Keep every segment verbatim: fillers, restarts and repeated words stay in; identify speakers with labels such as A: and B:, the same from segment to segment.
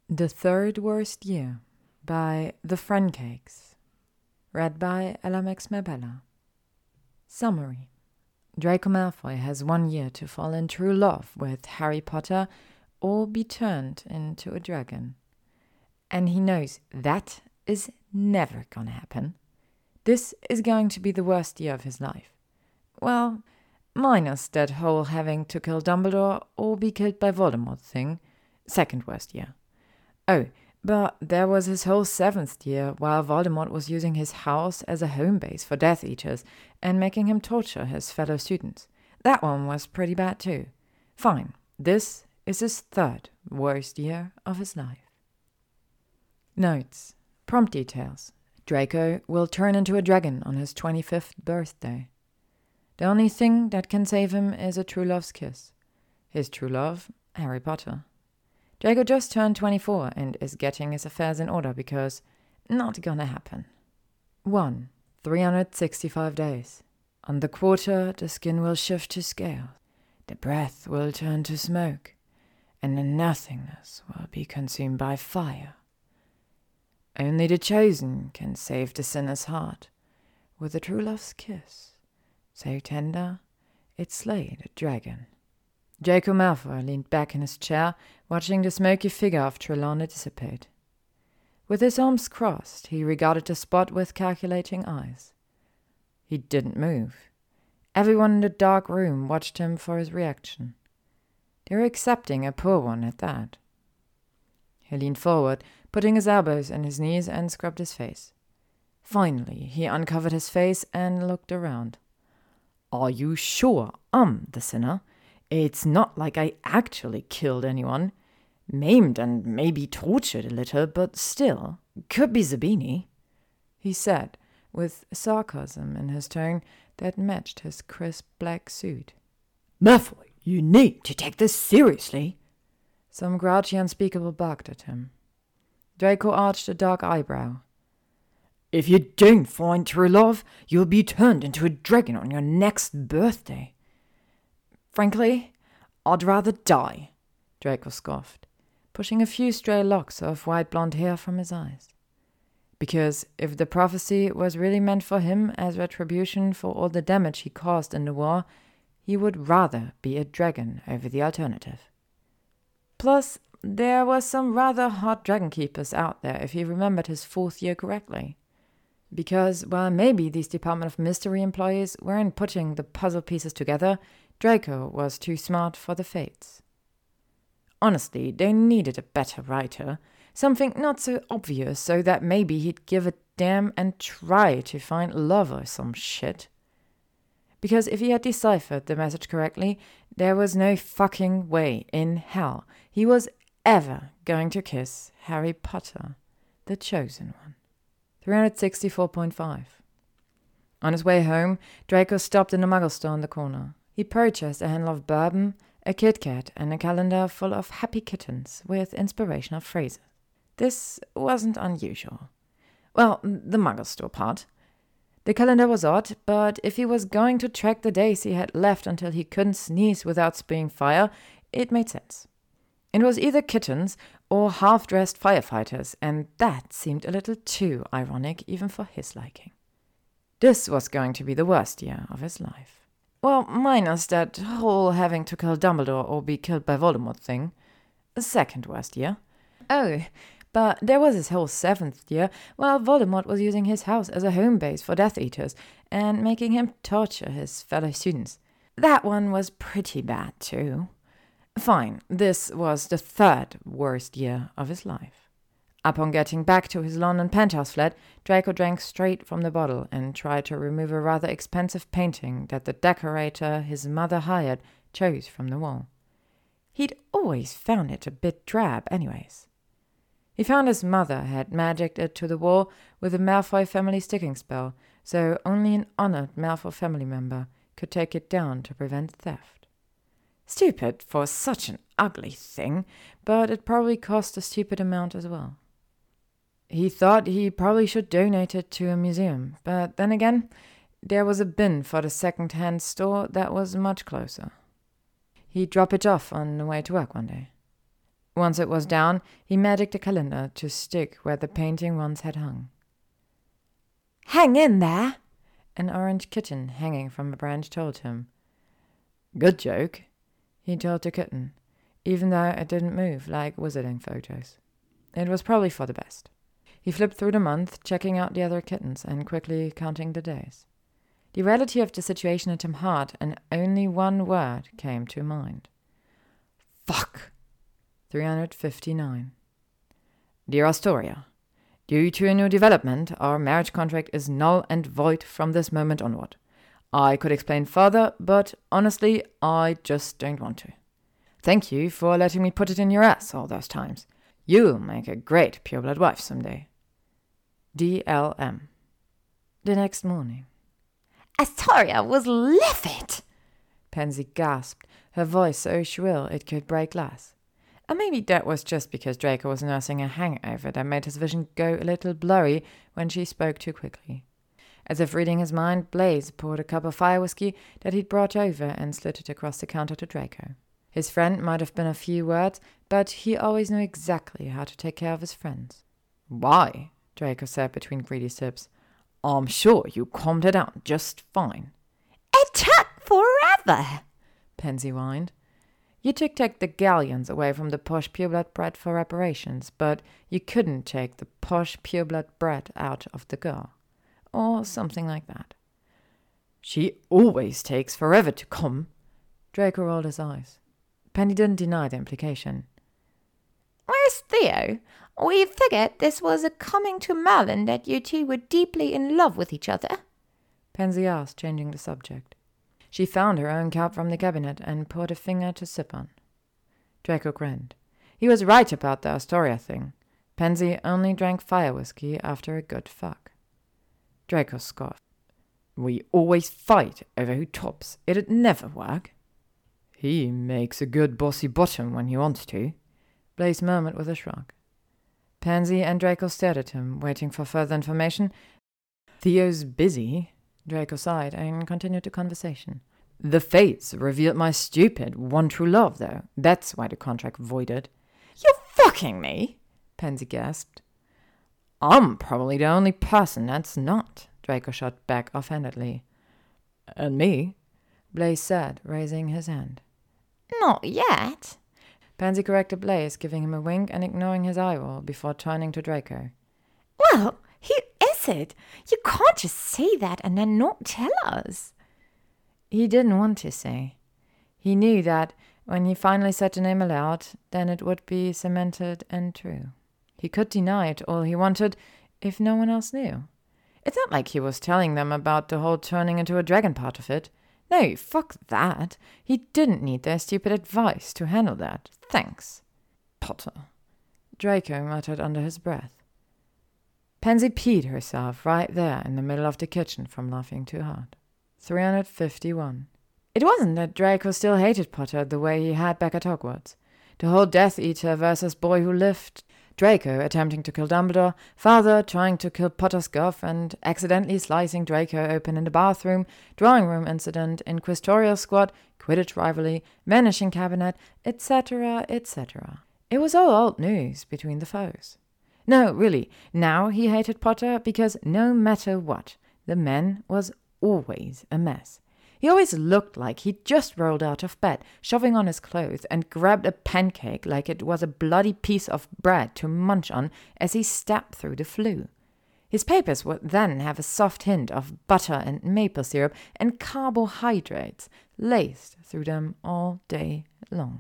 A: The Third Worst Year by The Fruncakes. Read by Ella Max Mabella. Summary. Draco Malfoy has one year to fall in true love with Harry Potter or be turned into a dragon. And he knows that is never gonna happen. This is going to be the worst year of his life. Well, minus that whole having to kill Dumbledore or be killed by Voldemort thing. Second worst year. Oh, but there was his whole seventh year while Voldemort was using his house as a home base for Death Eaters and making him torture his fellow students. That one was pretty bad too. Fine, this is his third worst year of his life. Notes. Prompt details. Draco will turn into a dragon on his twenty-fifth birthday. The only thing that can save him is a true love's kiss. His true love, Harry Potter. Draco just turned twenty-four and is getting his affairs in order because not gonna happen. one. three hundred sixty-five days. On the quarter, the skin will shift to scales. The breath will turn to smoke, and the nothingness will be consumed by fire. Only the chosen can save the sinner's heart with a true love's kiss, so tender it slayed a dragon. Draco Malfoy leaned back in his chair, watching the smoky figure of Trelawney dissipate. With his arms crossed, he regarded the spot with calculating eyes. He didn't move. Everyone in the dark room watched him for his reaction. They were accepting a poor one at that. He leaned forward, putting his elbows on his knees, and scrubbed his face. Finally, he uncovered his face and looked around. "Are you sure I'm the sinner? It's not like I actually killed anyone. Maimed and maybe tortured a little, but still, could be Zabini," he said, with sarcasm in his tone that matched his crisp black suit. "Malfoy, you need to take this seriously." Some grouchy unspeakable barked at him. Draco arched a dark eyebrow. "If you don't find true love, you'll be turned into a dragon on your next birthday." "Frankly, I'd rather die," Draco scoffed, pushing a few stray locks of white blonde hair from his eyes. Because if the prophecy was really meant for him as retribution for all the damage he caused in the war, he would rather be a dragon over the alternative. Plus, there were some rather hot dragon keepers out there if he remembered his fourth year correctly. Because, while maybe these Department of Mystery employees weren't putting the puzzle pieces together, Draco was too smart for the fates. Honestly, they needed a better writer, something not so obvious so that maybe he'd give a damn and try to find love or some shit. Because if he had deciphered the message correctly, there was no fucking way in hell he was ever going to kiss Harry Potter, the chosen one. three hundred sixty-four point five. On his way home, Draco stopped in a muggle store on the corner. He purchased a handle of bourbon, a Kit Kat, and a calendar full of happy kittens with inspirational phrases. This wasn't unusual. Well, the muggle store part. The calendar was odd, but if he was going to track the days he had left until he couldn't sneeze without spewing fire, it made sense. It was either kittens or half-dressed firefighters, and that seemed a little too ironic even for his liking. This was going to be the worst year of his life. Well, minus that whole having to kill Dumbledore or be killed by Voldemort thing. Second worst year. Oh, but there was his whole seventh year while Voldemort was using his house as a home base for Death Eaters and making him torture his fellow students. That one was pretty bad too. Fine, this was the third worst year of his life. Upon getting back to his London penthouse flat, Draco drank straight from the bottle and tried to remove a rather expensive painting that the decorator his mother hired chose from the wall. He'd always found it a bit drab anyways. He found his mother had magicked it to the wall with a Malfoy family sticking spell, so only an honored Malfoy family member could take it down to prevent theft. Stupid for such an ugly thing, but it probably cost a stupid amount as well. He thought he probably should donate it to a museum, but then again, there was a bin for the second-hand store that was much closer. He'd drop it off on the way to work one day. Once it was down, he magicked a calendar to stick where the painting once had hung. "Hang in there!" an orange kitten hanging from a branch told him. "Good joke," he told the kitten, even though it didn't move like wizarding photos. It was probably for the best. He flipped through the month, checking out the other kittens and quickly counting the days. The reality of the situation hit him hard, and only one word came to mind. Fuck! three hundred fifty-nine. Dear Astoria, due to a new development, our marriage contract is null and void from this moment onward. I could explain further, but honestly, I just don't want to. Thank you for letting me put it in your ass all those times. You'll make a great pureblood wife someday. D L M. The next morning. Astoria was livid! Pansy gasped, her voice so shrill it could break glass. And maybe that was just because Draco was nursing a hangover that made his vision go a little blurry when she spoke too quickly. As if reading his mind, Blaze poured a cup of fire whiskey that he'd brought over and slid it across the counter to Draco. His friend might have been a few words, but he always knew exactly how to take care of his friends. Why? Draco said between greedy sips. I'm sure you calmed her down just fine. It took forever, Pansy whined. You took take the galleons away from the posh pureblood bred for reparations, but you couldn't take the posh pureblood bred out of the girl. Or something like that. She always takes forever to come. Draco rolled his eyes. Penny didn't deny the implication. Where's Theo? We figured this was a coming to Merlin that you two were deeply in love with each other. Pansy asked, changing the subject. She found her own cup from the cabinet and poured a finger to sip on. Draco grinned. He was right about the Astoria thing. Pansy only drank fire whiskey after a good fuck. Draco scoffed. We always fight over who tops. It'd never work. He makes a good bossy bottom when he wants to, Blaze murmured with a shrug. Pansy and Draco stared at him, waiting for further information. Theo's busy, Draco sighed and continued the conversation. The fates revealed my stupid one true love, though. That's why the contract voided. You're fucking me, Pansy gasped. I'm probably the only person that's not, Draco shot back offhandedly. And me, Blaze said, raising his hand. Not yet. Pansy corrected Blaze, giving him a wink and ignoring his eye roll before turning to Draco. Well, who is it? You can't just say that and then not tell us. He didn't want to say. He knew that when he finally said the name aloud, then it would be cemented and true. He could deny it all he wanted if no one else knew. It's not like he was telling them about the whole turning into a dragon part of it. No, fuck that. He didn't need their stupid advice to handle that. Thanks. Potter, Draco muttered under his breath. Pansy peed herself right there in the middle of the kitchen from laughing too hard. three hundred fifty-one. It wasn't that Draco still hated Potter the way he had back at Hogwarts. The whole Death Eater versus Boy Who Lived, Draco attempting to kill Dumbledore, father trying to kill Potter's girlfriend, accidentally slicing Draco open in the bathroom, drawing room incident, inquisitorial squad, Quidditch rivalry, vanishing cabinet, et cetera, et cetera. It was all old news between the foes. No, really, now he hated Potter because no matter what, the man was always a mess. He always looked like he'd just rolled out of bed, shoving on his clothes, and grabbed a pancake like it was a bloody piece of bread to munch on as he stepped through the flue. His papers would then have a soft hint of butter and maple syrup and carbohydrates laced through them all day long.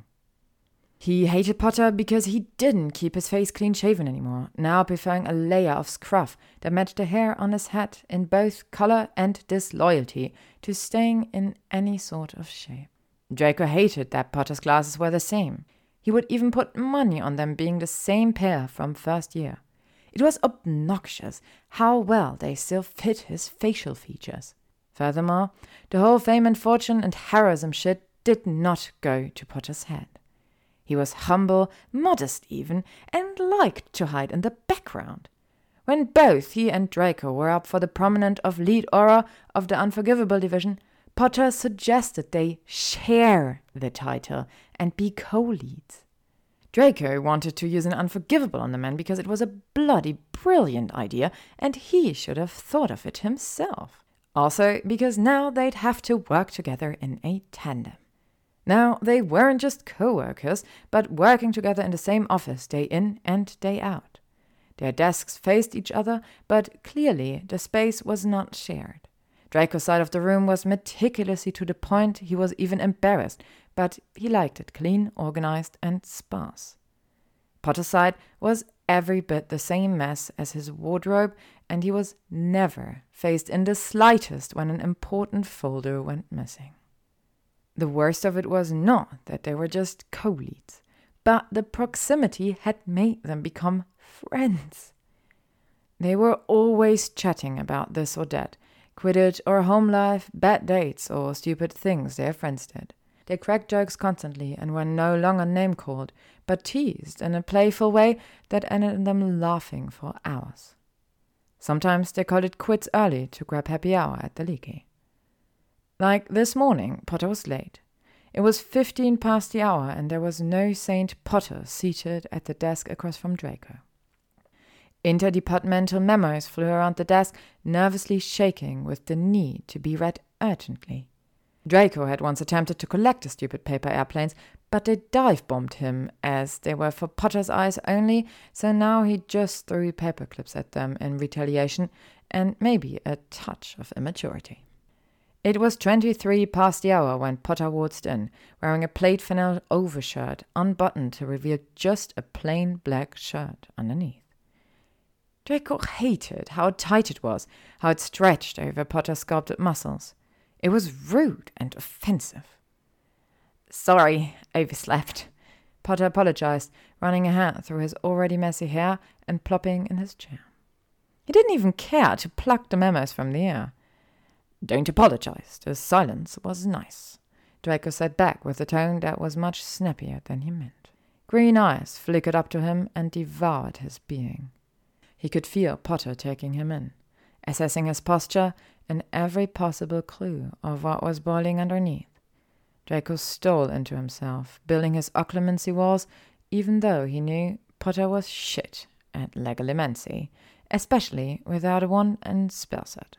A: He hated Potter because he didn't keep his face clean-shaven anymore, now preferring a layer of scruff that matched the hair on his head in both color and disloyalty to staying in any sort of shape. Draco hated that Potter's glasses were the same. He would even put money on them being the same pair from first year. It was obnoxious how well they still fit his facial features. Furthermore, the whole fame and fortune and heroism shit did not go to Potter's head. He was humble, modest even, and liked to hide in the background. When both he and Draco were up for the prominent of lead aura of the Unforgivable division, Potter suggested they share the title and be co-leads. Draco wanted to use an unforgivable on the man because it was a bloody brilliant idea and he should have thought of it himself. Also because now they'd have to work together in a tandem. Now they weren't just co-workers, but working together in the same office day in and day out. Their desks faced each other, but clearly the space was not shared. Draco's side of the room was meticulously to the point he was even embarrassed, but he liked it clean, organized, and sparse. Potter's side was every bit the same mess as his wardrobe, and he was never phased in the slightest when an important folder went missing. The worst of it was not that they were just co-leads, but the proximity had made them become friends. They were always chatting about this or that, Quidditch or home life, bad dates or stupid things their friends did. They cracked jokes constantly and were no longer name-called, but teased in a playful way that ended in them laughing for hours. Sometimes they called it quits early to grab happy hour at the Leaky. Like this morning, Potter was late. It was fifteen past the hour and there was no Saint Potter seated at the desk across from Draco. Interdepartmental memos flew around the desk, nervously shaking with the need to be read urgently. Draco had once attempted to collect the stupid paper airplanes, but they dive-bombed him as they were for Potter's eyes only, so now he just threw paper clips at them in retaliation and maybe a touch of immaturity. It was twenty-three past the hour when Potter waltzed in, wearing a plaid flannel overshirt, unbuttoned to reveal just a plain black shirt underneath. Draco hated how tight it was, how it stretched over Potter's sculpted muscles. It was rude and offensive. "Sorry, overslept," Potter apologized, running a hand through his already messy hair and plopping in his chair. He didn't even care to pluck the memos from the air. "Don't apologize. The silence was nice," Draco said back with a tone that was much snappier than he meant. Green eyes flickered up to him and devoured his being. He could feel Potter taking him in, assessing his posture and every possible clue of what was boiling underneath. Draco stole into himself, building his occlumency walls, even though he knew Potter was shit at legilimency, especially without a wand and spell set.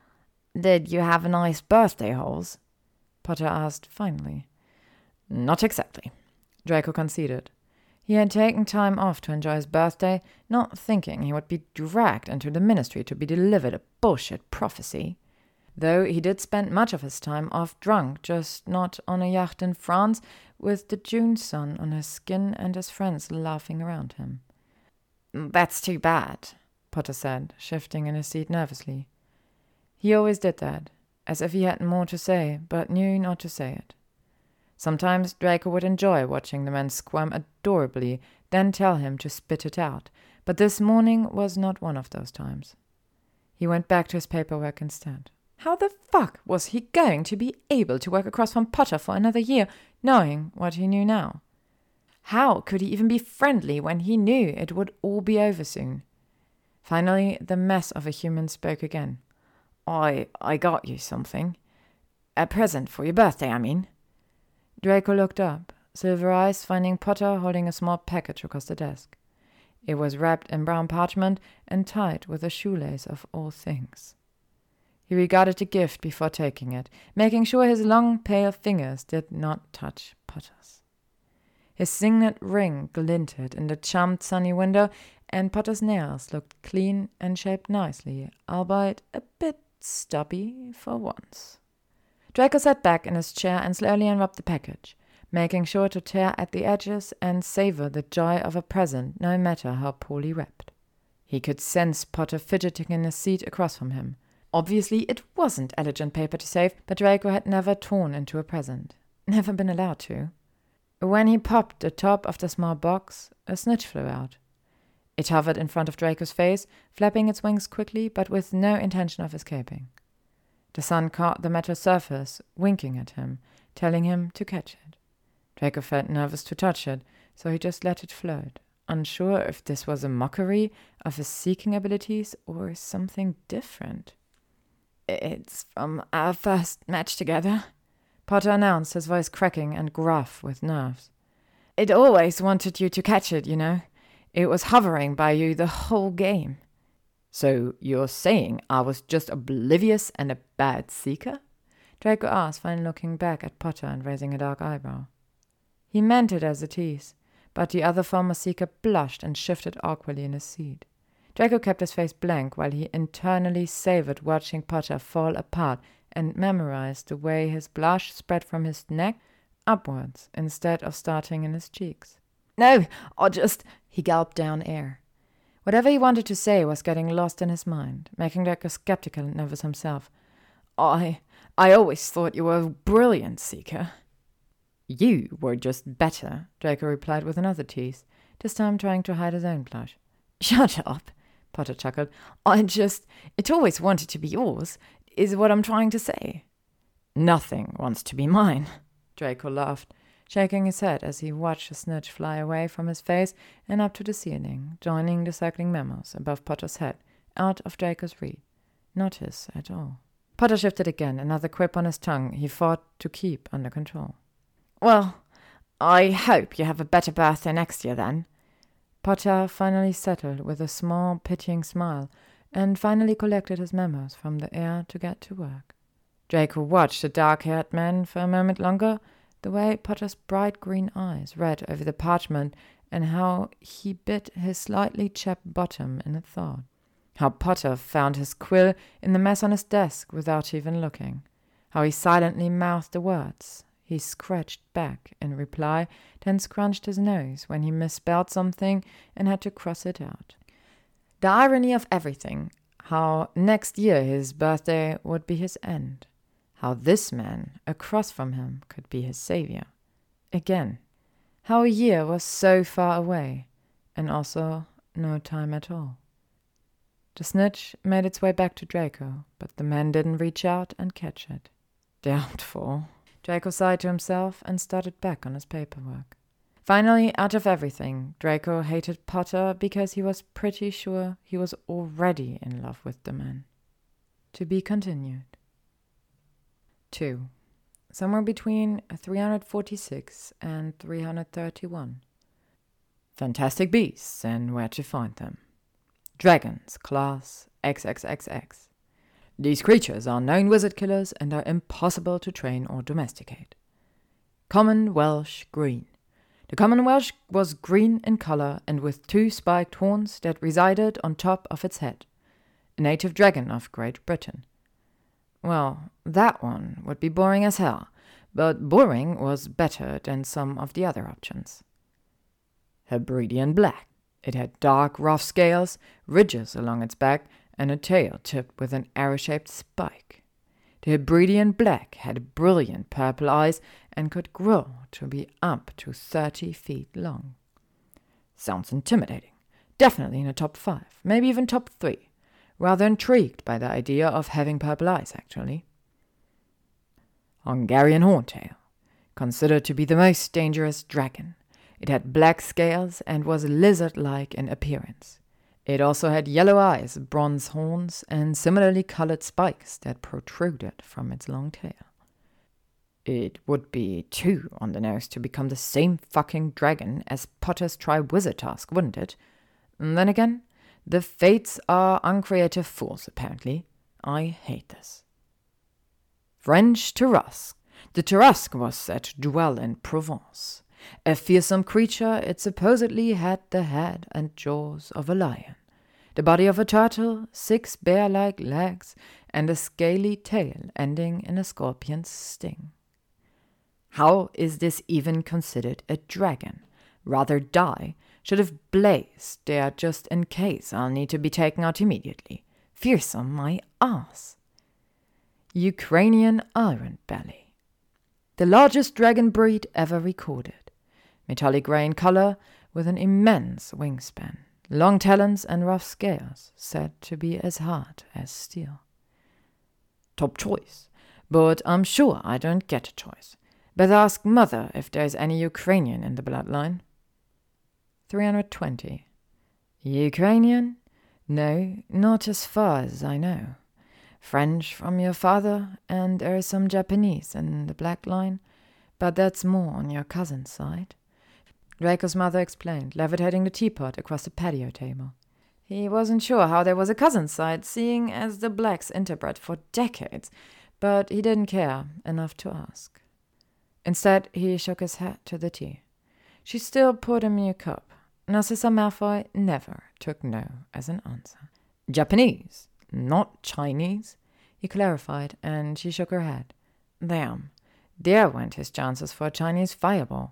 A: "Did you have a nice birthday, Holes?" Potter asked finally. "Not exactly," Draco conceded. He had taken time off to enjoy his birthday, not thinking he would be dragged into the ministry to be delivered a bullshit prophecy. Though he did spend much of his time off drunk, just not on a yacht in France, with the June sun on his skin and his friends laughing around him. "That's too bad," Potter said, shifting in his seat nervously. He always did that, as if he had more to say, but knew not to say it. Sometimes Draco would enjoy watching the man squirm adorably, then tell him to spit it out, but this morning was not one of those times. He went back to his paperwork instead. How the fuck was he going to be able to work across from Potter for another year, knowing what he knew now? How could he even be friendly when he knew it would all be over soon? Finally, the mess of a human spoke again. I, I got you something. A present for your birthday, I mean." Draco looked up, silver eyes finding Potter holding a small package across the desk. It was wrapped in brown parchment and tied with a shoelace of all things. He regarded the gift before taking it, making sure his long, pale fingers did not touch Potter's. His signet ring glinted in the charmed sunny window, and Potter's nails looked clean and shaped nicely, albeit a bit stubby for once. Draco sat back in his chair and slowly unwrapped the package, making sure to tear at the edges and savor the joy of a present, no matter how poorly wrapped. He could sense Potter fidgeting in his seat across from him. Obviously, it wasn't elegant paper to save, but Draco had never torn into a present. Never been allowed to. When he popped the top of the small box, a snitch flew out. It hovered in front of Draco's face, flapping its wings quickly, but with no intention of escaping. The sun caught the metal surface, winking at him, telling him to catch it. Draco felt nervous to touch it, so he just let it float, unsure if this was a mockery of his seeking abilities or something different. "It's from our first match together," Potter announced, his voice cracking and gruff with nerves. It always wanted you to catch it, you know. It was hovering by you the whole game. So you're saying I was just oblivious and a bad seeker? Draco asked, finally looking back at Potter and raising a dark eyebrow. He meant it as a tease, but the other former seeker blushed and shifted awkwardly in his seat. Draco kept his face blank while he internally savored watching Potter fall apart and memorized the way his blush spread from his neck upwards instead of starting in his cheeks. No, I just... He gulped down air. Whatever he wanted to say was getting lost in his mind, making Draco skeptical and nervous himself. I... I always thought you were a brilliant seeker. You were just better, Draco replied with another tease, this time trying to hide his own blush. Shut up, Potter chuckled. I just... It always wanted to be yours, is what I'm trying to say. Nothing wants to be mine, Draco laughed, shaking his head as he watched the snitch fly away from his face and up to the ceiling, joining the circling mammals above Potter's head, out of Draco's reach. Not his at all. Potter shifted again, another quip on his tongue he fought to keep under control. Well, I hope you have a better birthday next year, then. Potter finally settled with a small, pitying smile, and finally collected his memos from the air to get to work. Draco watched the dark-haired man for a moment longer, the way Potter's bright green eyes read over the parchment, and how he bit his slightly chapped bottom in a thought. How Potter found his quill in the mess on his desk without even looking. How he silently mouthed the words he scratched back in reply, then scrunched his nose when he misspelled something and had to cross it out. The irony of everything, how next year his birthday would be his end. How this man, across from him, could be his savior. Again, how a year was so far away, and also no time at all. The snitch made its way back to Draco, but the man didn't reach out and catch it. Doubtful. Draco sighed to himself and started back on his paperwork. Finally, out of everything, Draco hated Potter because he was pretty sure he was already in love with the man. To be continued. two. Somewhere between three hundred forty-six and three hundred thirty-one. Fantastic beasts and where to find them. Dragons, class triple X. These creatures are known wizard killers and are impossible to train or domesticate. Common Welsh green. The common Welsh was green in color and with two spiked horns that resided on top of its head. A native dragon of Great Britain. Well, that one would be boring as hell, but boring was better than some of the other options. Hebridean black. It had dark, rough scales, ridges along its back, and a tail tipped with an arrow-shaped spike. The Hebridean black had brilliant purple eyes and could grow to be up to thirty feet long. Sounds intimidating. Definitely in the top five, maybe even top three. Rather intrigued by the idea of having purple eyes, actually. Hungarian horntail. Considered to be the most dangerous dragon. It had black scales and was lizard-like in appearance. It also had yellow eyes, bronze horns, and similarly colored spikes that protruded from its long tail. It would be too on the nose to become the same fucking dragon as Potter's Tri-Wizard task, wouldn't it? And then again, the fates are uncreative fools, apparently. I hate this. French Tarrasque. The Tarrasque was said to dwell in Provence. A fearsome creature, it supposedly had the head and jaws of a lion, the body of a turtle, six bear-like legs, and a scaly tail ending in a scorpion's sting. How is this even considered a dragon? Rather die. Should have blazed there just in case I'll need to be taken out immediately. Fearsome my ass. Ukrainian Iron Belly. The largest dragon breed ever recorded. Metallic grey in color, with an immense wingspan, long talons and rough scales, said to be as hard as steel. Top choice, but I'm sure I don't get a choice. Better ask Mother if there's any Ukrainian in the bloodline. three hundred twenty. Ukrainian? No, not as far as I know. French from your father, and there is some Japanese in the black line, but that's more on your cousin's side. Draco's mother explained, levitating the teapot across the patio table. He wasn't sure how there was a cousin's side, seeing as the Blacks interbred for decades, but he didn't care enough to ask. Instead, he shook his head to the tea. She still poured him a new cup. Narcissa Malfoy never took no as an answer. Japanese, not Chinese, he clarified, and she shook her head. Damn, there went his chances for a Chinese fireball.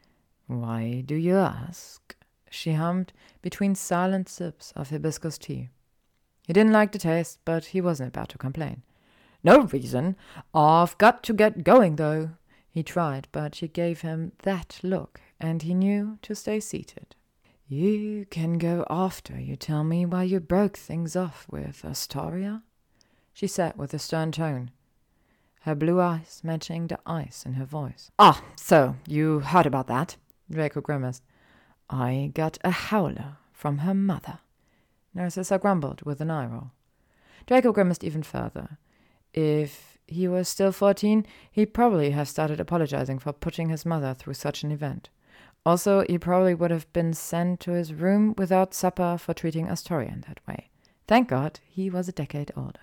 A: Why do you ask? She hummed between silent sips of hibiscus tea. He didn't like the taste, but he wasn't about to complain. No reason. I've got to get going, though. He tried, but she gave him that look, and he knew to stay seated. You can go after you tell me why you broke things off with Astoria, she said with a stern tone, her blue eyes matching the ice in her voice. Ah, so you heard about that? Draco grimaced. I got a howler from her mother. Narcissa grumbled with an eye roll. Draco grimaced even further. If he was still fourteen, he'd probably have started apologizing for putting his mother through such an event. Also, he probably would have been sent to his room without supper for treating Astoria in that way. Thank God he was a decade older.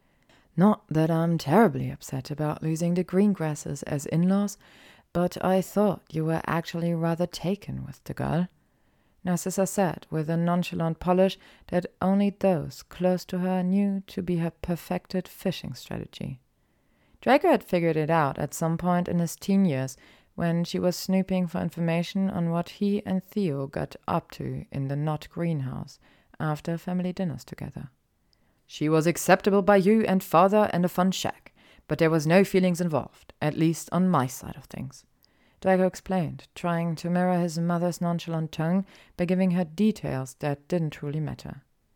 A: Not that I'm terribly upset about losing the Greengrasses as in-laws, but I thought you were actually rather taken with the girl, Narcissa said with a nonchalant polish that only those close to her knew to be her perfected fishing strategy. Draco had figured it out at some point in his teen years when she was snooping for information on what he and Theo got up to in the Knot greenhouse after family dinners together. She was acceptable by you and father and a fun shack, but there was no feelings involved, at least on my side of things, Draco explained, trying to mirror his mother's nonchalant tone by giving her details that didn't truly matter.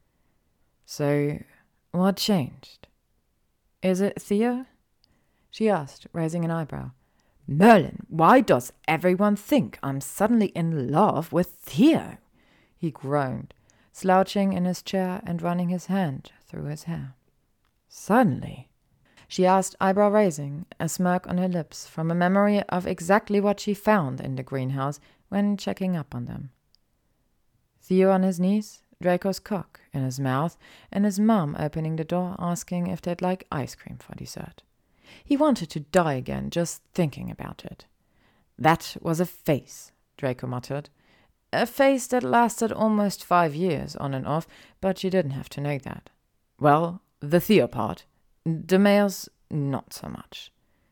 A: So, what changed? Is it Theo? She asked, raising an eyebrow. Merlin, why does everyone think I'm suddenly in love with Theo? He groaned, slouching in his chair and running his hand through his hair. Suddenly? She asked, eyebrow raising, a smirk on her lips from a memory of exactly what she found in the greenhouse when checking up on them. Theo on his knees, Draco's cock in his mouth, and his mum opening the door asking if they'd like ice cream for dessert. He wanted to die again just thinking about it. That was a phase, Draco muttered. A phase that lasted almost five years on and off, but you didn't have to know that. Well, the Theo part. The males, not so much.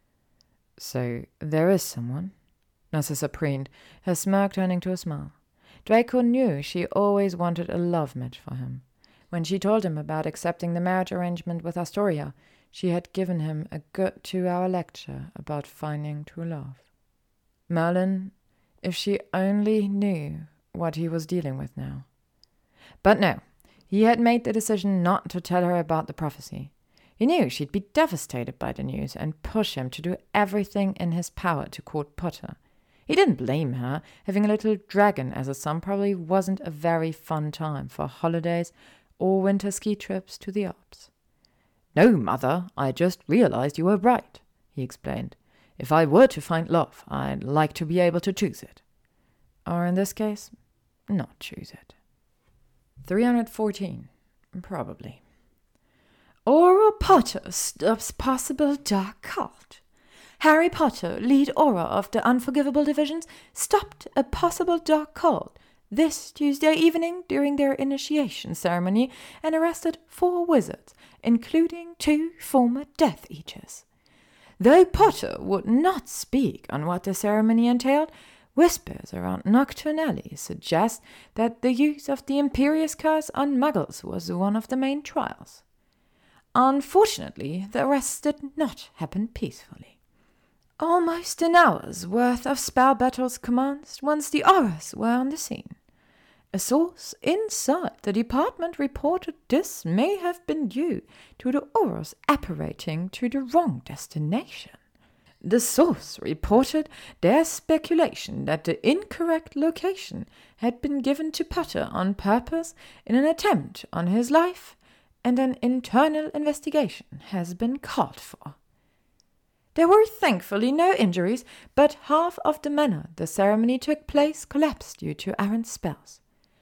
A: So there is someone? Narcissa preened, her smirk turning to a smile. Draco knew she always wanted a love match for him. When she told him about accepting the marriage arrangement with Astoria, she had given him a good two-hour lecture about finding true love. Merlin, if she only knew what he was dealing with now. But no, he had made the decision not to tell her about the prophecy. He knew she'd be devastated by the news and push him to do everything in his power to court Potter. He didn't blame her. Having a little dragon as a son probably wasn't a very fun time for holidays or winter ski trips to the Alps. No, Mother, I just realized you were right, he explained. If I were to find love, I'd like to be able to choose it. Or in this case, not choose it. three hundred fourteen. Probably. Auror Potter stops possible dark cult. Harry Potter, lead Auror of the Unforgivable Divisions, stopped a possible dark cult this Tuesday evening during their initiation ceremony and arrested four wizards, including two former Death Eaters. Though Potter would not speak on what the ceremony entailed, whispers around Nocturne Alley suggest that the use of the Imperious Curse on Muggles was one of the main trials. Unfortunately, the arrests did not happen peacefully. Almost an hour's worth of spell battles commenced once the Aurors were on the scene. A source inside the department reported this may have been due to the Aurors apparating to the wrong destination. The source reported their speculation that the incorrect location had been given to Potter on purpose in an attempt on his life, and an internal investigation has been called for. There were thankfully no injuries, but half of the manor the ceremony took place collapsed due to errant spells.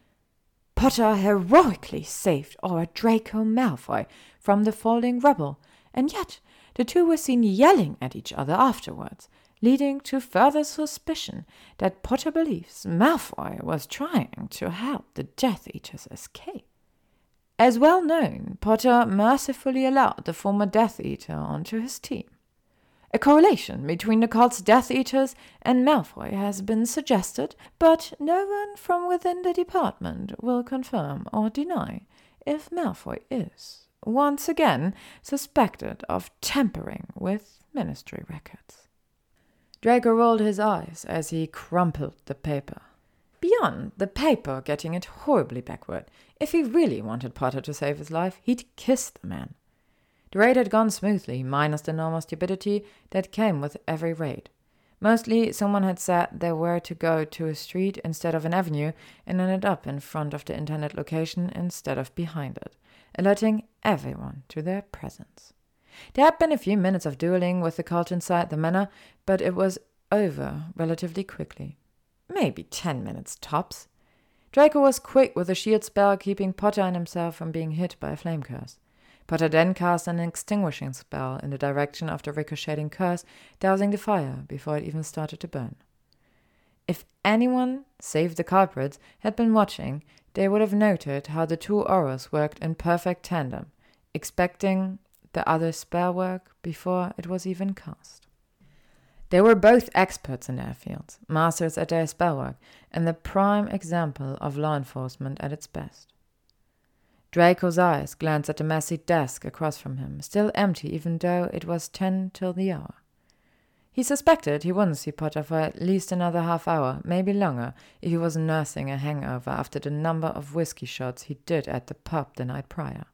A: Potter heroically saved our Draco Malfoy from the falling rubble, and yet the two were seen yelling at each other afterwards, leading to further suspicion that Potter believes Malfoy was trying to help the Death Eaters escape. As well known, Potter mercifully allowed the former Death Eater onto his team. A correlation between the cult's Death Eaters and Malfoy has been suggested, but no one from within the department will confirm or deny if Malfoy is, once again, suspected of tampering with ministry records. Draco rolled his eyes as he crumpled the paper. Beyond the paper getting it horribly backward, if he really wanted Potter to save his life, he'd kiss the man. The raid had gone smoothly, minus the normal stupidity that came with every raid. Mostly, someone had said they were to go to a street instead of an avenue and ended up in front of the intended location instead of behind it, alerting everyone to their presence. There had been a few minutes of dueling with the cult inside the manor, but it was over relatively quickly. Maybe ten minutes tops. Draco was quick with a shield spell, keeping Potter and himself from being hit by a flame curse. Potter then cast an extinguishing spell in the direction of the ricocheting curse, dousing the fire before it even started to burn. If anyone, save the culprits, had been watching, they would have noted how the two auras worked in perfect tandem, expecting the other's spell work before it was even cast. They were both experts in their fields, masters at their spellwork, and the prime example of law enforcement at its best. Draco's eyes glanced at the messy desk across from him, still empty even though it was ten till the hour. He suspected he wouldn't see Potter for at least another half hour, maybe longer, if he was nursing a hangover after the number of whiskey shots he did at the pub the night prior.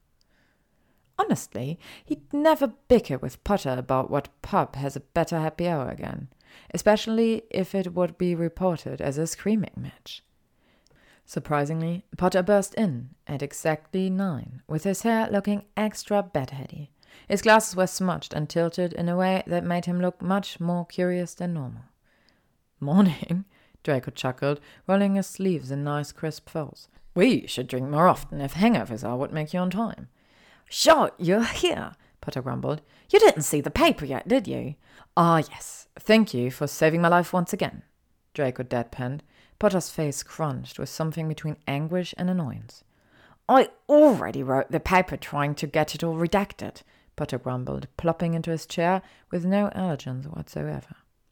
A: Honestly, he'd never bicker with Potter about what pub has a better happy hour again, especially if it would be reported as a screaming match. Surprisingly, Potter burst in at exactly nine, with his hair looking extra bedheady. His glasses were smudged and tilted in a way that made him look much more curious than normal. "Morning," Draco chuckled, rolling his sleeves in nice crisp folds. "We should drink more often if hangovers are what make you on time." "Sure, you're here," Potter grumbled. "You didn't see the paper yet, did you?" "Ah, yes. Thank you for saving my life once again," Draco deadpanned. Potter's face crunched with something between anguish and annoyance. "I already wrote the paper trying to get it all redacted," Potter grumbled, plopping into his chair with no elegance whatsoever.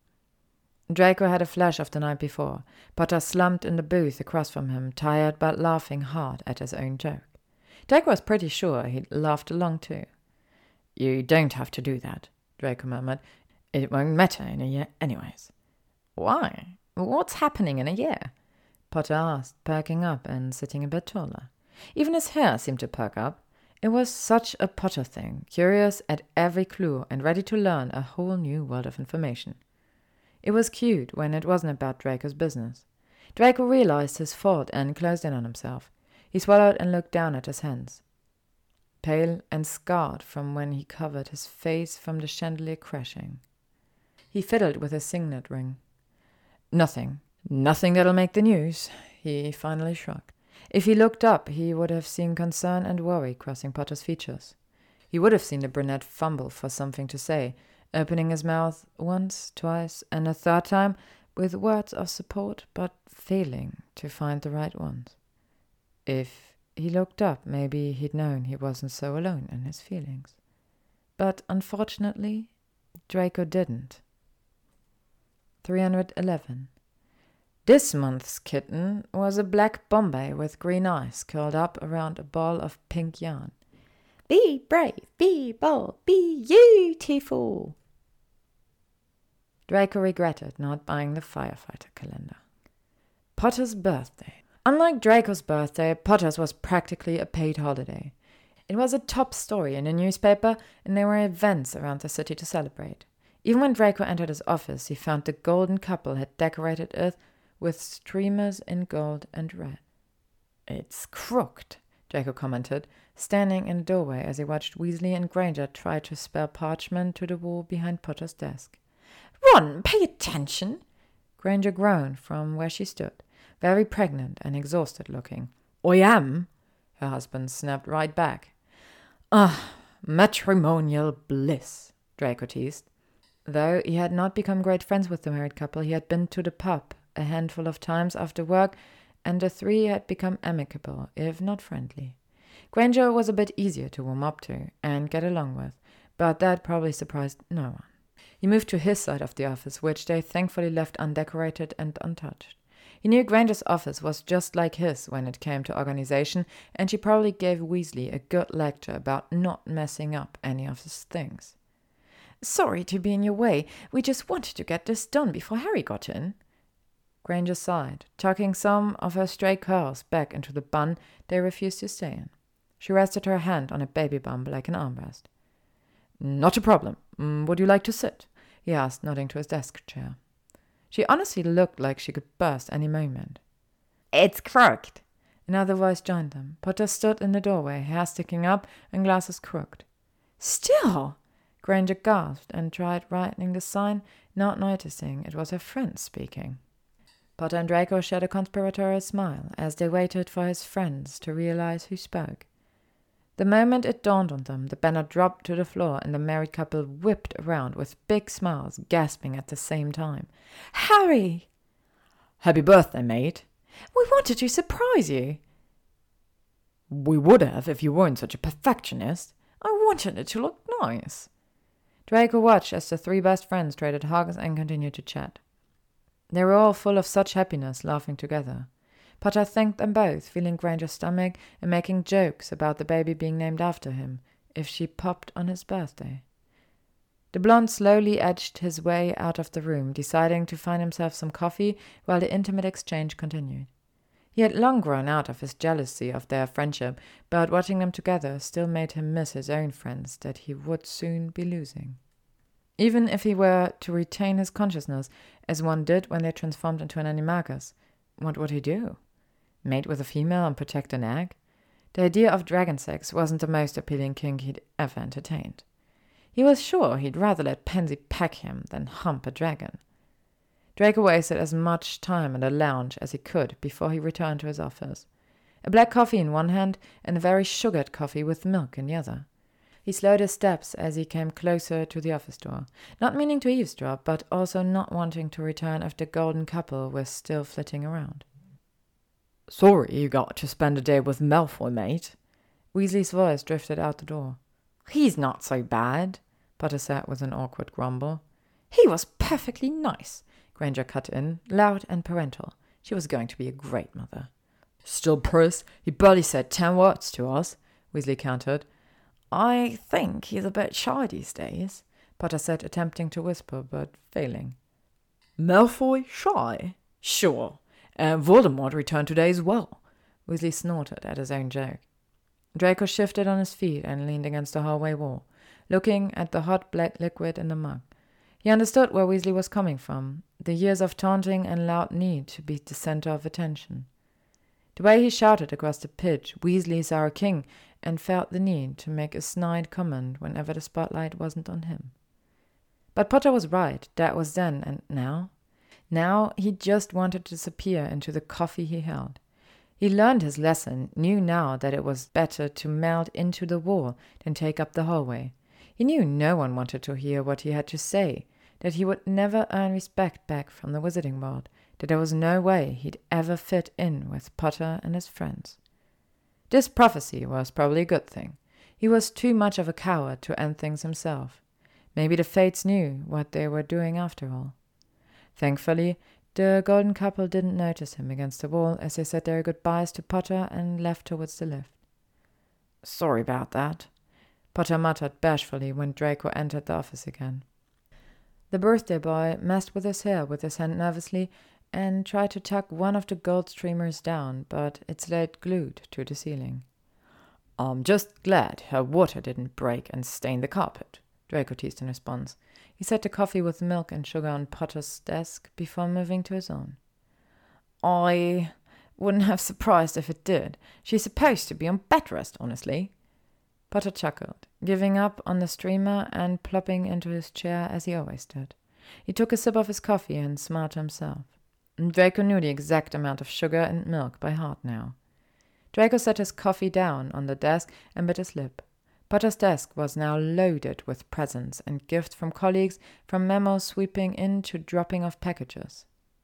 A: Draco had a flash of the night before. Potter slumped in the booth across from him, tired but laughing hard at his own joke. Draco was pretty sure he'd laughed along too. "You don't have to do that," Draco murmured. "It won't matter in a year anyways." "Why? What's happening in a year?" Potter asked, perking up and sitting a bit taller. Even his hair seemed to perk up. It was such a Potter thing, curious at every clue and ready to learn a whole new world of information. It was cute when it wasn't about Draco's business. Draco realized his fault and closed in on himself. He swallowed and looked down at his hands, pale and scarred from when he covered his face from the chandelier crashing. He fiddled with his signet ring. Nothing. Nothing that'll make the news, he finally shrugged. If he looked up, he would have seen concern and worry crossing Potter's features. He would have seen the brunette fumble for something to say, opening his mouth once, twice, and a third time with words of support, but failing to find the right ones. If he looked up, maybe he'd known he wasn't so alone in his feelings. But unfortunately, Draco didn't. three hundred eleven. This month's kitten was a black Bombay with green eyes curled up around a ball of pink yarn. "Be brave, be bold, be beautiful." Draco regretted not buying the firefighter calendar. Potter's birthday. Unlike Draco's birthday, Potter's was practically a paid holiday. It was a top story in the newspaper, and there were events around the city to celebrate. Even when Draco entered his office, he found the golden couple had decorated it with streamers in gold and red. "It's crooked," Draco commented, standing in the doorway as he watched Weasley and Granger try to spell parchment to the wall behind Potter's desk. "Ron, pay attention!" Granger groaned from where she stood, very pregnant and exhausted looking. "I am," her husband snapped right back. "Ah, matrimonial bliss," Draco teased. Though he had not become great friends with the married couple, he had been to the pub a handful of times after work, and the three had become amicable, if not friendly. Granger was a bit easier to warm up to and get along with, but that probably surprised no one. He moved to his side of the office, which they thankfully left undecorated and untouched. He knew Granger's office was just like his when it came to organization, and she probably gave Weasley a good lecture about not messing up any of his things. "Sorry to be in your way. We just wanted to get this done before Harry got in." Granger sighed, tucking some of her stray curls back into the bun they refused to stay in. She rested her hand on a baby bump like an armrest. "Not a problem. Would you like to sit?" he asked, nodding to his desk chair. She honestly looked like she could burst any moment. "It's crooked." Another voice joined them. Potter stood in the doorway, hair sticking up and glasses crooked. "Still!" Granger gasped and tried writing the sign, not noticing it was her friend speaking. Potter and Draco shared a conspiratorial smile as they waited for his friends to realize who spoke. The moment it dawned on them, the banner dropped to the floor and the married couple whipped around with big smiles, gasping at the same time. "Harry!" "Happy birthday, mate." "We wanted to surprise you." "We would have if you weren't such a perfectionist. I wanted it to look nice." Draco watched as the three best friends traded hugs and continued to chat. They were all full of such happiness, laughing together. Potter thanked them both, feeling Granger's stomach and making jokes about the baby being named after him, if she popped on his birthday. The blonde slowly edged his way out of the room, deciding to find himself some coffee while the intimate exchange continued. He had long grown out of his jealousy of their friendship, but watching them together still made him miss his own friends that he would soon be losing. Even if he were to retain his consciousness, as one did when they transformed into an animagus, what would he do? Mate with a female and protect an egg? The idea of dragon sex wasn't the most appealing kink he'd ever entertained. He was sure he'd rather let Pansy peck him than hump a dragon. Draco wasted as much time in the lounge as he could before he returned to his office. A black coffee in one hand and a very sugared coffee with milk in the other. He slowed his steps as he came closer to the office door, not meaning to eavesdrop, but also not wanting to return if the golden couple was still flitting around. "Sorry you got to spend a day with Malfoy, mate." Weasley's voice drifted out the door. "He's not so bad," Potter said with an awkward grumble. "He was perfectly nice," Granger cut in, loud and parental. She was going to be a great mother. "Still, Pris, he barely said ten words to us," Weasley countered. "I think he's a bit shy these days," Potter said, attempting to whisper, but failing. "Malfoy shy? Sure. And Voldemort returned today as well." Weasley snorted at his own joke. Draco shifted on his feet and leaned against the hallway wall, looking at the hot black liquid in the mug. He understood where Weasley was coming from, the years of taunting and loud need to be the center of attention. The way he shouted across the pitch, "Weasley's our king," and felt the need to make a snide comment whenever the spotlight wasn't on him. But Potter was right, that was then, and now? Now he just wanted to disappear into the coffee he held. He learned his lesson, knew now that it was better to melt into the wall than take up the hallway. He knew no one wanted to hear what he had to say, that he would never earn respect back from the Wizarding World, that there was no way he'd ever fit in with Potter and his friends. This prophecy was probably a good thing. He was too much of a coward to end things himself. Maybe the fates knew what they were doing after all. Thankfully, the golden couple didn't notice him against the wall as they said their goodbyes to Potter and left towards the lift. "Sorry about that," Potter muttered bashfully when Draco entered the office again. The birthday boy messed with his hair with his hand nervously and tried to tuck one of the gold streamers down, but it stayed glued to the ceiling. "I'm just glad her water didn't break and stain the carpet," Draco teased in response. He set the coffee with milk and sugar on Potter's desk before moving to his own. I... Wouldn't have surprised if it did. She's supposed to be on bed rest, honestly. Potter chuckled, giving up on the streamer and plopping into his chair as he always did. He took a sip of his coffee and smiled to himself. Draco knew the exact amount of sugar and milk by heart now. Draco set his coffee down on the desk and bit his lip. Potter's desk was now loaded with presents and gifts from colleagues, from memos sweeping in to dropping off packages.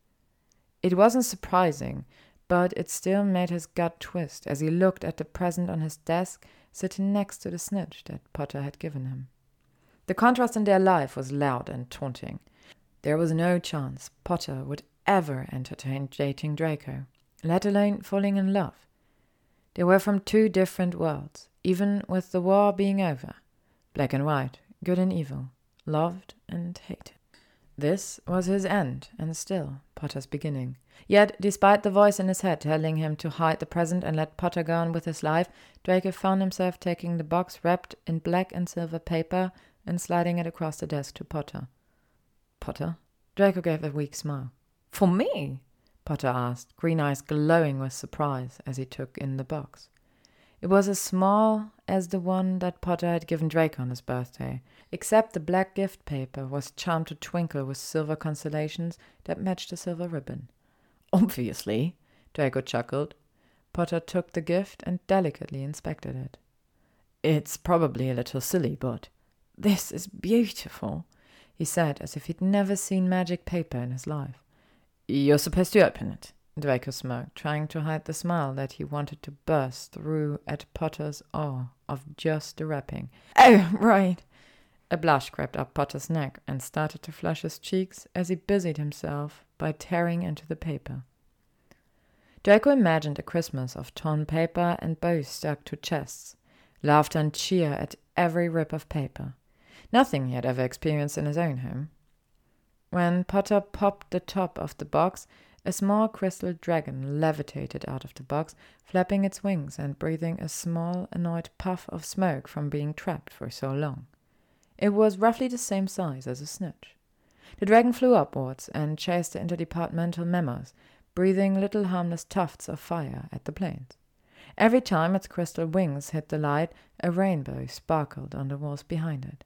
A: It wasn't surprising, but it still made his gut twist as he looked at the present on his desk sitting next to the snitch that Potter had given him. The contrast in their life was loud and taunting. There was no chance Potter would ever entertain dating Draco, let alone falling in love. They were from two different worlds, even with the war being over. Black and white, good and evil, loved and hated. This was his end, and still Potter's beginning. Yet, despite the voice in his head telling him to hide the present and let Potter go on with his life, Draco found himself taking the box wrapped in black and silver paper and sliding it across the desk to Potter. Potter? Draco gave a weak smile. For me? Potter asked, green eyes glowing with surprise as he took in the box. It was as small as the one that Potter had given Draco on his birthday, except the black gift paper was charmed to twinkle with silver constellations that matched the silver ribbon. Obviously, Draco chuckled. Potter took the gift and delicately inspected it. It's probably a little silly, but this is beautiful, he said, as if he'd never seen magic paper in his life. You're supposed to open it, Draco smirked, trying to hide the smile that he wanted to burst through at Potter's awe of just the wrapping. Oh, right. A blush crept up Potter's neck and started to flush his cheeks as he busied himself by tearing into the paper. Draco imagined a Christmas of torn paper and bows stuck to chests, laughter and cheer at every rip of paper. Nothing he had ever experienced in his own home. When Potter popped the top of the box, a small crystal dragon levitated out of the box, flapping its wings and breathing a small, annoyed puff of smoke from being trapped for so long. It was roughly the same size as a snitch. The dragon flew upwards and chased the interdepartmental memos, breathing little harmless tufts of fire at the planes. Every time its crystal wings hit the light, a rainbow sparkled on the walls behind it.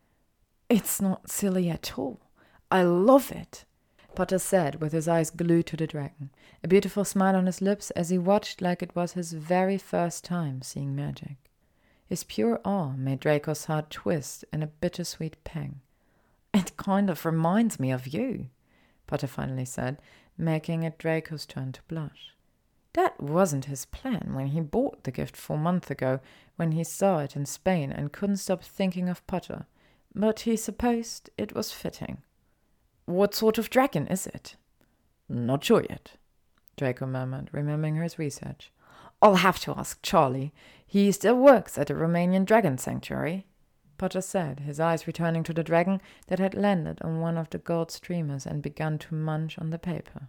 A: It's not silly at all. I love it, Potter said with his eyes glued to the dragon, a beautiful smile on his lips as he watched like it was his very first time seeing magic. His pure awe made Draco's heart twist in a bittersweet pang. It kind of reminds me of you, Potter finally said, making it Draco's turn to blush. That wasn't his plan when he bought the gift four months ago, when he saw it in Spain and couldn't stop thinking of Potter, but he supposed it was fitting. What sort of dragon is it? Not sure yet, Draco murmured, remembering his research. I'll have to ask Charlie. He still works at the Romanian Dragon Sanctuary, Potter said, his eyes returning to the dragon that had landed on one of the gold streamers and begun to munch on the paper.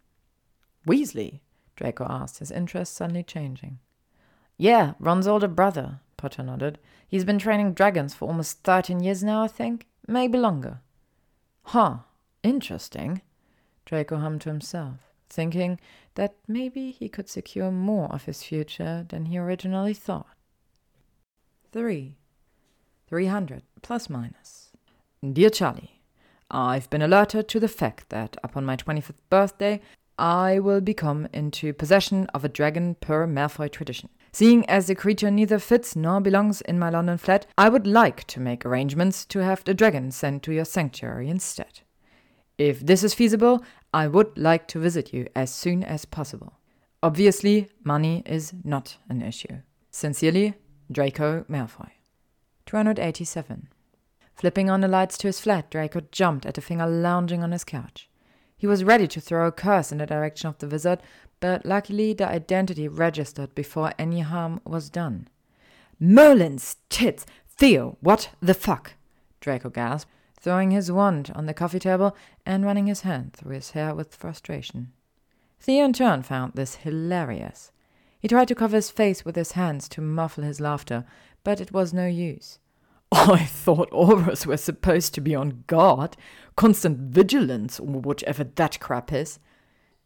A: Weasley? Draco asked, his interest suddenly changing. Yeah, Ron's older brother, Potter nodded. He's been training dragons for almost thirteen years now, I think. Maybe longer. Huh. Interesting, Draco hummed to himself, thinking that maybe he could secure more of his future than he originally thought. Three. Three hundred, plus minus. Dear Charlie, I've been alerted to the fact that upon my twenty-fifth birthday, I will become into possession of a dragon per Malfoy tradition. Seeing as the creature neither fits nor belongs in my London flat, I would like to make arrangements to have the dragon sent to your sanctuary instead. If this is feasible, I would like to visit you as soon as possible. Obviously, money is not an issue. Sincerely, Draco Malfoy. two hundred eighty-seven. Flipping on the lights to his flat, Draco jumped at the figure lounging on his couch. He was ready to throw a curse in the direction of the wizard, but luckily the identity registered before any harm was done. Merlin's tits! Theo, what the fuck? Draco gasped, throwing his wand on the coffee table and running his hand through his hair with frustration. Theo in turn found this hilarious. He tried to cover his face with his hands to muffle his laughter, but it was no use. I thought auras were supposed to be on guard, constant vigilance, or whatever that crap is.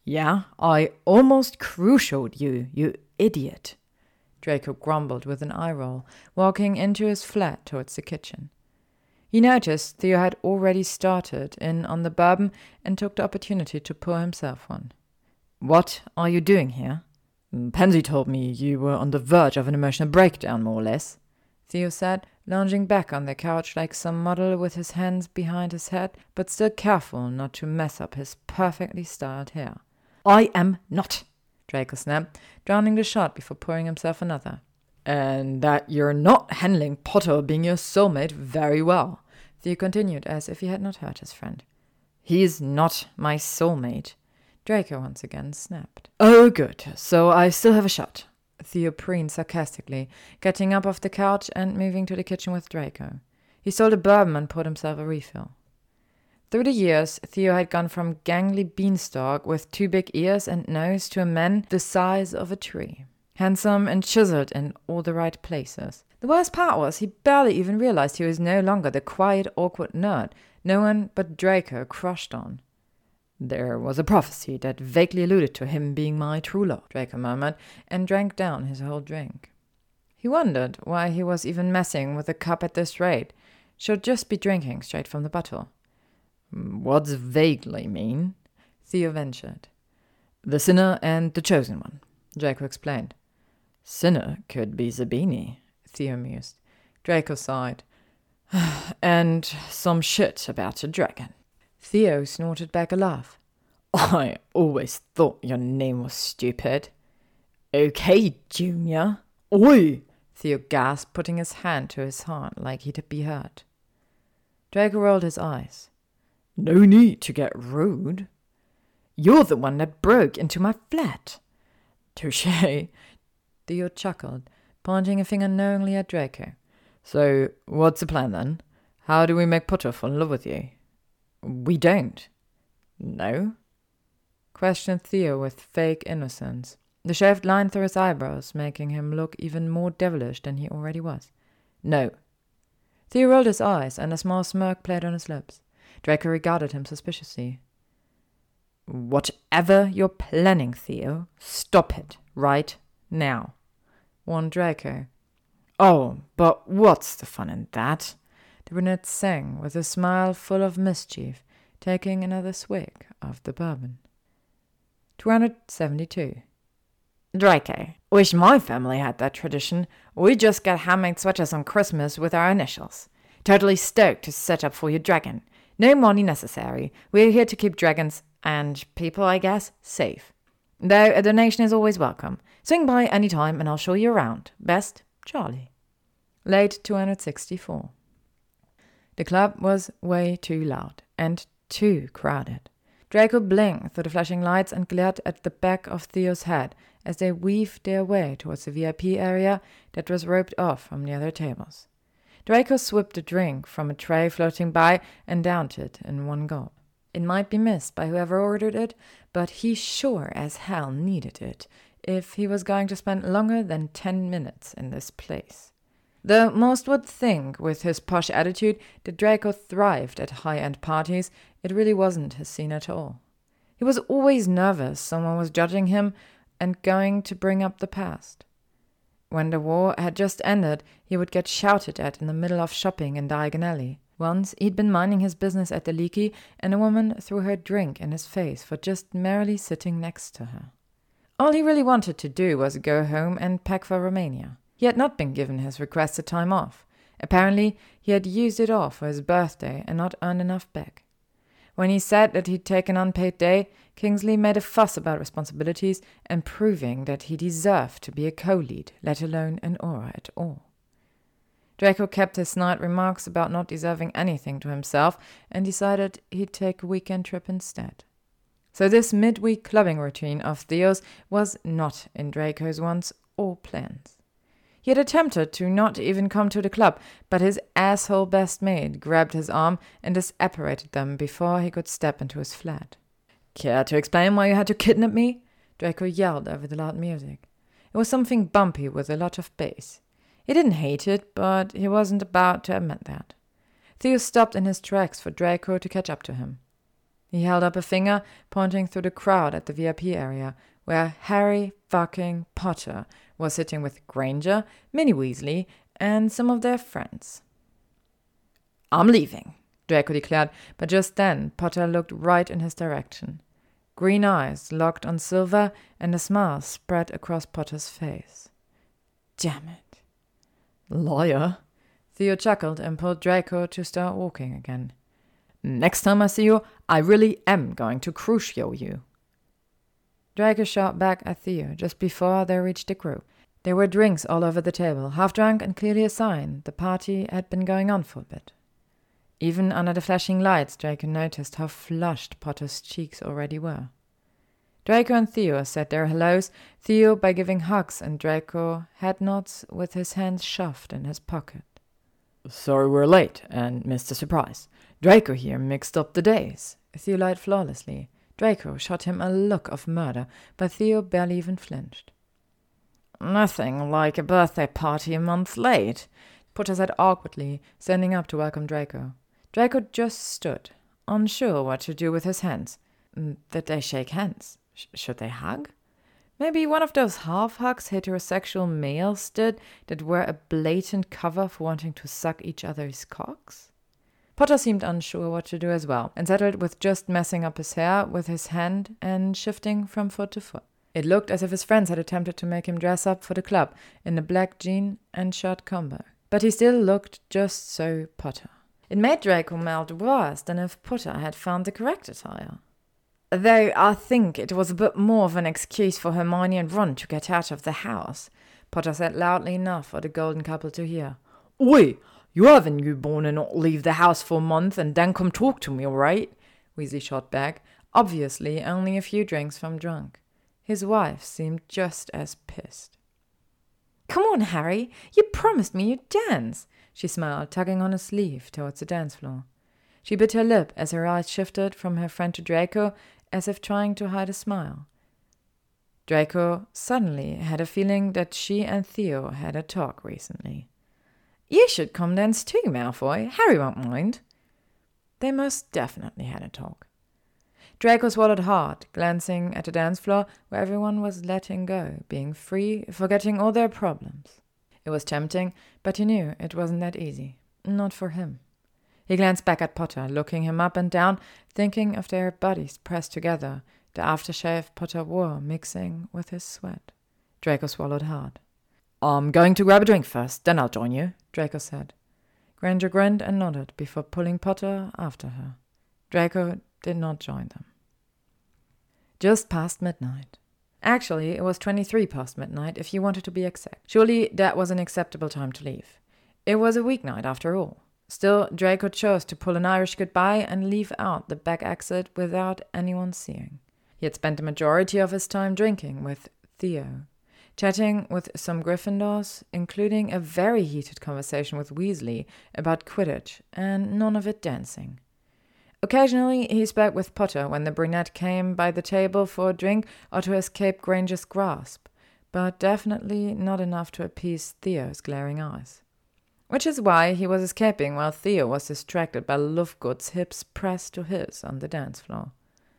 A: Yeah, I almost crucialed you, you idiot, Draco grumbled with an eye roll, walking into his flat towards the kitchen. He noticed Theo had already started in on the bourbon and took the opportunity to pour himself one. What are you doing here? Pansy told me you were on the verge of an emotional breakdown, more or less, Theo said, lounging back on the couch like some model with his hands behind his head, but still careful not to mess up his perfectly styled hair. I am not, Draco snapped, drowning the shot before pouring himself another. And that you're not handling Potter being your soulmate very well, Theo continued as if he had not heard his friend. He's not my soulmate, Draco once again snapped. Oh, good, so I still have a shot, Theo preened sarcastically, getting up off the couch and moving to the kitchen with Draco. He stole a bourbon and poured himself a refill. Through the years, Theo had gone from gangly beanstalk with two big ears and nose to a man the size of a tree, handsome and chiseled in all the right places. The worst part was he barely even realized he was no longer the quiet, awkward nerd no one but Draco crushed on. There was a prophecy that vaguely alluded to him being my true love, Draco murmured, and drank down his whole drink. He wondered why he was even messing with a cup at this rate. Should just be drinking straight from the bottle. What's vaguely mean? Theo ventured. The sinner and the chosen one, Draco explained. Sinner could be Zabini, Theo mused. Draco sighed. And some shit about a dragon. Theo snorted back a laugh. I always thought your name was stupid. Okay, Junior. Oi! Theo gasped, putting his hand to his heart like he'd be hurt. Draco rolled his eyes. No need to get rude. You're the one that broke into my flat. Touché. Theo chuckled, pointing a finger knowingly at Draco. So, what's the plan then? How do we make Potter fall in love with you? We don't. No? Questioned Theo with fake innocence, the shaved line through his eyebrows making him look even more devilish than he already was. No. Theo rolled his eyes, and a small smirk played on his lips. Draco regarded him suspiciously. Whatever you're planning, Theo, stop it right now, warned Draco. Oh, but what's the fun in that? The brunette sang with a smile full of mischief, taking another swig of the bourbon. two hundred seventy-two. Draco, wish my family had that tradition. We just get handmade sweaters on Christmas with our initials. Totally stoked to set up for your dragon. No money necessary. We're here to keep dragons, and people, I guess, safe. Though a donation is always welcome. Swing by any time and I'll show you around. Best, Charlie. Late two hundred sixty-four. The club was way too loud and too crowded. Draco blinked through the flashing lights and glared at the back of Theo's head as they weaved their way towards the V I P area that was roped off from the other tables. Draco swipped a drink from a tray floating by and downed it in one gulp. It might be missed by whoever ordered it, but he sure as hell needed it if he was going to spend longer than ten minutes in this place. Though most would think, with his posh attitude, that Draco thrived at high-end parties, it really wasn't his scene at all. He was always nervous someone was judging him and going to bring up the past. When the war had just ended, he would get shouted at in the middle of shopping in Diagon Alley. Once he'd been minding his business at the Leaky, and a woman threw her drink in his face for just merely sitting next to her. All he really wanted to do was go home and pack for Romania. He had not been given his requested time off. Apparently, he had used it all for his birthday and not earned enough back. When he said that he'd take an unpaid day, Kingsley made a fuss about responsibilities and proving that he deserved to be a co-lead, let alone an aura at all. Draco kept his snide remarks about not deserving anything to himself and decided he'd take a weekend trip instead. So this midweek clubbing routine of Theo's was not in Draco's wants or plans. He had attempted to not even come to the club, but his asshole best mate grabbed his arm and disapparated them before he could step into his flat. Care to explain why you had to kidnap me? Draco yelled over the loud music. It was something bumpy with a lot of bass. He didn't hate it, but he wasn't about to admit that. Theo stopped in his tracks for Draco to catch up to him. He held up a finger, pointing through the crowd at the V I P area, where Harry fucking Potter was sitting with Granger, Minnie Weasley, and some of their friends. "I'm leaving," Draco declared, but just then Potter looked right in his direction. Green eyes locked on Silver, and a smile spread across Potter's face. Damn it. Liar. Theo chuckled and pulled Draco to start walking again. "Next time I see you, I really am going to crucio you." Draco shot back at Theo just before they reached the group. There were drinks all over the table, half drunk and clearly a sign the party had been going on for a bit. Even under the flashing lights, Draco noticed how flushed Potter's cheeks already were. Draco and Theo said their hellos, Theo by giving hugs and Draco head nods with his hands shoved in his pocket. "Sorry we're late and missed the surprise. Draco here mixed up the days." Theo lied flawlessly. Draco shot him a look of murder, but Theo barely even flinched. "Nothing like a birthday party a month late," Potter said awkwardly, standing up to welcome Draco. Draco just stood, unsure what to do with his hands. Did they shake hands? Sh- should they hug? Maybe one of those half-hugs heterosexual males did that were a blatant cover for wanting to suck each other's cocks? Potter seemed unsure what to do as well, and settled with just messing up his hair with his hand and shifting from foot to foot. It looked as if his friends had attempted to make him dress up for the club in a black jean and shirt combo. But he still looked just so Potter. It made Draco melt worse than if Potter had found the correct attire. Though I think it was a bit more of an excuse for Hermione and Ron to get out of the house, Potter said loudly enough for the golden couple to hear. "Oi, you have a newborn and not leave the house for a month and then come talk to me, all right?" Weasley shot back, obviously only a few drinks from drunk. His wife seemed just as pissed. "Come on, Harry, you promised me you'd dance," she smiled, tugging on his sleeve towards the dance floor. She bit her lip as her eyes shifted from her friend to Draco, as if trying to hide a smile. Draco suddenly had a feeling that she and Theo had a talk recently. "You should come dance too, Malfoy. Harry won't mind." They most definitely had a talk. Draco swallowed hard, glancing at the dance floor where everyone was letting go, being free, forgetting all their problems. It was tempting, but he knew it wasn't that easy. Not for him. He glanced back at Potter, looking him up and down, thinking of their bodies pressed together, the aftershave Potter wore mixing with his sweat. Draco swallowed hard. "I'm going to grab a drink first, then I'll join you," Draco said. Granger grinned and nodded before pulling Potter after her. Draco did not join them. Just past midnight. Actually, it was twenty-three past midnight, if you wanted to be exact. Surely that was an acceptable time to leave. It was a weeknight, after all. Still, Draco chose to pull an Irish goodbye and leave out the back exit without anyone seeing. He had spent the majority of his time drinking with Theo, chatting with some Gryffindors, including a very heated conversation with Weasley about Quidditch, and none of it dancing. Occasionally he spoke with Potter when the brunette came by the table for a drink or to escape Granger's grasp, but definitely not enough to appease Theo's glaring eyes. Which is why he was escaping while Theo was distracted by Lovegood's hips pressed to his on the dance floor.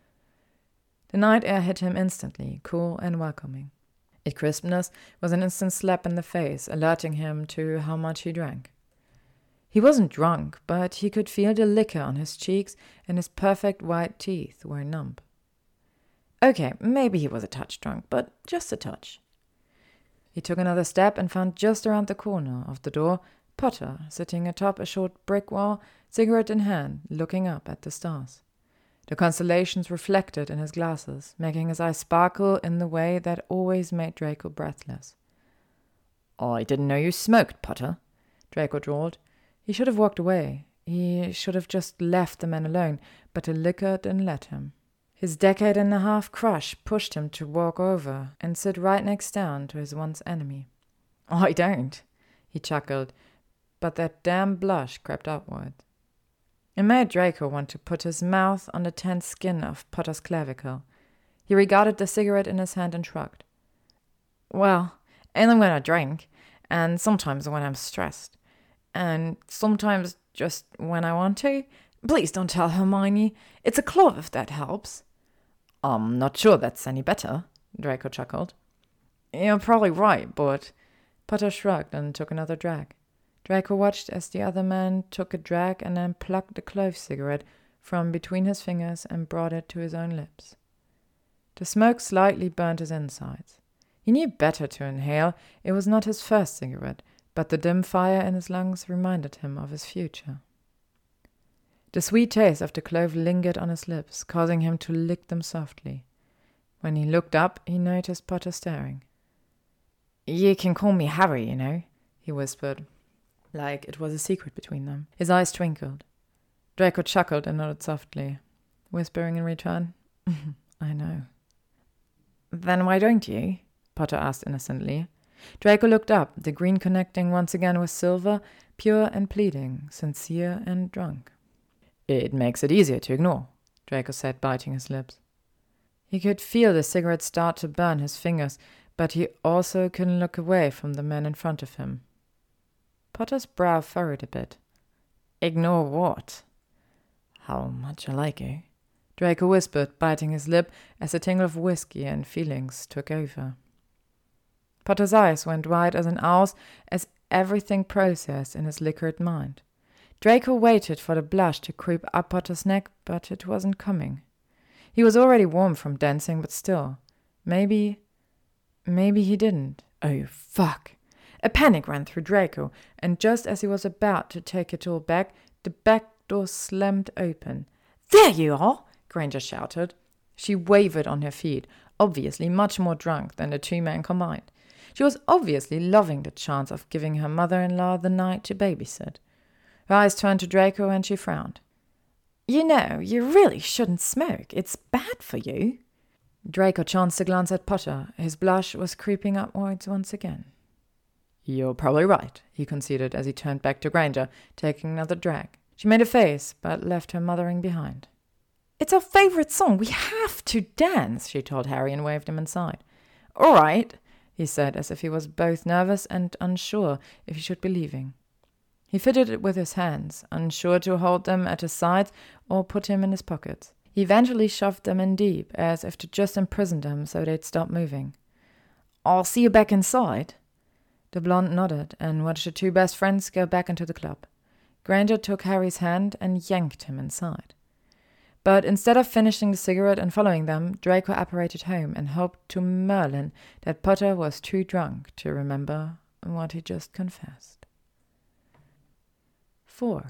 A: The night air hit him instantly, cool and welcoming. Its crispness was an instant slap in the face, alerting him to how much he drank. He wasn't drunk, but he could feel the liquor on his cheeks, and his perfect white teeth were numb. Okay, maybe he was a touch drunk, but just a touch. He took another step and found just around the corner of the door Potter sitting atop a short brick wall, cigarette in hand, looking up at the stars. The constellations reflected in his glasses, making his eyes sparkle in the way that always made Draco breathless. "I didn't know you smoked, Potter," Draco drawled. He should have walked away. He should have just left the man alone, but the liquor didn't let him. His decade and a half crush pushed him to walk over and sit right next down to his once enemy. "I don't," he chuckled, but that damn blush crept upward. It made Draco want to put his mouth on the tense skin of Potter's clavicle. He regarded the cigarette in his hand and shrugged. "Well, only when I drink, and sometimes when I'm stressed, and sometimes just when I want to, Please don't tell Hermione. It's a clove if that helps. I'm not sure that's any better, Draco chuckled. You're probably right, but... Potter shrugged and took another drag. Draco watched as the other man took a drag and then plucked the clove cigarette from between his fingers and brought it to his own lips. The smoke slightly burned his insides. He knew better to inhale. It was not his first cigarette, but the dim fire in his lungs reminded him of his future. The sweet taste of the clove lingered on his lips, causing him to lick them softly. When he looked up, he noticed Potter staring. You can call me Harry, you know, he whispered, like it was a secret between them. His eyes twinkled. Draco chuckled and nodded softly, whispering in return, I know. Then why don't you? Potter asked innocently. Draco looked up, the green connecting once again with silver, pure and pleading, sincere and drunk. It makes it easier to ignore, Draco said, biting his lips. He could feel the cigarette start to burn his fingers, but he also couldn't look away from the man in front of him. Potter's brow furrowed a bit. Ignore what? How much I like you, Draco whispered, biting his lip as a tingle of whiskey and feelings took over. Potter's eyes went wide as an owl's as everything processed in his liquored mind. Draco waited for the blush to creep up Potter's neck, but it wasn't coming. He was already warm from dancing, but still. Maybe... Maybe he didn't. Oh, fuck. A panic ran through Draco, and just as he was about to take it all back, the back door slammed open. There you are! Granger shouted. She wavered on her feet, obviously much more drunk than the two men combined. She was obviously loving the chance of giving her mother-in-law the night to babysit. Her eyes turned to Draco and she frowned. You know, you really shouldn't smoke. It's bad for you. Draco chanced a glance at Potter. His blush was creeping upwards once again. You're probably right, he conceded as he turned back to Granger, taking another drag. She made a face, but left her mothering behind. It's our favorite song. We have to dance, she told Harry and waved him inside. All right, he said, as if he was both nervous and unsure if he should be leaving. He fitted it with his hands, unsure to hold them at his sides or put him in his pockets. He eventually shoved them in deep, as if to just imprison them so they'd stop moving. I'll see you back inside. The blonde nodded and watched the two best friends go back into the club. Granger took Harry's hand and yanked him inside. But instead of finishing the cigarette and following them, Draco apparated home and hoped to Merlin that Potter was too drunk to remember what he just confessed. four.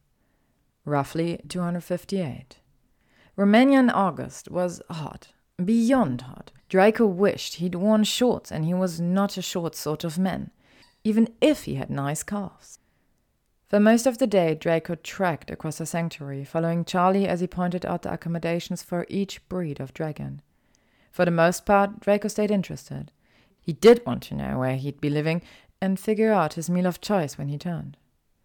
A: Roughly two hundred fifty-eight. Romanian August was hot, beyond hot. Draco wished he'd worn shorts, and he was not a short sort of man, even if he had nice calves. For most of the day, Draco trekked across the sanctuary, following Charlie as he pointed out the accommodations for each breed of dragon. For the most part, Draco stayed interested. He did want to know where he'd be living and figure out his meal of choice when he turned.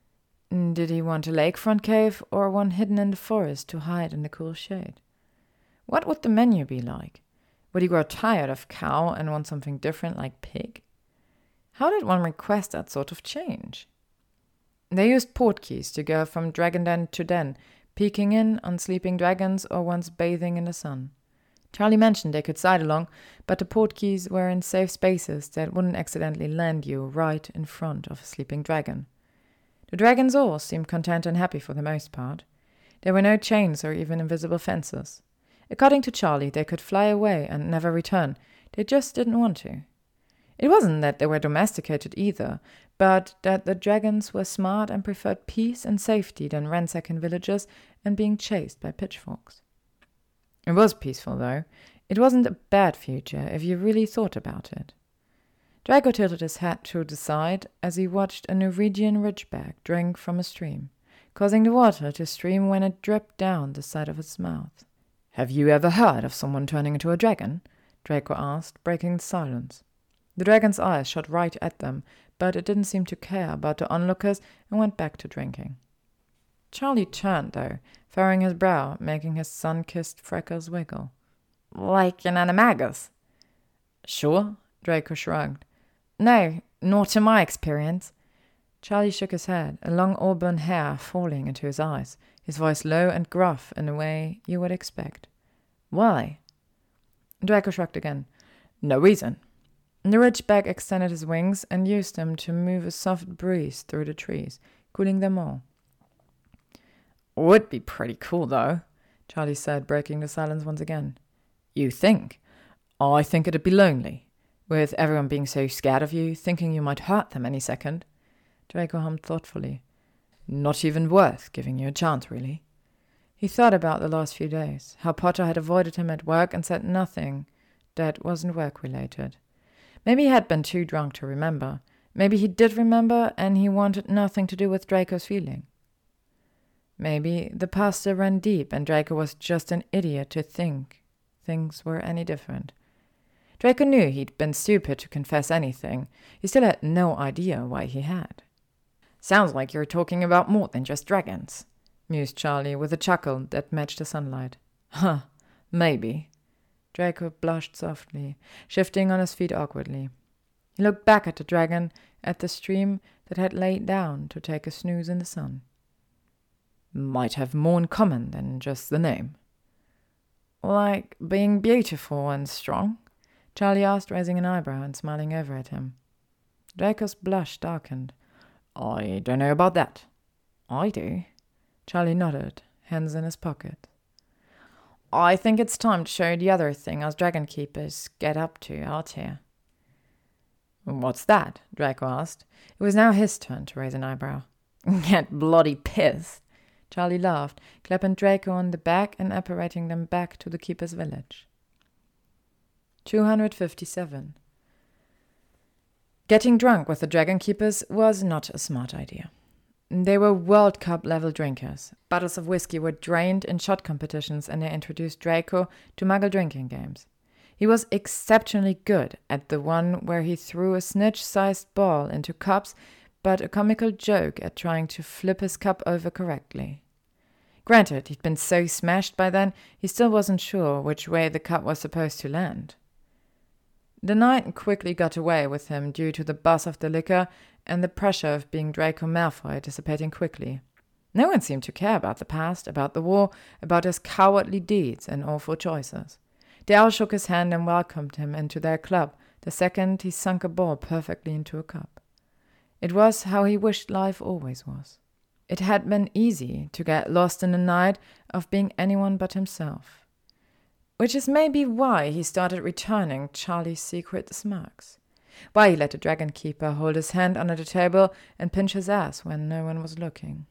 A: Did he want a lakefront cave or one hidden in the forest to hide in the cool shade? What would the menu be like? Would he grow tired of cow and want something different like pig? How did one request that sort of change? They used portkeys to go from dragon den to den, peeking in on sleeping dragons or ones bathing in the sun. Charlie mentioned they could side along, but the portkeys were in safe spaces that wouldn't accidentally land you right in front of a sleeping dragon. The dragons all seemed content and happy for the most part. There were no chains or even invisible fences. According to Charlie, they could fly away and never return. They just didn't want to. It wasn't that they were domesticated either, but that the dragons were smart and preferred peace and safety than ransacking villages and being chased by pitchforks. It was peaceful, though. It wasn't a bad future if you really thought about it. Draco tilted his head to the side as he watched a Norwegian ridgeback drink from a stream, causing the water to stream when it dripped down the side of its mouth. Have you ever heard of someone turning into a dragon? Draco asked, breaking the silence. The dragon's eyes shot right at them, but it didn't seem to care about the onlookers and went back to drinking. Charlie turned, though, furrowing his brow, making his sun-kissed freckles wiggle. Like an animagus? Sure, Draco shrugged. No, not in my experience. Charlie shook his head, a long auburn hair falling into his eyes, his voice low and gruff in a way you would expect. Why? Draco shrugged again. No reason. The Ridgeback extended his wings and used them to move a soft breeze through the trees, cooling them all. Would be pretty cool, though, Charlie said, breaking the silence once again. You think? I think it'd be lonely, with everyone being so scared of you, thinking you might hurt them any second. Draco hummed thoughtfully. Not even worth giving you a chance, really. He thought about the last few days, how Potter had avoided him at work and said nothing that wasn't work-related. Maybe he had been too drunk to remember. Maybe he did remember, and he wanted nothing to do with Draco's feeling. Maybe the pasta ran deep, and Draco was just an idiot to think things were any different. Draco knew he'd been stupid to confess anything. He still had no idea why he had. Sounds like you're talking about more than just dragons, mused Charlie with a chuckle that matched the sunlight. Huh, maybe. Draco blushed softly, shifting on his feet awkwardly. He looked back at the dragon, at the stream that had laid down to take a snooze in the sun. Might have more in common than just the name. Like being beautiful and strong? Charlie asked, raising an eyebrow and smiling over at him. Draco's blush darkened. I don't know about that. I do. Charlie nodded, hands in his pocket. I think it's time to show the other thing us dragon keepers get up to out here. What's that? Draco asked. It was now his turn to raise an eyebrow. Get bloody pissed. Charlie laughed, clapping Draco on the back and apparating them back to the keeper's village. two hundred fifty-seven. Getting drunk with the dragon keepers was not a smart idea. They were World Cup-level drinkers. Bottles of whiskey were drained in shot competitions, and they introduced Draco to muggle drinking games. He was exceptionally good at the one where he threw a snitch-sized ball into cups, but a comical joke at trying to flip his cup over correctly. Granted, he'd been so smashed by then, he still wasn't sure which way the cup was supposed to land. The night quickly got away with him due to the buzz of the liquor and the pressure of being Draco Malfoy dissipating quickly. No one seemed to care about the past, about the war, about his cowardly deeds and awful choices. They all shook his hand and welcomed him into their club the second he sunk a ball perfectly into a cup. It was how he wished life always was. It had been easy to get lost in the night of being anyone but himself. Which is maybe why he started returning Charlie's secret smirks. Why he let the dragon keeper hold his hand under the table and pinch his ass when no one was looking.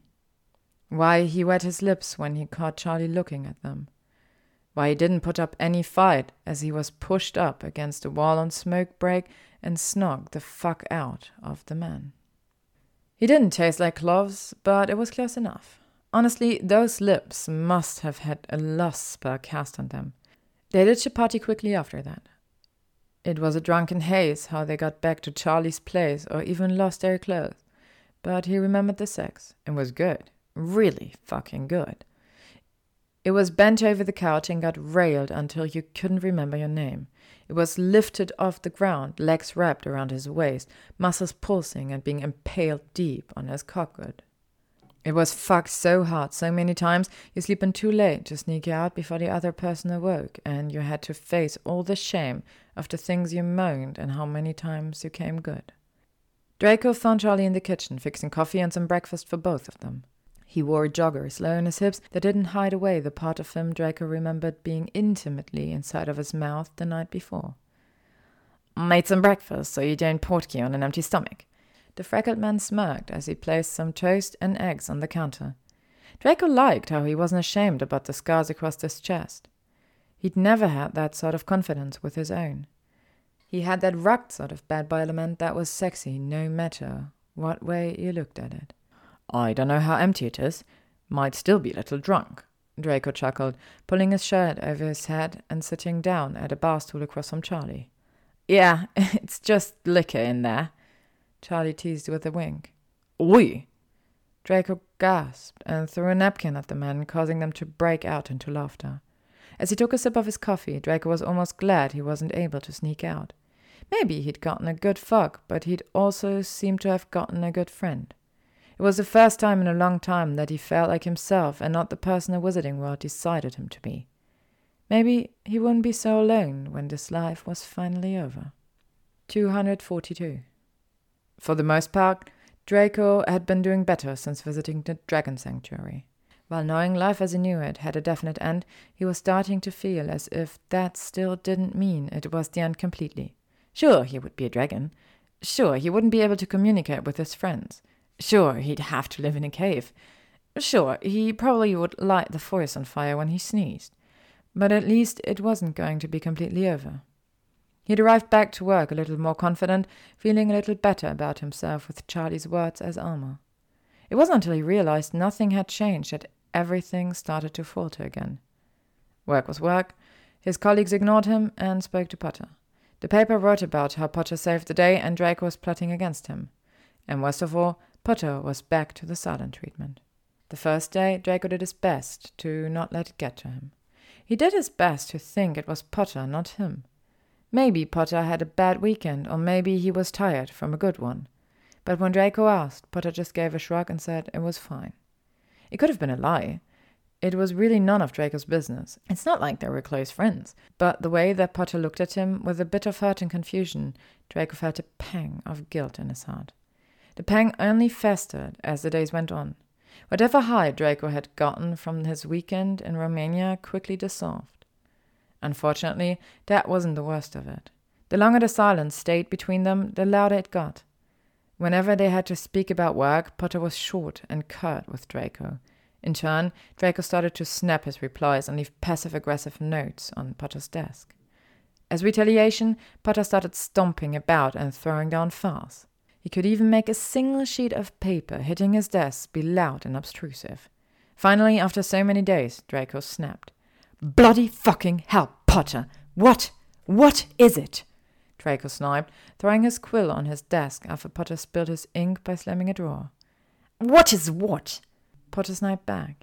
A: Why he wet his lips when he caught Charlie looking at them. Why he didn't put up any fight as he was pushed up against the wall on smoke break and snog the fuck out of the man. He didn't taste like cloves, but it was close enough. Honestly, those lips must have had a lost spell cast on them. They ditched the party quickly after that. It was a drunken haze how they got back to Charlie's place or even lost their clothes. But he remembered the sex, and was good. Really fucking good. It was bent over the couch and got railed until you couldn't remember your name. It was lifted off the ground, legs wrapped around his waist, muscles pulsing and being impaled deep on his cockwood. It was fucked so hard so many times you sleep in too late to sneak out before the other person awoke, and you had to face all the shame of the things you moaned and how many times you came good. Draco found Charlie in the kitchen, fixing coffee and some breakfast for both of them. He wore joggers low on his hips that didn't hide away the part of him Draco remembered being intimately inside of his mouth the night before. Made some breakfast so you don't portkey on an empty stomach. The freckled man smirked as he placed some toast and eggs on the counter. Draco liked how he wasn't ashamed about the scars across his chest. He'd never had that sort of confidence with his own. He had that rugged sort of bad boy element that was sexy no matter what way you looked at it. I don't know how empty it is. Might still be a little drunk, Draco chuckled, pulling his shirt over his head and sitting down at a bar stool across from Charlie. Yeah, it's just liquor in there, Charlie teased with a wink. Oi! Draco gasped and threw a napkin at the men, causing them to break out into laughter. As he took a sip of his coffee, Draco was almost glad he wasn't able to sneak out. Maybe he'd gotten a good fuck, but he'd also seemed to have gotten a good friend. It was the first time in a long time that he felt like himself and not the person the Wizarding World decided him to be. Maybe he wouldn't be so alone when this life was finally over. two hundred forty-two. For the most part, Draco had been doing better since visiting the Dragon Sanctuary. While knowing life as he knew it had a definite end, he was starting to feel as if that still didn't mean it was the end completely. Sure, he would be a dragon. Sure, he wouldn't be able to communicate with his friends. Sure, he'd have to live in a cave. Sure, he probably would light the forest on fire when he sneezed. But at least it wasn't going to be completely over. He'd arrived back to work a little more confident, feeling a little better about himself with Charlie's words as armor. It wasn't until he realized nothing had changed that everything started to falter again. Work was work. His colleagues ignored him and spoke to Potter. The paper wrote about how Potter saved the day and Draco was plotting against him. And worst of all, Potter was back to the silent treatment. The first day, Draco did his best to not let it get to him. He did his best to think it was Potter, not him. Maybe Potter had a bad weekend, or maybe he was tired from a good one. But when Draco asked, Potter just gave a shrug and said it was fine. It could have been a lie. It was really none of Draco's business. It's not like they were close friends. But the way that Potter looked at him, with a bit of hurt and confusion, Draco felt a pang of guilt in his heart. The pang only festered as the days went on. Whatever high Draco had gotten from his weekend in Romania quickly dissolved. Unfortunately, that wasn't the worst of it. The longer the silence stayed between them, the louder it got. Whenever they had to speak about work, Potter was short and curt with Draco. In turn, Draco started to snap his replies and leave passive-aggressive notes on Potter's desk. As retaliation, Potter started stomping about and throwing down files. He could even make a single sheet of paper hitting his desk be loud and obtrusive. Finally, after so many days, Draco snapped. "Bloody fucking hell, Potter! What? What is it?" Draco sniped, throwing his quill on his desk after Potter spilled his ink by slamming a drawer. "What is what?" Potter sniped back.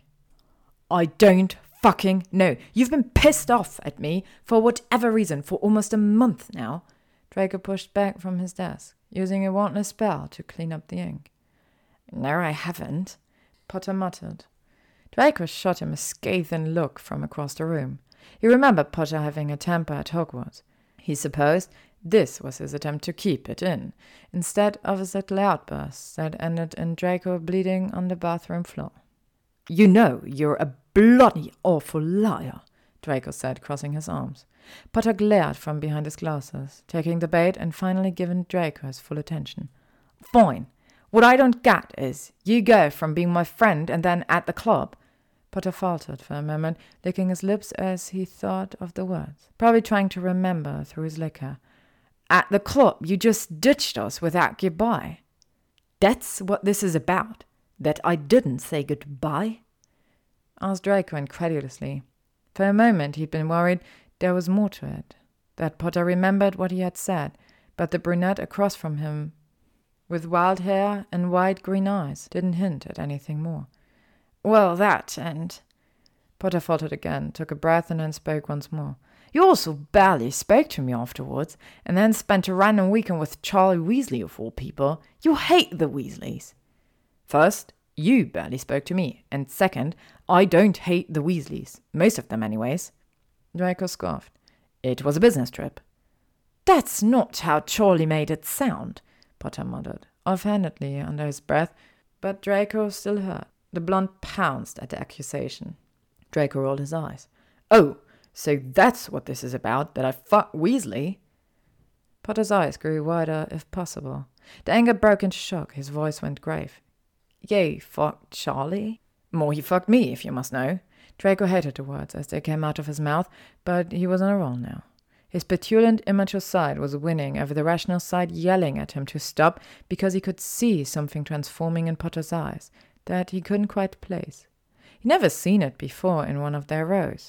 A: "I don't fucking know. You've been pissed off at me for whatever reason for almost a month now." Draco pushed back from his desk, using a wandless spell to clean up the ink. "No, I haven't," Potter muttered. Draco shot him a scathing look from across the room. He remembered Potter having a temper at Hogwarts. He supposed this was his attempt to keep it in, instead of his little outbursts that ended in Draco bleeding on the bathroom floor. "You know you're a bloody awful liar," Draco said, crossing his arms. Potter glared from behind his glasses, taking the bait and finally giving Draco his full attention. "Fine. What I don't get is, you go from being my friend and then at the club." Potter faltered for a moment, licking his lips as he thought of the words, probably trying to remember through his liquor. "At the club, you just ditched us without goodbye." "That's what this is about, that I didn't say goodbye?" asked Draco incredulously. For a moment he'd been worried there was more to it, that Potter remembered what he had said, but the brunette across from him, with wild hair and wide green eyes, didn't hint at anything more. "Well, that, and—" Potter faltered again, took a breath, and then spoke once more. "You also barely spoke to me afterwards, and then spent a random weekend with Charlie Weasley of all people. You hate the Weasleys." "First, you barely spoke to me, and second, I don't hate the Weasleys. Most of them, anyways." Draco scoffed. "It was a business trip." "That's not how Charlie made it sound," Potter muttered, offhandedly under his breath, but Draco still heard. The blonde pounced at the accusation. Draco rolled his eyes. "Oh, so that's what this is about, that I fuck Weasley?" Potter's eyes grew wider, if possible. The anger broke into shock. His voice went grave. "You fucked Charlie?" "More he fucked me, if you must know." Draco hated the words as they came out of his mouth, but he was on a roll now. His petulant, immature side was winning over the rational side, yelling at him to stop because he could see something transforming in Potter's eyes that he couldn't quite place. He'd never seen it before in one of their rows.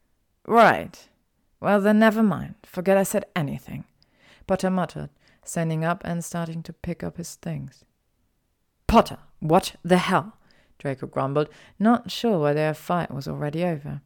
A: "Right. Well, then never mind. Forget I said anything," Potter muttered, standing up and starting to pick up his things. "Potter, what the hell?" Draco grumbled, not sure whether their fight was already over.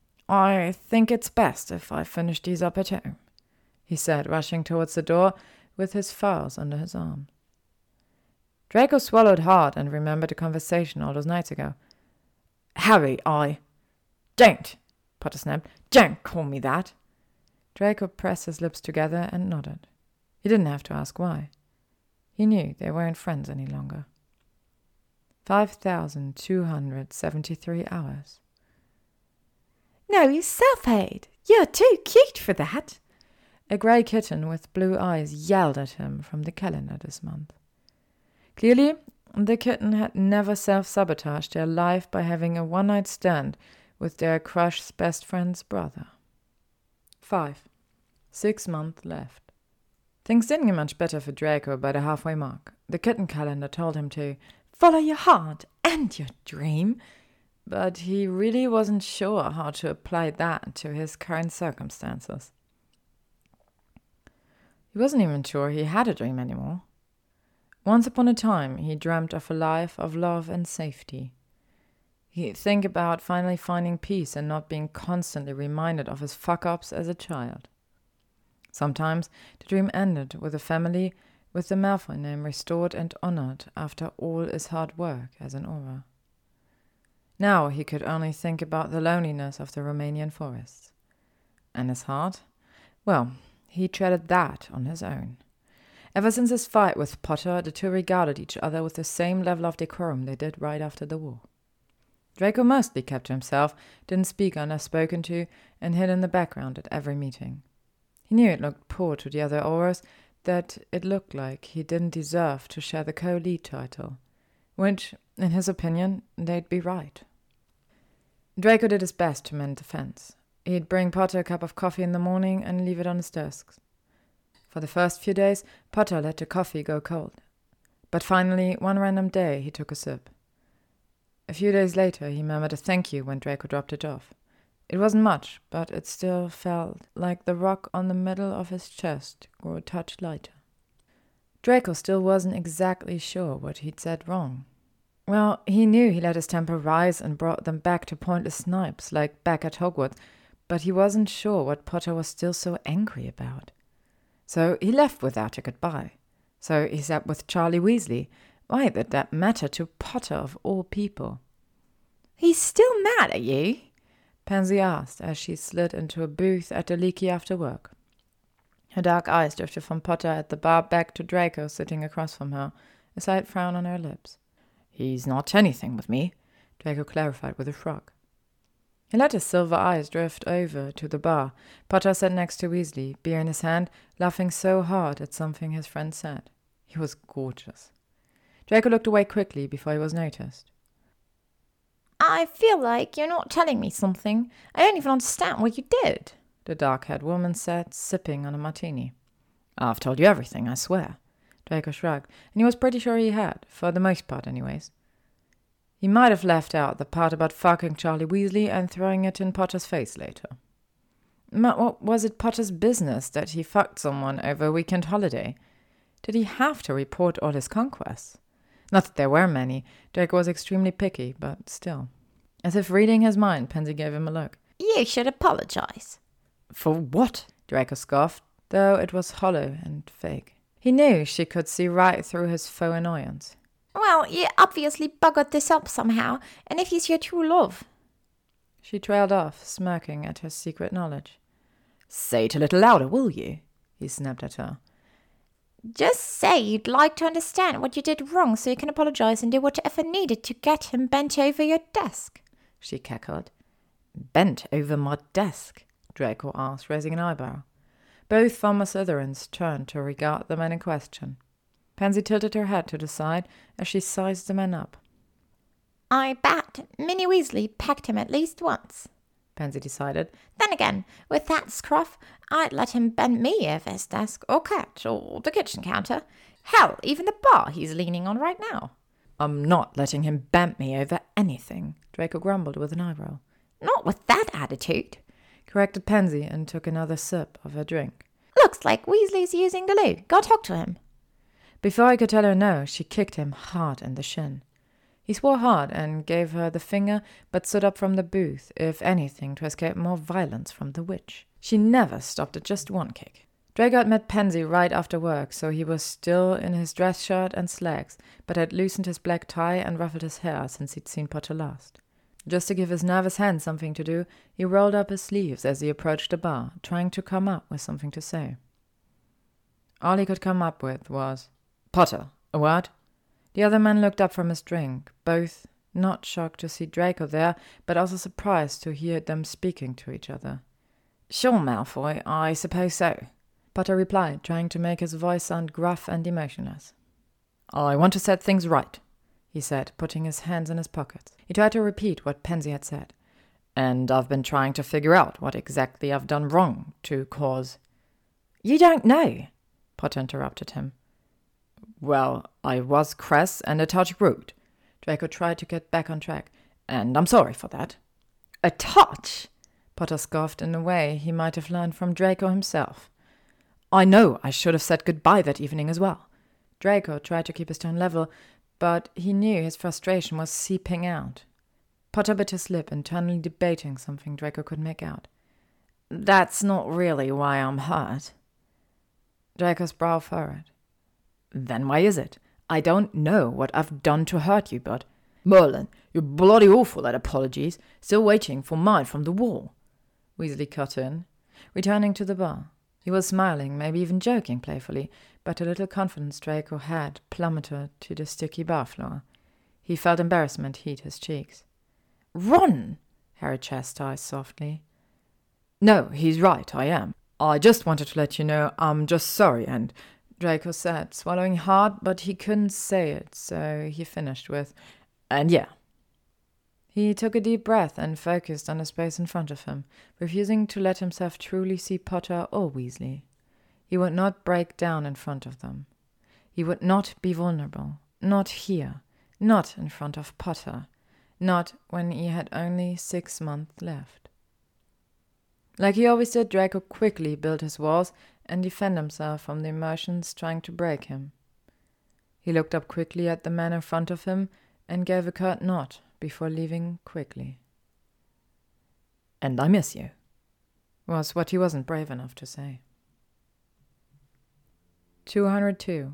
A: "I think it's best if I finish these up at home," he said, rushing towards the door with his files under his arm. Draco swallowed hard and remembered a conversation all those nights ago. Harry, I... Don't, Potter snapped. Don't call me that. Draco pressed his lips together and nodded. He didn't have to ask why. He knew they weren't friends any longer. Five thousand two hundred seventy-three hours. No, you self-hate. You're too cute for that. A grey kitten with blue eyes yelled at him from the calendar this month. Clearly, the kitten had never self-sabotaged their life by having a one-night stand with their crush's best friend's brother. Five. Six months left. Things didn't get much better for Draco by the halfway mark. The kitten calendar told him to follow your heart and your dream, but he really wasn't sure how to apply that to his current circumstances. He wasn't even sure he had a dream anymore. Once upon a time, he dreamt of a life of love and safety. He'd think about finally finding peace and not being constantly reminded of his fuck-ups as a child. Sometimes the dream ended with a family with the Malfoy name restored and honored after all his hard work as an Auror. Now he could only think about the loneliness of the Romanian forests. And his heart? Well, he treaded that on his own. Ever since his fight with Potter, the two regarded each other with the same level of decorum they did right after the war. Draco mostly kept to himself, didn't speak unless spoken to, and hid in the background at every meeting. He knew it looked poor to the other Aurors, that it looked like he didn't deserve to share the co-lead title, which, in his opinion, they'd be right. Draco did his best to mend the fence. He'd bring Potter a cup of coffee in the morning and leave it on his desk. For the first few days, Potter let the coffee go cold. But finally, one random day, he took a sip. A few days later, he murmured a thank you when Draco dropped it off. It wasn't much, but it still felt like the rock on the middle of his chest grew a touch lighter. Draco still wasn't exactly sure what he'd said wrong. Well, he knew he let his temper rise and brought them back to pointless snipes, like back at Hogwarts, but he wasn't sure what Potter was still so angry about. So he left without a goodbye. So he sat with Charlie Weasley. Why did that matter to Potter of all people? He's still mad at you? Pansy asked as she slid into a booth at the Leaky after work. Her dark eyes drifted from Potter at the bar back to Draco sitting across from her, a slight frown on her lips. He's not anything with me, Draco clarified with a shrug. He let his silver eyes drift over to the bar. Potter sat next to Weasley, beer in his hand, laughing so hard at something his friend said. He was gorgeous. Draco looked away quickly before he was noticed. I feel like you're not telling me something. I don't even understand what you did, the dark-haired woman said, sipping on a martini. I've told you everything, I swear. Draco shrugged, and he was pretty sure he had, for the most part anyways. He might have left out the part about fucking Charlie Weasley and throwing it in Potter's face later. But what was it Potter's business that he fucked someone over a weekend holiday? Did he have to report all his conquests? Not that there were many. Draco was extremely picky, but still. As if reading his mind, Pansy gave him a look. You should apologize. For what? Draco scoffed, though it was hollow and fake. He knew she could see right through his faux annoyance. Well, you obviously buggered this up somehow, and if he's your true love. She trailed off, smirking at her secret knowledge. Say it a little louder, will you? He snapped at her. Just say you'd like to understand what you did wrong so you can apologize and do whatever needed to get him bent over your desk, she cackled. Bent over my desk? Draco asked, raising an eyebrow. Both former Slytherins turned to regard the man in question. Pansy tilted her head to the side as she sized the man up. I bet Minnie Weasley pecked him at least once, Pansy decided. Then again, with that scruff, I'd let him bend me over his desk, or couch, or the kitchen counter. Hell, even the bar he's leaning on right now. I'm not letting him bend me over anything, Draco grumbled with an eyebrow. Not with that attitude, corrected Pansy and took another sip of her drink. Looks like Weasley's using the loo. Go talk to him. Before I could tell her no, she kicked him hard in the shin. He swore hard and gave her the finger, but stood up from the booth, if anything, to escape more violence from the witch. She never stopped at just one kick. Draco had met Pansy right after work, so he was still in his dress shirt and slacks, but had loosened his black tie and ruffled his hair since he'd seen Potter last. Just to give his nervous hands something to do, he rolled up his sleeves as he approached the bar, trying to come up with something to say. All he could come up with was, "Potter, a word?" The other man looked up from his drink, both not shocked to see Draco there, but also surprised to hear them speaking to each other. "Sure, Malfoy, I suppose so," Potter replied, trying to make his voice sound gruff and emotionless. "I want to set things right," he said, putting his hands in his pockets. He tried to repeat what Pansy had said. "And I've been trying to figure out what exactly I've done wrong to cause—" "You don't know," Potter interrupted him. "Well, I was crass and a touch rude." Draco tried to get back on track. "And I'm sorry for that." "A touch?" Potter scoffed in a way he might have learned from Draco himself. "I know I should have said goodbye that evening as well." Draco tried to keep his tone level, but he knew his frustration was seeping out. Potter bit his lip, internally debating something Draco could make out. "That's not really why I'm hurt." Draco's brow furrowed. "Then why is it? I don't know what I've done to hurt you, but—" "Merlin, you're bloody awful at apologies. Still waiting for mine from the wall," Weasley cut in, returning to the bar. He was smiling, maybe even joking playfully, but a little confidence Draco had plummeted to the sticky bar floor. He felt embarrassment heat his cheeks. "Ron!" Harry chastised softly. "No, he's right, I am. I just wanted to let you know I'm just sorry and—" Draco said, swallowing hard, but he couldn't say it, so he finished with, "And yeah." He took a deep breath and focused on the space in front of him, refusing to let himself truly see Potter or Weasley. He would not break down in front of them. He would not be vulnerable, not here, not in front of Potter, not when he had only six months left. Like he always did, Draco quickly built his walls and defended himself from the emotions trying to break him. He looked up quickly at the man in front of him and gave a curt nod before leaving quickly. "And I miss you," was what he wasn't brave enough to say. two hundred two.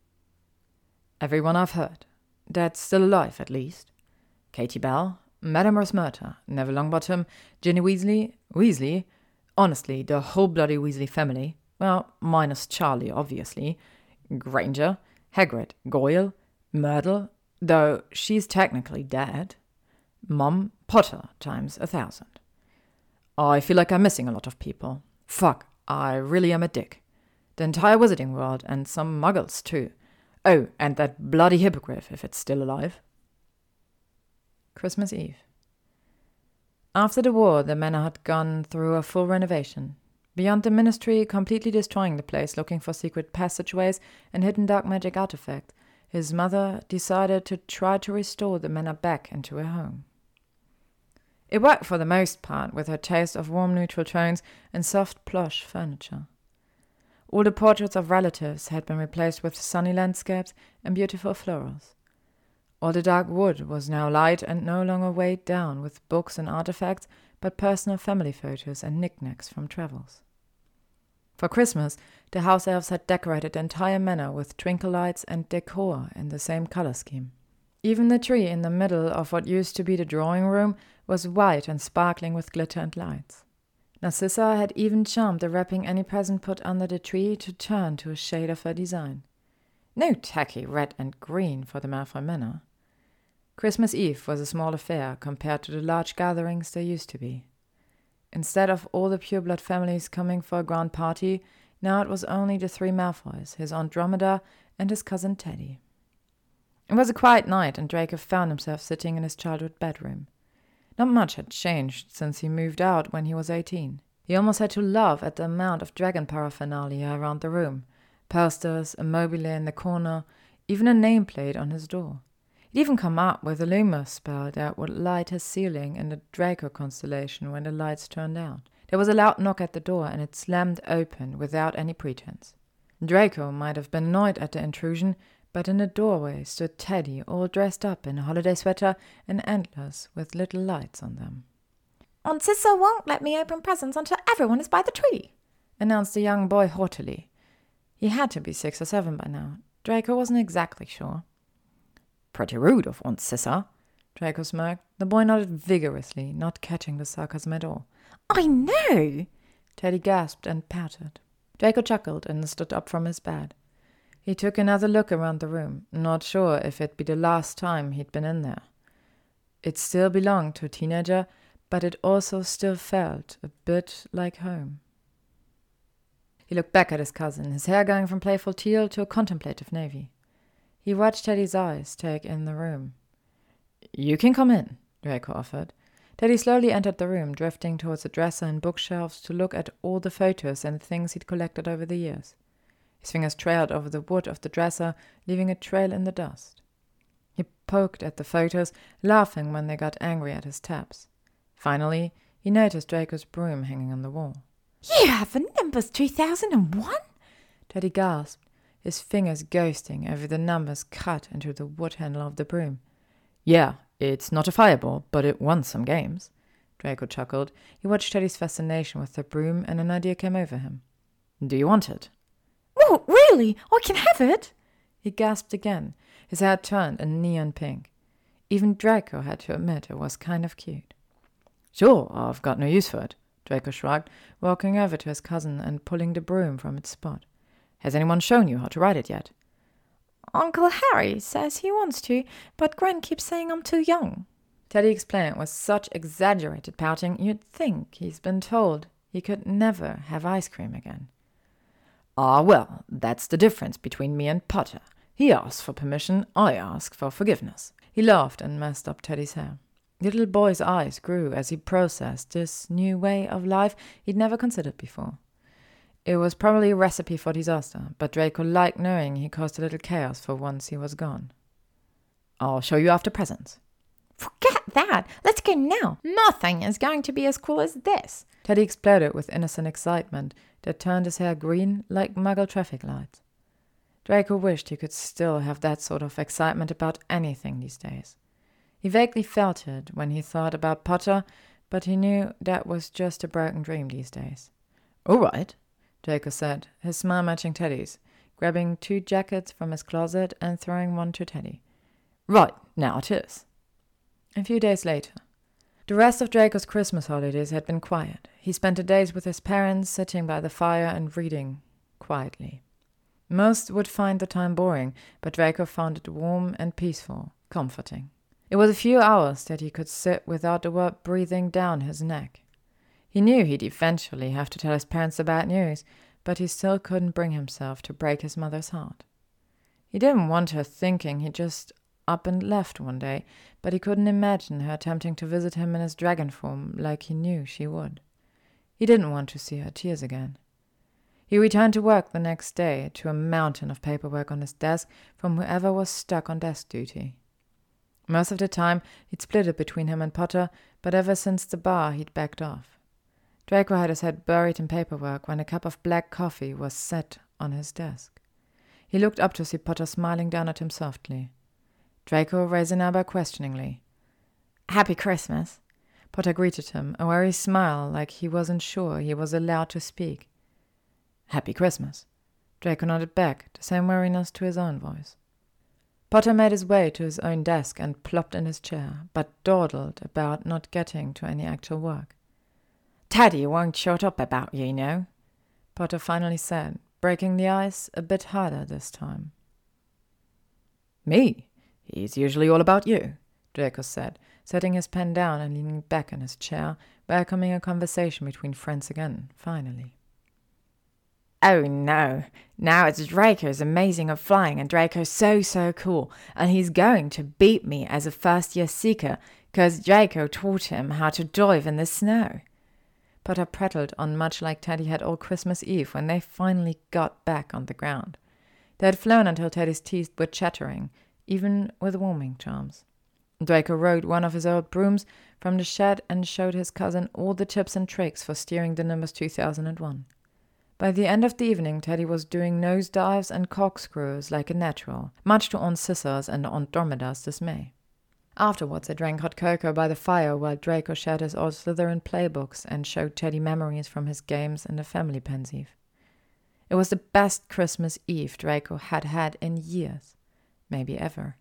A: Everyone I've heard. That's still alive, at least. Katie Bell, Madame Rosmerta, Neville Longbottom, Ginny Weasley, Weasley, honestly, the whole bloody Weasley family, well, minus Charlie, obviously, Granger, Hagrid, Goyle, Myrtle, though she's technically dead, Mom, Potter times a thousand. I feel like I'm missing a lot of people. Fuck, I really am a dick. The entire Wizarding World, and some muggles too. Oh, and that bloody hippogriff, if it's still alive. Christmas Eve. After the war, the manor had gone through a full renovation. Beyond the Ministry completely destroying the place, looking for secret passageways and hidden dark magic artifacts, his mother decided to try to restore the manor back into a home. It worked for the most part, with her taste of warm neutral tones and soft plush furniture. All the portraits of relatives had been replaced with sunny landscapes and beautiful florals. All the dark wood was now light and no longer weighed down with books and artifacts, but personal family photos and knickknacks from travels. For Christmas, the house elves had decorated the entire manor with twinkle lights and decor in the same color scheme. Even the tree in the middle of what used to be the drawing room was white and sparkling with glitter and lights. Narcissa had even charmed the wrapping any present put under the tree to turn to a shade of her design. No tacky red and green for the Malfoy Manor. Christmas Eve was a small affair compared to the large gatherings there used to be. Instead of all the pureblood families coming for a grand party, now it was only the three Malfoys, his Aunt Dromeda, and his cousin Teddy. It was a quiet night, and Draco found himself sitting in his childhood bedroom. Not much had changed since he moved out when he was eighteen. He almost had to laugh at the amount of dragon paraphernalia around the room. Posters, a mobile in the corner, even a nameplate on his door. He'd even come up with a Lumos spell that would light his ceiling in the Draco constellation when the lights turned out. There was a loud knock at the door, and it slammed open without any pretense. Draco might have been annoyed at the intrusion, but in the doorway stood Teddy, all dressed up in a holiday sweater and antlers with little lights on them.
B: Aunt Cissa won't let me open presents until everyone is by the tree,
A: announced the young boy haughtily. He had to be six or seven by now. Draco wasn't exactly sure.
B: Pretty rude of Aunt Sissa,
A: Draco smirked. The boy nodded vigorously, not catching the sarcasm at all.
C: I know,
A: Teddy gasped and pouted. Draco chuckled and stood up from his bed. He took another look around the room, not sure if it'd be the last time he'd been in there. It still belonged to a teenager, but it also still felt a bit like home. He looked back at his cousin, his hair going from playful teal to a contemplative navy. He watched Teddy's eyes take in the room.
B: You can come in,
A: Draco offered. Teddy slowly entered the room, drifting towards the dresser and bookshelves to look at all the photos and things he'd collected over the years. His fingers trailed over the wood of the dresser, leaving a trail in the dust. He poked at the photos, laughing when they got angry at his taps. Finally, he noticed Draco's broom hanging on the wall.
C: You have a numbers two thousand one?
A: Teddy gasped, his fingers ghosting over the numbers cut into the wood handle of the broom.
B: Yeah, it's not a fireball, but it won some games.
A: Draco chuckled. He watched Teddy's fascination with the broom, and an idea came over him.
B: Do you want it?
C: Oh, really? I can have it?
A: He gasped again, his hair turned a neon pink. Even Draco had to admit it was kind of cute.
B: Sure, I've got no use for it,
A: Draco shrugged, walking over to his cousin and pulling the broom from its spot.
B: Has anyone shown you how to ride it yet?
C: Uncle Harry says he wants to, but Gran keeps saying I'm too young.
A: Teddy explained with such exaggerated pouting you'd think he's been told he could never have ice cream again.
B: Ah, well, that's the difference between me and Potter. He asks for permission, I ask for forgiveness.
A: He laughed and messed up Teddy's hair. The little boy's eyes grew as he processed this new way of life he'd never considered before. It was probably a recipe for disaster, but Draco liked knowing he caused a little chaos for once he was gone.
B: I'll show you after presents.
C: Forget that! Let's go now! Nothing is going to be as cool as this!
A: Teddy exploded with innocent excitement that turned his hair green like Muggle traffic lights. Draco wished he could still have that sort of excitement about anything these days. He vaguely felt it when he thought about Potter, but he knew that was just a broken dream these days.
B: All right,
A: Draco said, his smile matching Teddy's, grabbing two jackets from his closet and throwing one to Teddy.
B: Right, now it is.
A: A few days later. The rest of Draco's Christmas holidays had been quiet. He spent the days with his parents, sitting by the fire and reading quietly. Most would find the time boring, but Draco found it warm and peaceful, comforting. It was a few hours that he could sit without the word breathing down his neck. He knew he'd eventually have to tell his parents the bad news, but he still couldn't bring himself to break his mother's heart. He didn't want her thinking he just up and left one day, but he couldn't imagine her attempting to visit him in his dragon form like he knew she would. He didn't want to see her tears again. He returned to work the next day to a mountain of paperwork on his desk from whoever was stuck on desk duty. Most of the time, he'd split it between him and Potter, but ever since the bar, he'd backed off. Draco had his head buried in paperwork when a cup of black coffee was set on his desk. He looked up to see Potter smiling down at him softly. Draco raised an eyebrow questioningly.
C: Happy Christmas.
A: Potter greeted him, a wary smile like he wasn't sure he was allowed to speak.
B: Happy Christmas.
A: Draco nodded back, the same wariness to his own voice. Potter made his way to his own desk and plopped in his chair, but dawdled about not getting to any actual work.
C: Teddy won't shut up about you, you know,
A: Potter finally said, breaking the ice a bit harder this time.
B: Me? He's usually all about you,
A: Draco said, setting his pen down and leaning back in his chair, welcoming a conversation between friends again, finally.
C: Oh no, now it's Draco's amazing at flying and Draco's so, so cool, and he's going to beat me as a first-year seeker, because Draco taught him how to dive in the snow.
A: Potter prattled on much like Teddy had all Christmas Eve when they finally got back on the ground. They had flown until Teddy's teeth were chattering, even with warming charms. Draco rode one of his old brooms from the shed and showed his cousin all the tips and tricks for steering the Nimbus two thousand one. By the end of the evening, Teddy was doing nosedives and corkscrews like a natural, much to Aunt Sissa's and Aunt Dormida's dismay. Afterwards, they drank hot cocoa by the fire while Draco shared his old Slytherin playbooks and showed Teddy memories from his games in the family pensive. It was the best Christmas Eve Draco had had in years, maybe ever.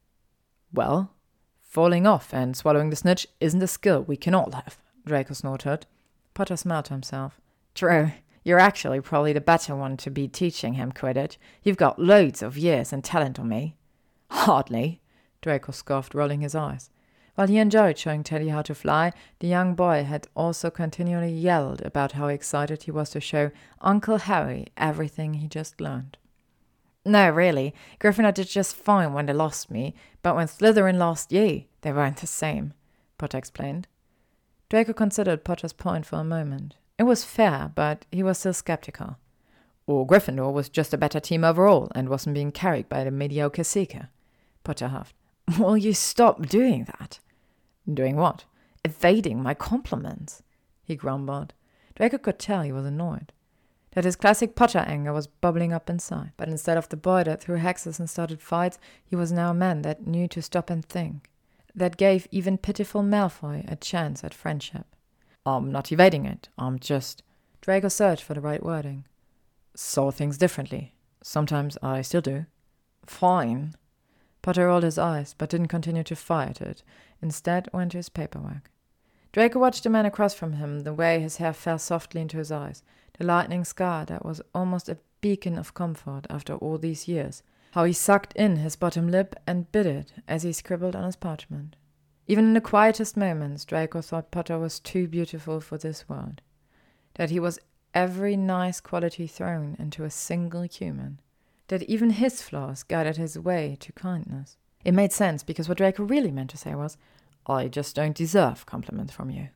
B: Well, falling off and swallowing the snitch isn't a skill we can all have, Draco snorted.
A: Potter smiled to himself.
C: True. You're actually probably the better one to be teaching him Quidditch. You've got loads of years and talent on me.
B: Hardly,
A: Draco scoffed, rolling his eyes. While he enjoyed showing Teddy how to fly, the young boy had also continually yelled about how excited he was to show Uncle Harry everything he just learned.
C: No, really. Gryffindor did just fine when they lost me, but when Slytherin lost you, they weren't the same,
A: Potter explained. Draco considered Potter's point for a moment. It was fair, but he was still skeptical.
B: Or Gryffindor was just a better team overall and wasn't being carried by the mediocre Seeker, Potter huffed.
C: Will you stop doing that?
B: Doing what?
C: Evading my compliments,
A: he grumbled. Draco could tell he was annoyed. That his classic Potter anger was bubbling up inside. But instead of the boy that threw hexes and started fights, he was now a man that knew to stop and think. That gave even pitiful Malfoy a chance at friendship.
B: I'm not evading it. I'm just...
A: Draco searched for the right wording.
B: Saw things differently. Sometimes I still do.
C: Fine.
A: Potter rolled his eyes, but didn't continue to fire at it. Instead, went to his paperwork. Draco watched the man across from him, the way his hair fell softly into his eyes, the lightning scar that was almost a beacon of comfort after all these years, how he sucked in his bottom lip and bit it as he scribbled on his parchment. Even in the quietest moments, Draco thought Potter was too beautiful for this world, that he was every nice quality thrown into a single human, that even his flaws guided his way to kindness. It made sense, because what Draco really meant to say was,
B: I just don't deserve compliments from you.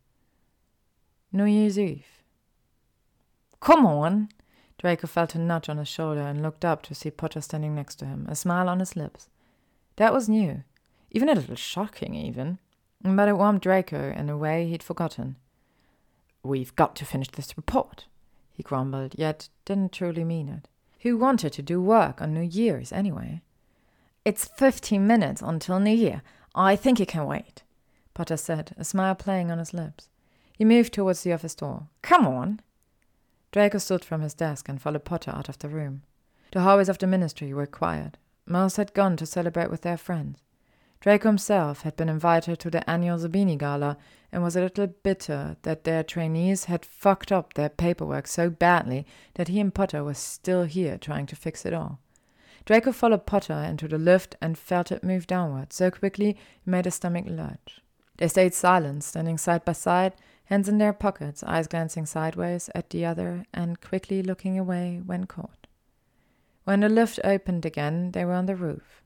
A: New Year's Eve.
C: Come on!
A: Draco felt a nudge on his shoulder and looked up to see Potter standing next to him, a smile on his lips. That was new, even a little shocking even, but it warmed Draco in a way he'd forgotten.
B: We've got to finish this report,
A: he grumbled, yet didn't truly mean it. Who wanted to do work on New Year's anyway?
C: It's fifteen minutes until New Year. I think you can wait,
A: Potter said, a smile playing on his lips. He moved towards the office door.
C: Come on.
A: Draco stood from his desk and followed Potter out of the room. The hallways of the ministry were quiet. Most had gone to celebrate with their friends. Draco himself had been invited to the annual Zabini Gala and was a little bitter that their trainees had fucked up their paperwork so badly that he and Potter were still here trying to fix it all. Draco followed Potter into the lift and felt it move downward so quickly it made his stomach lurch. They stayed silent, standing side by side, hands in their pockets, eyes glancing sideways at the other and quickly looking away when caught. When the lift opened again, they were on the roof.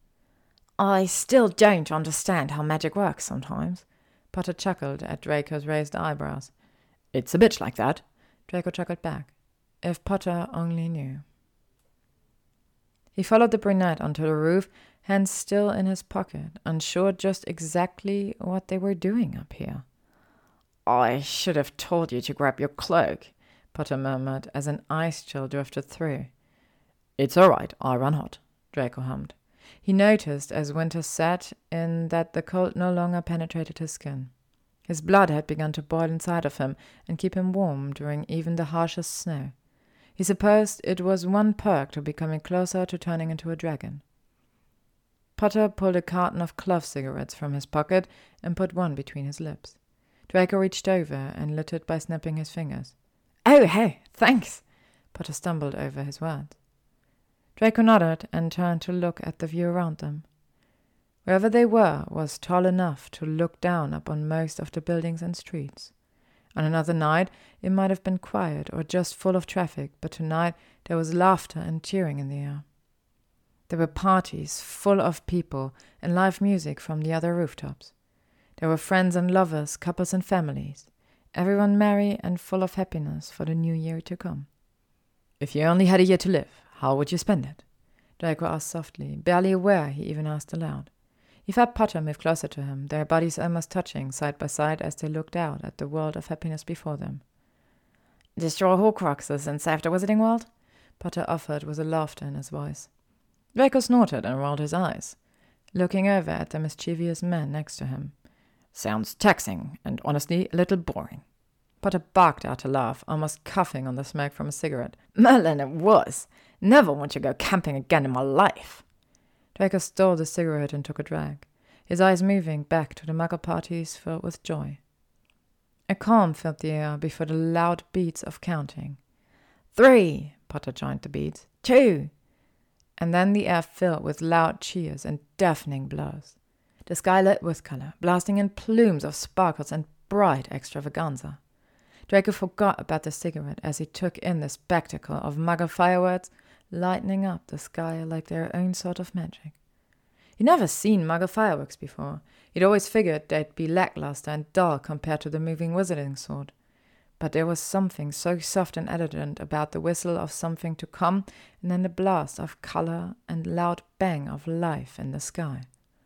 C: I still don't understand how magic works sometimes,
A: Potter chuckled at Draco's raised eyebrows.
B: It's a bitch like that,
A: Draco chuckled back. If Potter only knew. He followed the brunette onto the roof, hands still in his pocket, unsure just exactly what they were doing up here.
C: I should have told you to grab your cloak,
A: Potter murmured as an ice chill drifted through.
B: It's all right, I run hot,
A: Draco hummed. He noticed as winter set in that the cold no longer penetrated his skin. His blood had begun to boil inside of him and keep him warm during even the harshest snow. He supposed it was one perk to becoming closer to turning into a dragon. Potter pulled a carton of clove cigarettes from his pocket and put one between his lips. Draco reached over and lit it by snapping his fingers.
C: Oh, hey, thanks.
A: Potter stumbled over his words. Draco nodded and turned to look at the view around them. Wherever they were was tall enough to look down upon most of the buildings and streets. On another night, it might have been quiet or just full of traffic, but tonight there was laughter and cheering in the air. There were parties full of people and live music from the other rooftops. There were friends and lovers, couples and families, everyone merry and full of happiness for the new year to come.
B: If you only had a year to live, how would you spend it?
A: Draco asked softly, barely aware he even asked aloud. He felt Potter move closer to him, their bodies almost touching side by side as they looked out at the world of happiness before them.
C: Destroy Horcruxes and save the Wizarding World?
A: Potter offered with a laughter in his voice. Draco snorted and rolled his eyes. looking over at the mischievous man next to him.
B: Sounds taxing and honestly a little boring.
A: Potter barked out a laugh, almost coughing on the smoke from a cigarette.
B: Merlin, it was. Never want to go camping again in my life.
A: Draco stole the cigarette and took a drag, his eyes moving back to the muggle parties filled with joy. A calm filled the air before the loud beats of counting.
B: Three, Potter joined the beats. Two.
A: And then the air filled with loud cheers and deafening blows. The sky lit with color, blasting in plumes of sparkles and bright extravaganza. Draco forgot about the cigarette as he took in the spectacle of muggle fireworks lightening up the sky like their own sort of magic. He'd never seen muggle fireworks before. He'd always figured they'd be lackluster and dull compared to the moving wizarding sort. But there was something so soft and elegant about the whistle of something to come and then the blast of color and loud bang of life in the sky.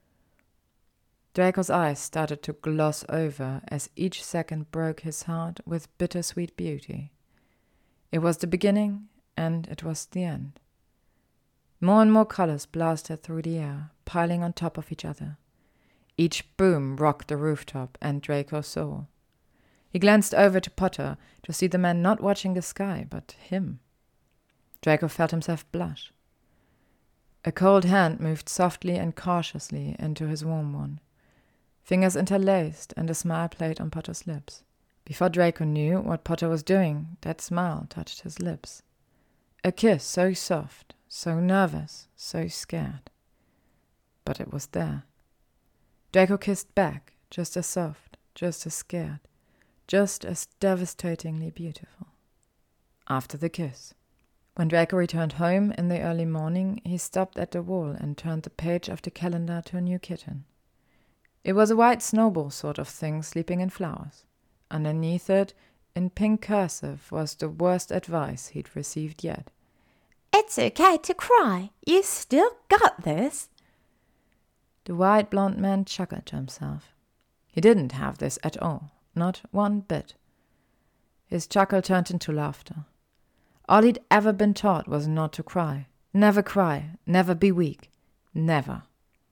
A: Draco's eyes started to gloss over as each second broke his heart with bittersweet beauty. It was the beginning, and it was the end. More and more colors blasted through the air, piling on top of each other. Each boom rocked the rooftop and Draco's soul. He glanced over to Potter to see the man not watching the sky, but him. Draco felt himself blush. A cold hand moved softly and cautiously into his warm one. Fingers interlaced, and a smile played on Potter's lips. Before Draco knew what Potter was doing, that smile touched his lips. A kiss so soft, so nervous, so scared. But it was there. Draco kissed back, just as soft, just as scared, just as devastatingly beautiful. After the kiss. When Draco returned home in the early morning, he stopped at the wall and turned the page of the calendar to a new kitten. It was a white snowball sort of thing sleeping in flowers. Underneath it, in pink cursive, was the worst advice he'd received yet.
C: It's okay to cry. You still got this.
A: The white blonde man chuckled to himself. He didn't have this at all, not one bit. His chuckle turned into laughter. All he'd ever been taught was not to cry. Never cry, never be weak, never.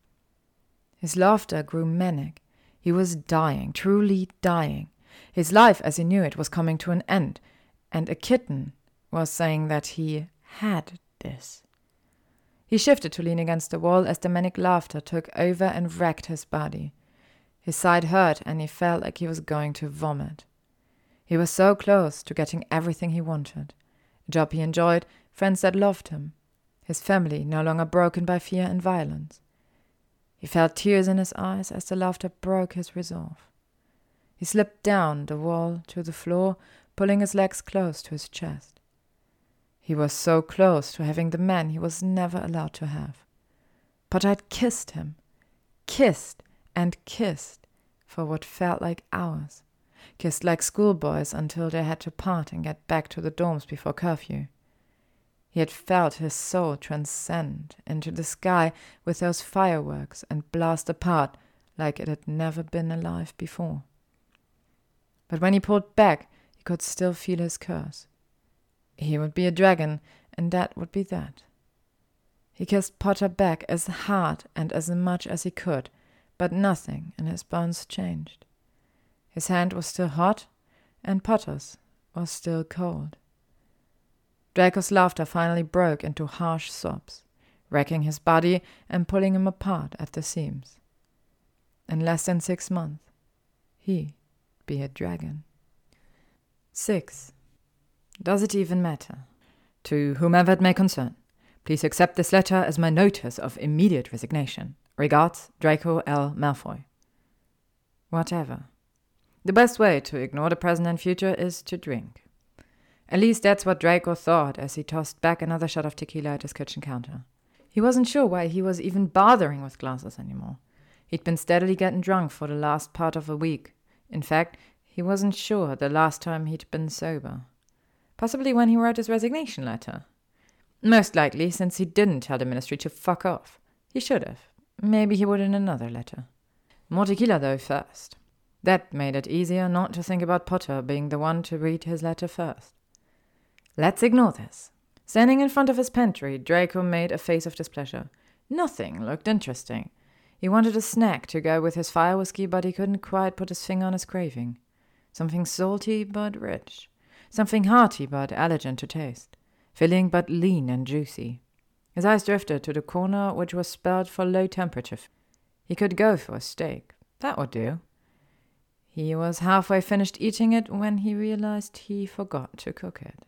A: His laughter grew manic. He was dying, truly dying. His life as he knew it was coming to an end, and a kitten was saying that he had this. He shifted to lean against the wall as the manic laughter took over and wrecked his body. His side hurt and he felt like he was going to vomit. He was so close to getting everything he wanted. A job he enjoyed, friends that loved him. His family no longer broken by fear and violence. He felt tears in his eyes as the laughter broke his resolve. He slipped down the wall to the floor, pulling his legs close to his chest. He was so close to having the man he was never allowed to have. But I'd kissed him. Kissed and kissed for what felt like hours. Kissed like schoolboys until they had to part and get back to the dorms before curfew. He had felt his soul transcend into the sky with those fireworks and blast apart like it had never been alive before. But when he pulled back, he could still feel his curse. He would be a dragon, and that would be that. He kissed Potter back as hard and as much as he could, but nothing in his bones changed. His hand was still hot, and Potter's was still cold. Draco's laughter finally broke into harsh sobs, wrecking his body and pulling him apart at the seams. In less than six months, he'd be a dragon. Six. Does it even matter? To whomever it may concern, please accept this letter as my notice of immediate resignation. Regards, Draco L. Malfoy. Whatever. The best way to ignore the present and future is to drink. At least that's what Draco thought as he tossed back another shot of tequila at his kitchen counter. He wasn't sure why he was even bothering with glasses anymore. He'd been steadily getting drunk for the last part of a week. In fact, he wasn't sure the last time he'd been sober. Possibly when he wrote his resignation letter. Most likely, since he didn't tell the ministry to fuck off. He should have. Maybe he would in another letter. More tequila, though, first. That made it easier not to think about Potter being the one to read his letter first. Let's ignore this. Standing in front of his pantry, Draco made a face of displeasure. Nothing looked interesting. He wanted a snack to go with his fire whiskey, but he couldn't quite put his finger on his craving. Something salty but rich. Something hearty but elegant to taste. Filling but lean and juicy. His eyes drifted to the corner which was spelled for low temperature. He could go for a steak. That would do. He was halfway finished eating it when he realized he forgot to cook it.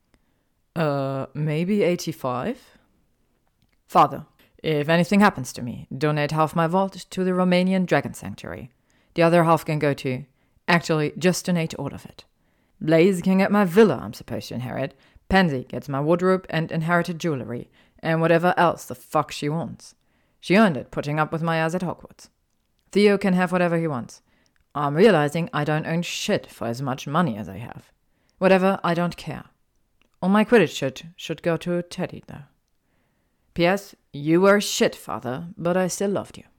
A: Uh, maybe eighty-five? Father, if anything happens to me, donate half my vault to the Romanian Dragon Sanctuary. The other half can go to... Actually, just donate all of it. Blaze can get my villa I'm supposed to inherit. Pansy gets my wardrobe and inherited jewelry, and whatever else the fuck she wants. She earned it putting up with my ass at Hogwarts. Theo can have whatever he wants. I'm realizing I don't own shit for as much money as I have. Whatever, I don't care. All my Quidditch shit should go to Teddy, though. P S. You were shit, Father, but I still loved you.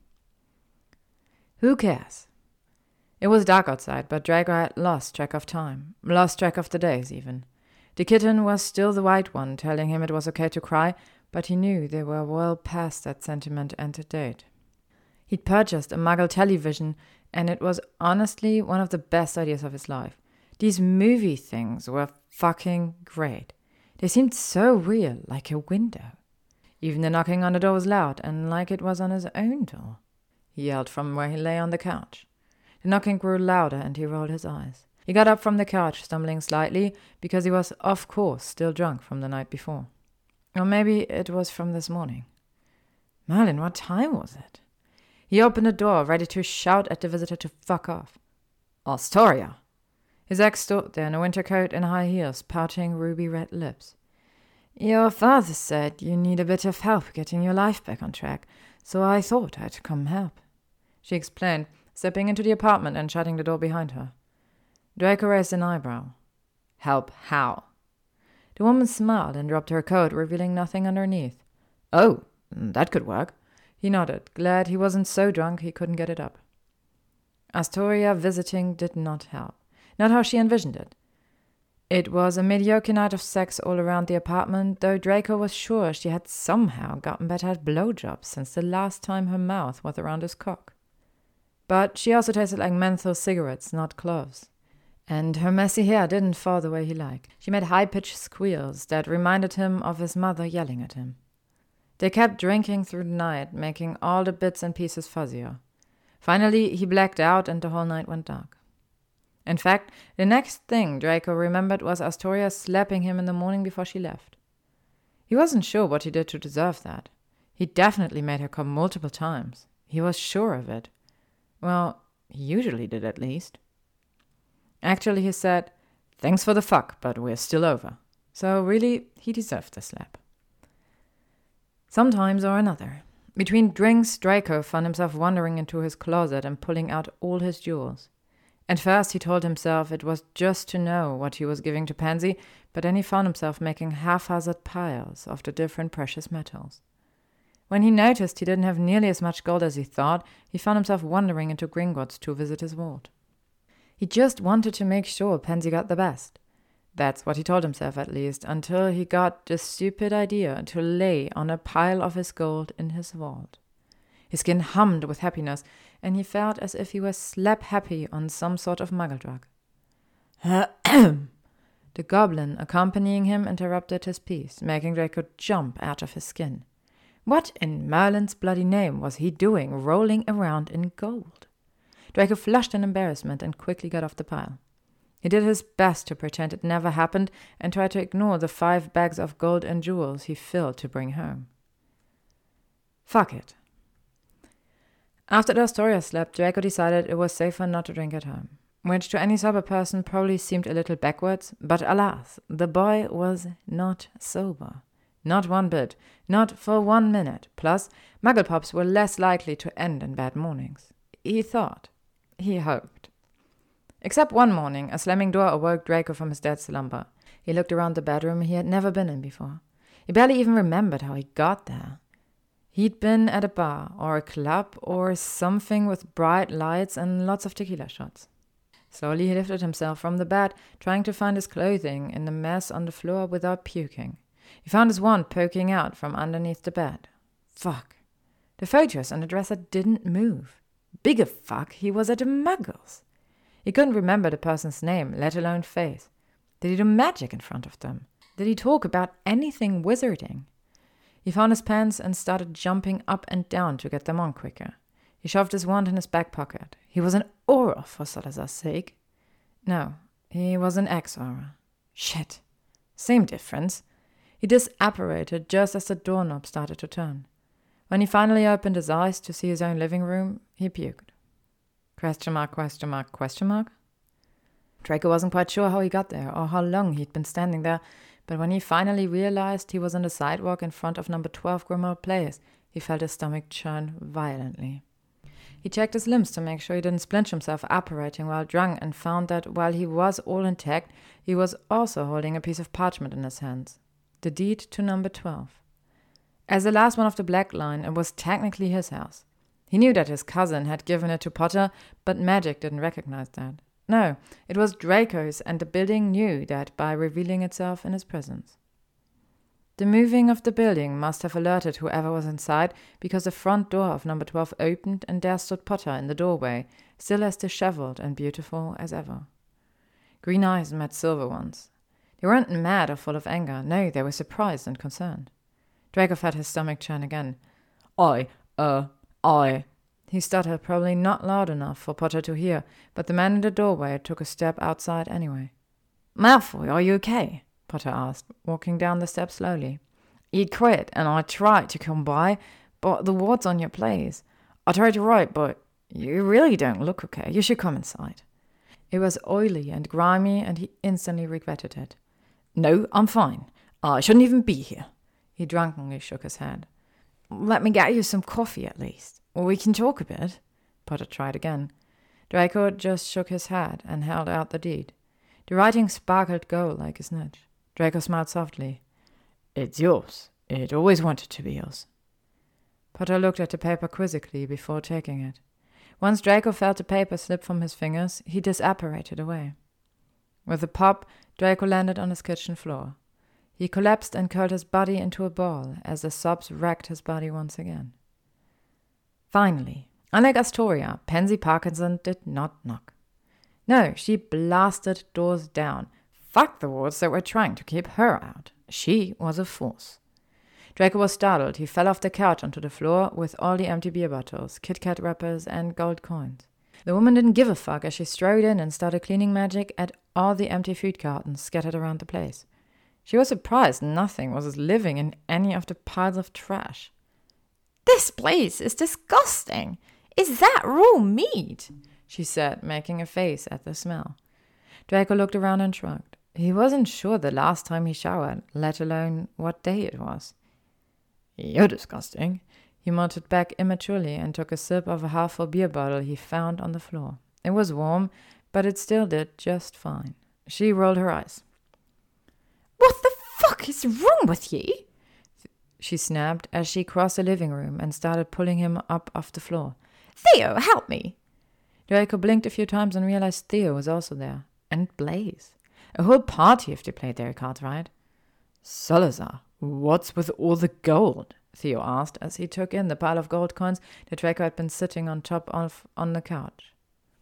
A: Who cares? It was dark outside, but Draco had lost track of time, lost track of the days even. The kitten was still the white one, telling him it was okay to cry, but he knew they were well past that sentiment and date. He'd purchased a Muggle television, and it was honestly one of the best ideas of his life. These movie things were fucking great. They seemed so real, like a window. Even the knocking on the door was loud, and like it was on his own door. He yelled from where he lay on the couch. The knocking grew louder, and he rolled his eyes. He got up from the couch, stumbling slightly, because he was, of course, still drunk from the night before. Or maybe it was from this morning. Merlin, what time was it? He opened the door, ready to shout at the visitor to fuck off. Astoria! His ex stood there in a winter coat and high heels, pouting ruby-red lips. Your father said you need a bit of help getting your life back on track, so I thought I'd come help, she explained, stepping into the apartment and shutting the door behind her. Draco raised an eyebrow. Help how? The woman smiled and dropped her coat, revealing nothing underneath. Oh, that could work. He nodded, glad he wasn't so drunk he couldn't get it up. Astoria visiting did not help. Not how she envisioned it. It was a mediocre night of sex all around the apartment, though Draco was sure she had somehow gotten better at blowjobs since the last time her mouth was around his cock. But she also tasted like menthol cigarettes, not cloves. And her messy hair didn't fall the way he liked. She made high-pitched squeals that reminded him of his mother yelling at him. They kept drinking through the night, making all the bits and pieces fuzzier. Finally, he blacked out and the whole night went dark. In fact, the next thing Draco remembered was Astoria slapping him in the morning before she left. He wasn't sure what he did to deserve that. He definitely made her come multiple times. He was sure of it. Well, he usually did at least. Actually, he said, thanks for the fuck, but we're still over. So really, he deserved the slap. Sometimes or another. Between drinks, Draco found himself wandering into his closet and pulling out all his jewels. At first he told himself it was just to know what he was giving to Pansy, but then he found himself making haphazard piles of the different precious metals. When he noticed he didn't have nearly as much gold as he thought, he found himself wandering into Gringotts to visit his vault. He just wanted to make sure Pansy got the best. That's what he told himself, at least, until he got the stupid idea to lay on a pile of his gold in his vault. His skin hummed with happiness, and he felt as if he were slap-happy on some sort of muggle drug. The goblin accompanying him interrupted his piece, making Draco jump out of his skin. What in Merlin's bloody name was he doing rolling around in gold? Draco flushed in embarrassment and quickly got off the pile. He did his best to pretend it never happened and tried to ignore the five bags of gold and jewels he filled to bring home. Fuck it. After the Astoria slap, Draco decided it was safer not to drink at home, which to any sober person probably seemed a little backwards, but alas, the boy was not sober. Not one bit, not for one minute. Plus, muggle pops were less likely to end in bad mornings. He thought. He hoped. Except one morning, a slamming door awoke Draco from his dead slumber. He looked around the bedroom he had never been in before. He barely even remembered how he got there. He'd been at a bar, or a club, or something with bright lights and lots of tequila shots. Slowly he lifted himself from the bed, trying to find his clothing in the mess on the floor without puking. He found his wand poking out from underneath the bed. Fuck. The photos on the dresser didn't move. Bigger fuck, he was at a Muggles. He couldn't remember the person's name, let alone face. Did he do magic in front of them? Did he talk about anything wizarding? He found his pants and started jumping up and down to get them on quicker. He shoved his wand in his back pocket. He was an Auror, for Salazar's sake. No, he was an ex-Auror. Shit. Same difference. He disapparated just as the doorknob started to turn. When he finally opened his eyes to see his own living room, he puked. Question mark, question mark, question mark? Draco wasn't quite sure how he got there or how long he'd been standing there, but when he finally realized he was on the sidewalk in front of number twelve Grimmauld Place, he felt his stomach churn violently. He checked his limbs to make sure he didn't splinch himself apparating while drunk and found that while he was all intact, he was also holding a piece of parchment in his hands. The deed to number twelve. As the last one of the Black Line, it was technically his house. He knew that his cousin had given it to Potter, but magic didn't recognize that. No, it was Draco's, and the building knew that by revealing itself in his presence. The moving of the building must have alerted whoever was inside, because the front door of number twelve opened and there stood Potter in the doorway, still as disheveled and beautiful as ever. Green eyes met silver ones. They weren't mad or full of anger. No, they were surprised and concerned. Draco felt his stomach churn again. I, uh, I... He stuttered, probably not loud enough for Potter to hear, but the man in the doorway took a step outside anyway. Malfoy, are you okay? Potter asked, walking down the steps slowly. You'd quit, and I tried to come by, but the ward's on your place. I tried to write, but you really don't look okay. You should come inside. It was oily and grimy, and he instantly regretted it. No, I'm fine. I shouldn't even be here. He drunkenly shook his head. Let me get you some coffee at least. We can talk a bit. Potter tried again. Draco just shook his head and held out the deed. The writing sparkled gold like his snitch. Draco smiled softly. It's yours. It always wanted to be yours. Potter looked at the paper quizzically before taking it. Once Draco felt the paper slip from his fingers, he disapparated away. With a pop, Draco landed on his kitchen floor. He collapsed and curled his body into a ball as the sobs racked his body once again. Finally, unlike Astoria, Pansy Parkinson did not knock. No, she blasted doors down. Fuck the wards that were trying to keep her out. She was a force. Draco was startled. He fell off the couch onto the floor with all the empty beer bottles, Kit Kat wrappers, and gold coins. The woman didn't give a fuck as she strode in and started cleaning magic at all the empty food cartons scattered around the place. She was surprised nothing was living in any of the piles of trash. This place is disgusting. Is that raw meat? She said, making a face at the smell. Draco looked around and shrugged. He wasn't sure the last time he showered, let alone what day it was. You're disgusting, he muttered back immaturely and took a sip of a half-full beer bottle he found on the floor. It was warm, but it still did just fine. She rolled her eyes. What the fuck is wrong with ye? She snapped as she crossed the living room and started pulling him up off the floor. Theo, help me! Draco blinked a few times and realized Theo was also there. And Blaise. A whole party if they played their cards right. Salazar, what's with all the gold? Theo asked as he took in the pile of gold coins that Draco had been sitting on top of on the couch.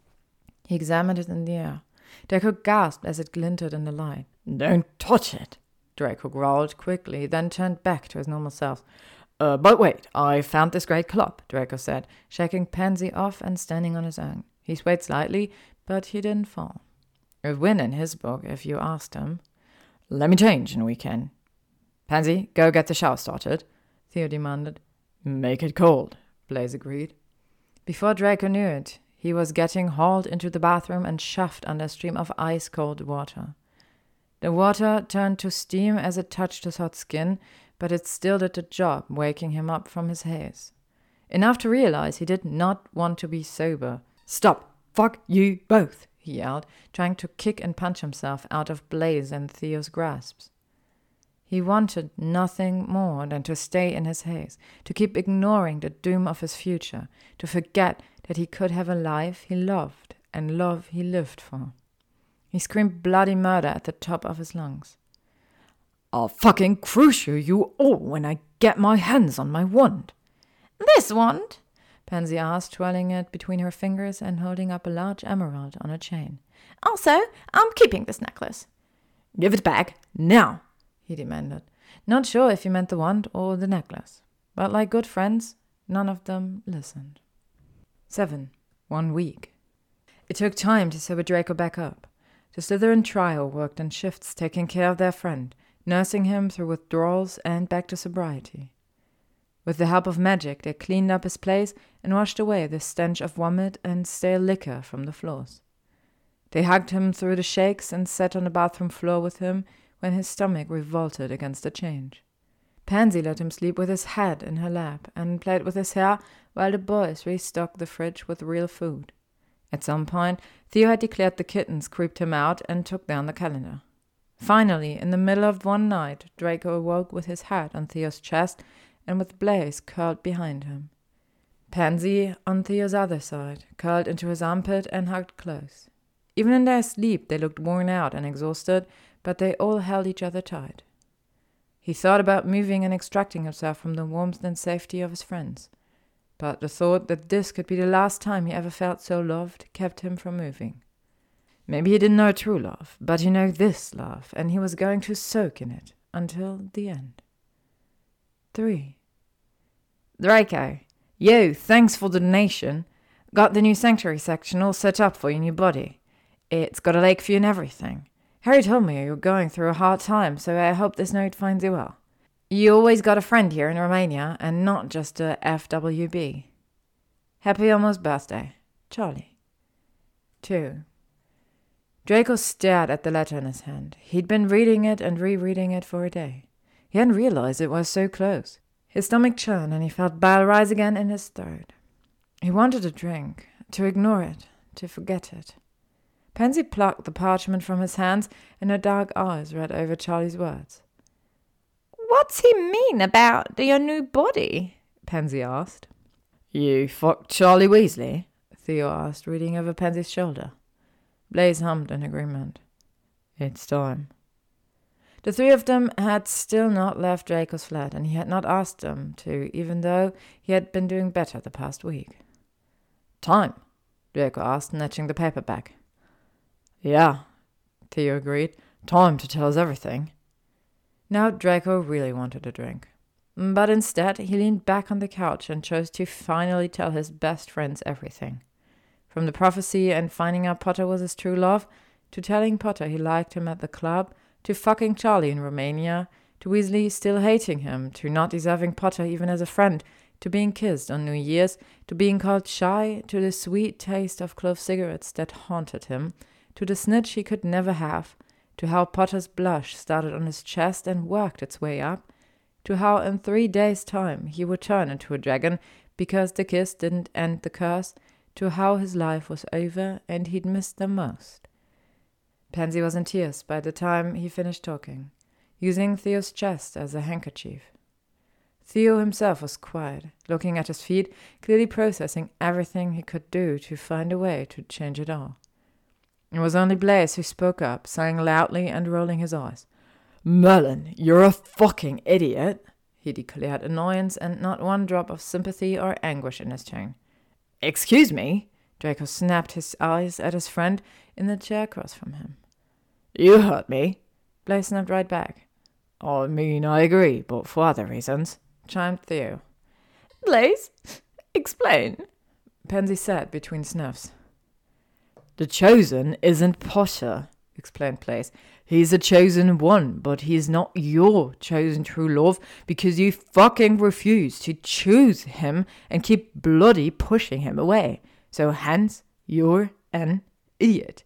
A: He examined it in the air. Draco gasped as it glinted in the light. Don't touch it, Draco growled quickly, then turned back to his normal self. Uh, but wait, I found this great club, Draco said, shaking Pansy off and standing on his own. He swayed slightly, but he didn't fall. A win in his book, if you asked him. Let me change and we can. Pansy, go get the shower started, Theo demanded. Make it cold, Blaise agreed. Before Draco knew it, he was getting hauled into the bathroom and shoved under a stream of ice-cold water. The water turned to steam as it touched his hot skin, but it still did the job, waking him up from his haze. Enough to realize he did not want to be sober. Stop! Fuck you both! He yelled, trying to kick and punch himself out of Blaise and Theo's grasps. He wanted nothing more than to stay in his haze, to keep ignoring the doom of his future, to forget that he could have a life he loved and love he lived for. He screamed bloody murder at the top of his lungs. I'll fucking crush you, you all, when I get my hands on my wand.
C: This wand?
A: Pansy asked, twirling it between her fingers and holding up a large emerald on a chain.
C: Also, I'm keeping this necklace.
B: Give it back, now,
A: he demanded, not sure if he meant the wand or the necklace. But like good friends, none of them listened. Seven. One week. It took time to sober Draco back up. The Slytherin trio worked in shifts, taking care of their friend, nursing him through withdrawals and back to sobriety. With the help of magic, they cleaned up his place and washed away the stench of vomit and stale liquor from the floors. They hugged him through the shakes and sat on the bathroom floor with him when his stomach revolted against the change. Pansy let him sleep with his head in her lap and played with his hair while the boys restocked the fridge with real food. At some point, Theo had declared the kittens creeped him out and took down the calendar. Finally, in the middle of one night, Draco awoke with his head on Theo's chest and with Blaise curled behind him. Pansy, on Theo's other side, curled into his armpit and hugged close. Even in their sleep, they looked worn out and exhausted, but they all held each other tight. He thought about moving and extracting himself from the warmth and safety of his friends. But the thought that this could be the last time he ever felt so loved kept him from moving. Maybe he didn't know true love, but he knew this love, and he was going to soak in it until the end. Three. Draco, yo, thanks for the donation. Got the new sanctuary section all set up for your new body. It's got a lake view and everything. Harry told me you were going through a hard time, so I hope this note finds you well. You always got a friend here in Romania, and not just a F W B. Happy almost birthday, Charlie. Two. Draco stared at the letter in his hand. He'd been reading it and rereading it for a day. He hadn't realized it was so close. His stomach churned, and he felt bile rise again in his throat. He wanted a drink, to ignore it, to forget it. Pansy plucked the parchment from his hands, and her dark eyes read over Charlie's words.
C: What's he mean about your new body? Pansy asked.
B: You fucked Charlie Weasley?
A: Theo asked, reading over Pansy's shoulder. Blaise hummed in agreement.
B: It's time.
A: The three of them had still not left Draco's flat, and he had not asked them to, even though he had been doing better the past week.
B: Time?
A: Draco asked, snatching the paper back.
B: Yeah, Theo agreed. Time to tell us everything.
A: Now Draco really wanted a drink. But instead, he leaned back on the couch and chose to finally tell his best friends everything. From the prophecy and finding out Potter was his true love, to telling Potter he liked him at the club, to fucking Charlie in Romania, to Weasley still hating him, to not deserving Potter even as a friend, to being kissed on New Year's, to being called shy, to the sweet taste of clove cigarettes that haunted him, to the snitch he could never have, to how Potter's blush started on his chest and worked its way up, to how in three days' time he would turn into a dragon because the kiss didn't end the curse, to how his life was over and he'd missed them most. Pansy was in tears by the time he finished talking, using Theo's chest as a handkerchief. Theo himself was quiet, looking at his feet, clearly processing everything he could do to find a way to change it all. It was only Blaise who spoke up, sighing loudly and rolling his eyes.
B: Merlin, you're a fucking idiot,
A: he declared, annoyance and not one drop of sympathy or anguish in his tone.
B: Excuse me?
A: Draco snapped his eyes at his friend in the chair across from him.
B: You hurt me.
A: Blaise snapped right back.
B: I mean, I agree, but for other reasons,
A: chimed Theo.
C: Blaise, explain,
A: Pansy said between sniffs.
B: The Chosen isn't Potter, explained Blaise. He's a chosen one, but he's not your chosen true love because you fucking refuse to choose him and keep bloody pushing him away. So hence, you're an idiot.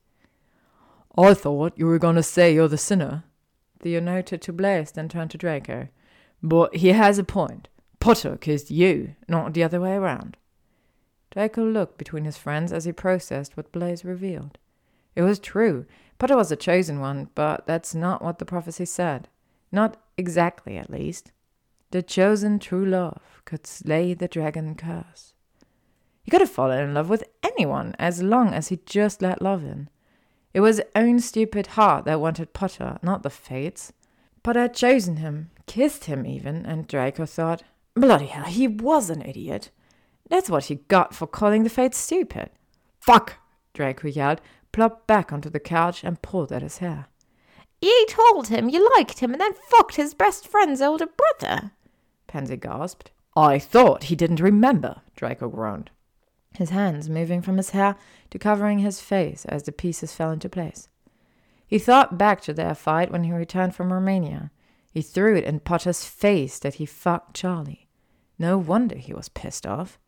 B: I thought you were going to say you're the sinner.
A: Theo noted to Blaise, then turned to Draco.
B: But he has a point. Potter kissed you, not the other way around.
A: Draco looked between his friends as he processed what Blaise revealed. It was true. Potter was the chosen one, but that's not what the prophecy said. Not exactly, at least. The chosen true love could slay the dragon curse. He could have fallen in love with anyone as long as he just let love in. It was his own stupid heart that wanted Potter, not the fates. Potter had chosen him, kissed him even, and Draco thought,
B: Bloody hell, he was an idiot. That's what he got for calling the Fates stupid. Fuck, Draco yelled, plopped back onto the couch and pulled at his hair.
C: You told him you liked him and then fucked his best friend's older brother,
B: Pansy gasped. I thought he didn't remember, Draco groaned, his hands moving from his hair to covering his face as the pieces fell into place. He thought back to their fight when he returned from Romania. He threw it in Potter's face that he fucked Charlie. No wonder he was pissed off.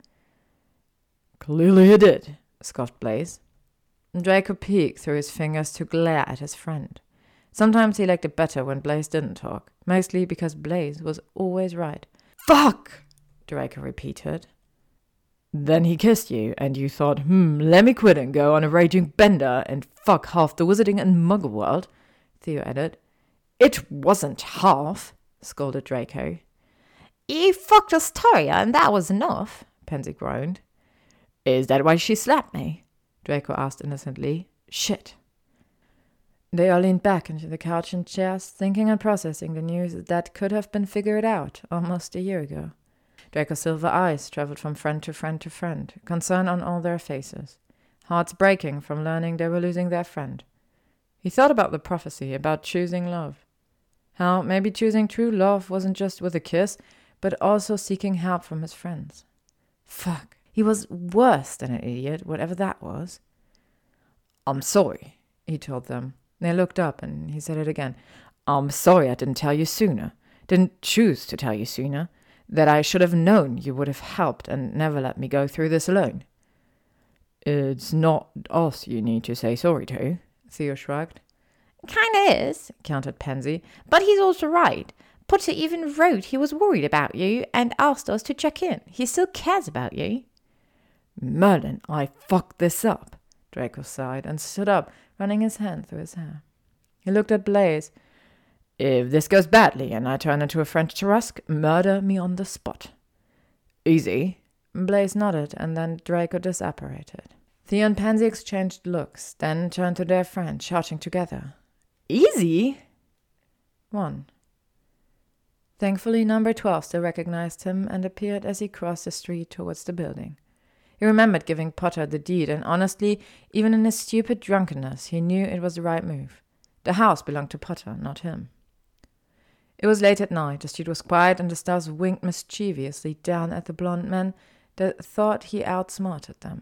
B: Clearly he did, scoffed Blaze. Draco peeked through his fingers to glare at his friend. Sometimes he liked it better when Blaze didn't talk, mostly because Blaze was always right. Fuck! Draco repeated. Then he kissed you, and you thought, hmm, let me quit and go on a raging bender and fuck half the wizarding and muggle world, Theo added. It wasn't half, scolded Draco.
C: You fucked Astoria, and that was enough,
B: Pansy groaned. Is that why she slapped me? Draco asked innocently. Shit. They all leaned back into the couch and chairs, thinking and processing the news that could have been figured out almost a year ago. Draco's silver eyes traveled from friend to friend to friend, concern on all their faces, hearts breaking from learning they were losing their friend. He thought about the prophecy, about choosing love. How maybe choosing true love wasn't just with a kiss, but also seeking help from his friends. Fuck, he was worse than an idiot, whatever that was. I'm sorry, he told them. They looked up, and he said it again. I'm sorry I didn't tell you sooner, didn't choose to tell you sooner, that I should have known you would have helped and never let me go through this alone. It's not us you need to say sorry to, Theo shrugged.
C: Kinda is, countered Pansy, but he's also right. Potter even wrote he was worried about you and asked us to check in. He still cares about you.
B: Merlin, I fucked this up, Draco sighed and stood up, running his hand through his hair. He looked at Blaze. If this goes badly and I turn into a French Tarrasque, murder me on the spot. Easy. Blaze nodded, and then Draco disapparated. Theo and Pansy exchanged looks, then turned to their friend, shouting together. Easy? One. Thankfully, number twelve still recognized him and appeared as he crossed the street towards the building. He remembered giving Potter the deed, and honestly, even in his stupid drunkenness, he knew it was the right move. The house belonged to Potter, not him. It was late at night, the street was quiet, and the stars winked mischievously down at the blond men that thought he outsmarted them.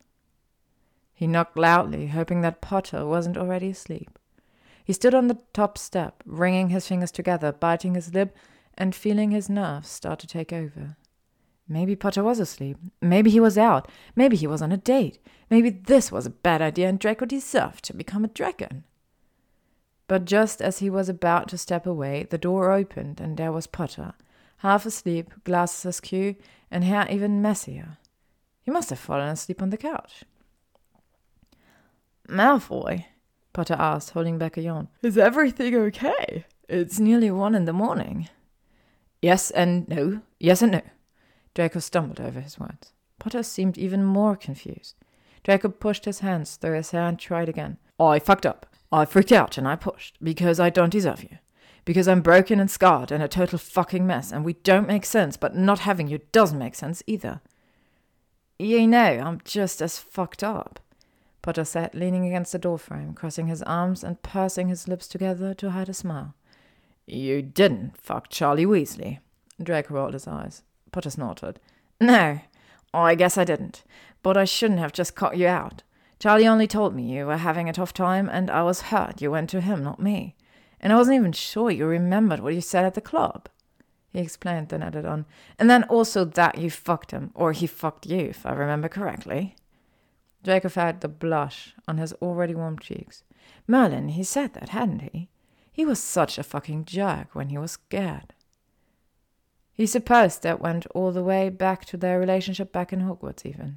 B: He knocked loudly, hoping that Potter wasn't already asleep. He stood on the top step, wringing his fingers together, biting his lip, and feeling his nerves start to take over. Maybe Potter was asleep. Maybe he was out. Maybe he was on a date. Maybe this was a bad idea and Draco deserved to become a dragon. But just as he was about to step away, the door opened and there was Potter, half asleep, glasses askew, and hair even messier. He must have fallen asleep on the couch. Malfoy, Potter asked, holding back a yawn. Is everything okay? It's nearly one in the morning. Yes and no. Yes and no. Draco stumbled over his words. Potter seemed even more confused. Draco pushed his hands through his hair and tried again. I fucked up. I freaked out and I pushed, because I don't deserve you. Because I'm broken and scarred and a total fucking mess, and we don't make sense, but not having you doesn't make sense either. You know, I'm just as fucked up, Potter said, leaning against the doorframe, crossing his arms and pursing his lips together to hide a smile. You didn't fuck Charlie Weasley. Draco rolled his eyes. Potter snorted. No, I guess I didn't. But I shouldn't have just cut you out. Charlie only told me you were having a tough time, and I was hurt you went to him, not me. And I wasn't even sure you remembered what you said at the club. He explained, then added on. And then also that you fucked him, or he fucked you, if I remember correctly. Draco felt the blush on his already warm cheeks. Merlin, he said that, hadn't he? He was such a fucking jerk when he was scared. He supposed that went all the way back to their relationship back in Hogwarts, even.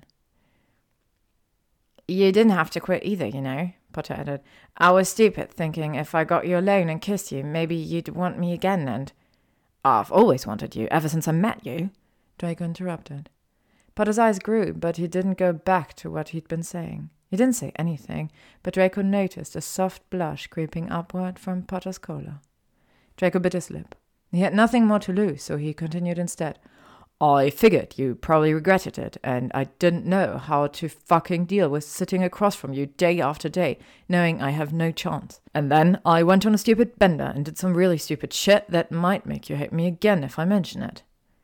B: You didn't have to quit either, you know, Potter added. I was stupid, thinking if I got you alone and kissed you, maybe you'd want me again, and... I've always wanted you, ever since I met you, Draco interrupted. Potter's eyes grew, but he didn't go back to what he'd been saying. He didn't say anything, but Draco noticed a soft blush creeping upward from Potter's collar. Draco bit his lip. He had nothing more to lose, so he continued instead. I figured you probably regretted it, and I didn't know how to fucking deal with sitting across from you day after day, knowing I have no chance. And then I went on a stupid bender and did some really stupid shit that might make you hate me again if I mention it.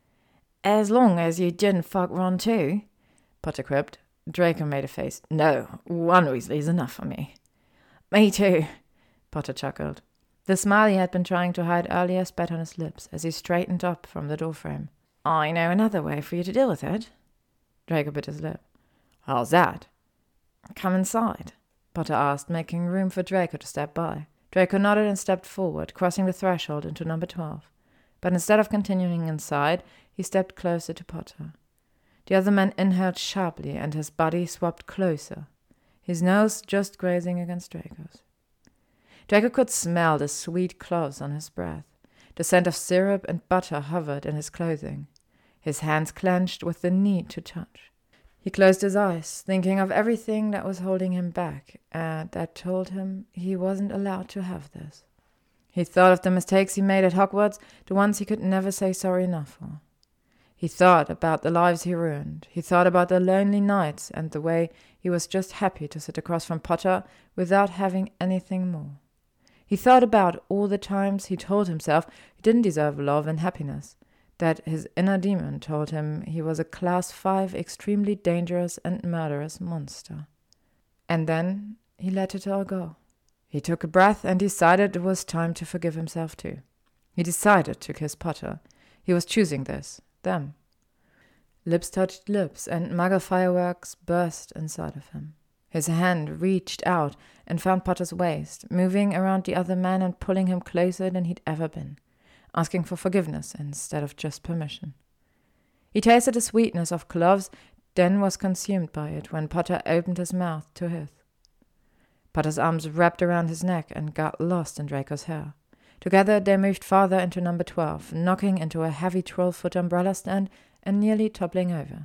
C: As long as you didn't fuck Ron too,
B: Potter quipped.
C: Draco made a face.
B: No, one Weasley's enough for me.
C: Me too,
B: Potter chuckled.
C: The smile he had been trying to hide earlier spat on his lips as he straightened up from the doorframe. I know another way for you to deal with it.
B: Draco bit his lip. How's that?
C: Come inside,
B: Potter asked, making room for Draco to step by. Draco nodded and stepped forward, crossing the threshold into number twelve. But instead of continuing inside, he stepped closer to Potter. The other man inhaled sharply, and his body swapped closer, his nose just grazing against Draco's. Draco could smell the sweet cloves on his breath. The scent of syrup and butter hovered in his clothing. His hands clenched with the need to touch. He closed his eyes, thinking of everything that was holding him back, and that told him he wasn't allowed to have this. He thought of the mistakes he made at Hogwarts, the ones he could never say sorry enough for. He thought about the lives he ruined. He thought about the lonely nights and the way he was just happy to sit across from Potter without having anything more. He thought about all the times he told himself he didn't deserve love and happiness, that his inner demon told him he was a class five extremely dangerous and murderous monster. And then he let it all go. He took a breath and decided it was time to forgive himself too. He decided to kiss Potter. He was choosing this, them. Lips touched lips, and muggle fireworks burst inside of him. His hand reached out and found Potter's waist, moving around the other man and pulling him closer than he'd ever been, asking for forgiveness instead of just permission. He tasted the sweetness of cloves, then was consumed by it when Potter opened his mouth to his. Potter's arms wrapped around his neck and got lost in Draco's hair. Together they moved farther into number twelve, knocking into a heavy twelve-foot umbrella stand and nearly toppling over.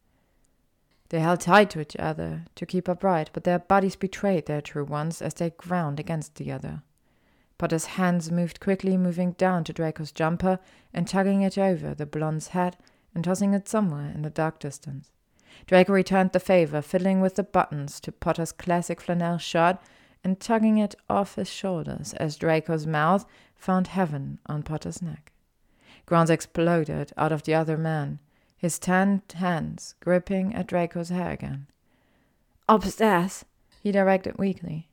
B: They held tight to each other to keep upright, but their bodies betrayed their true ones as they ground against the other. Potter's hands moved quickly, moving down to Draco's jumper and tugging it over the blonde's head and tossing it somewhere in the dark distance. Draco returned the favor, fiddling with the buttons to Potter's classic flannel shirt and tugging it off his shoulders as Draco's mouth found heaven on Potter's neck. Groans exploded out of the other man, his tanned hands gripping at Draco's hair again.
C: Upstairs,
B: he directed weakly.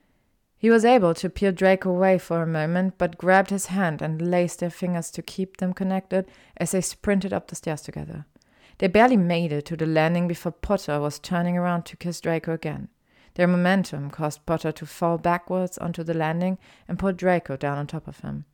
B: He was able to peel Draco away for a moment, but grabbed his hand and laced their fingers to keep them connected as they sprinted up the stairs together. They barely made it to the landing before Potter was turning around to kiss Draco again. Their momentum caused Potter to fall backwards onto the landing and pull Draco down on top of him.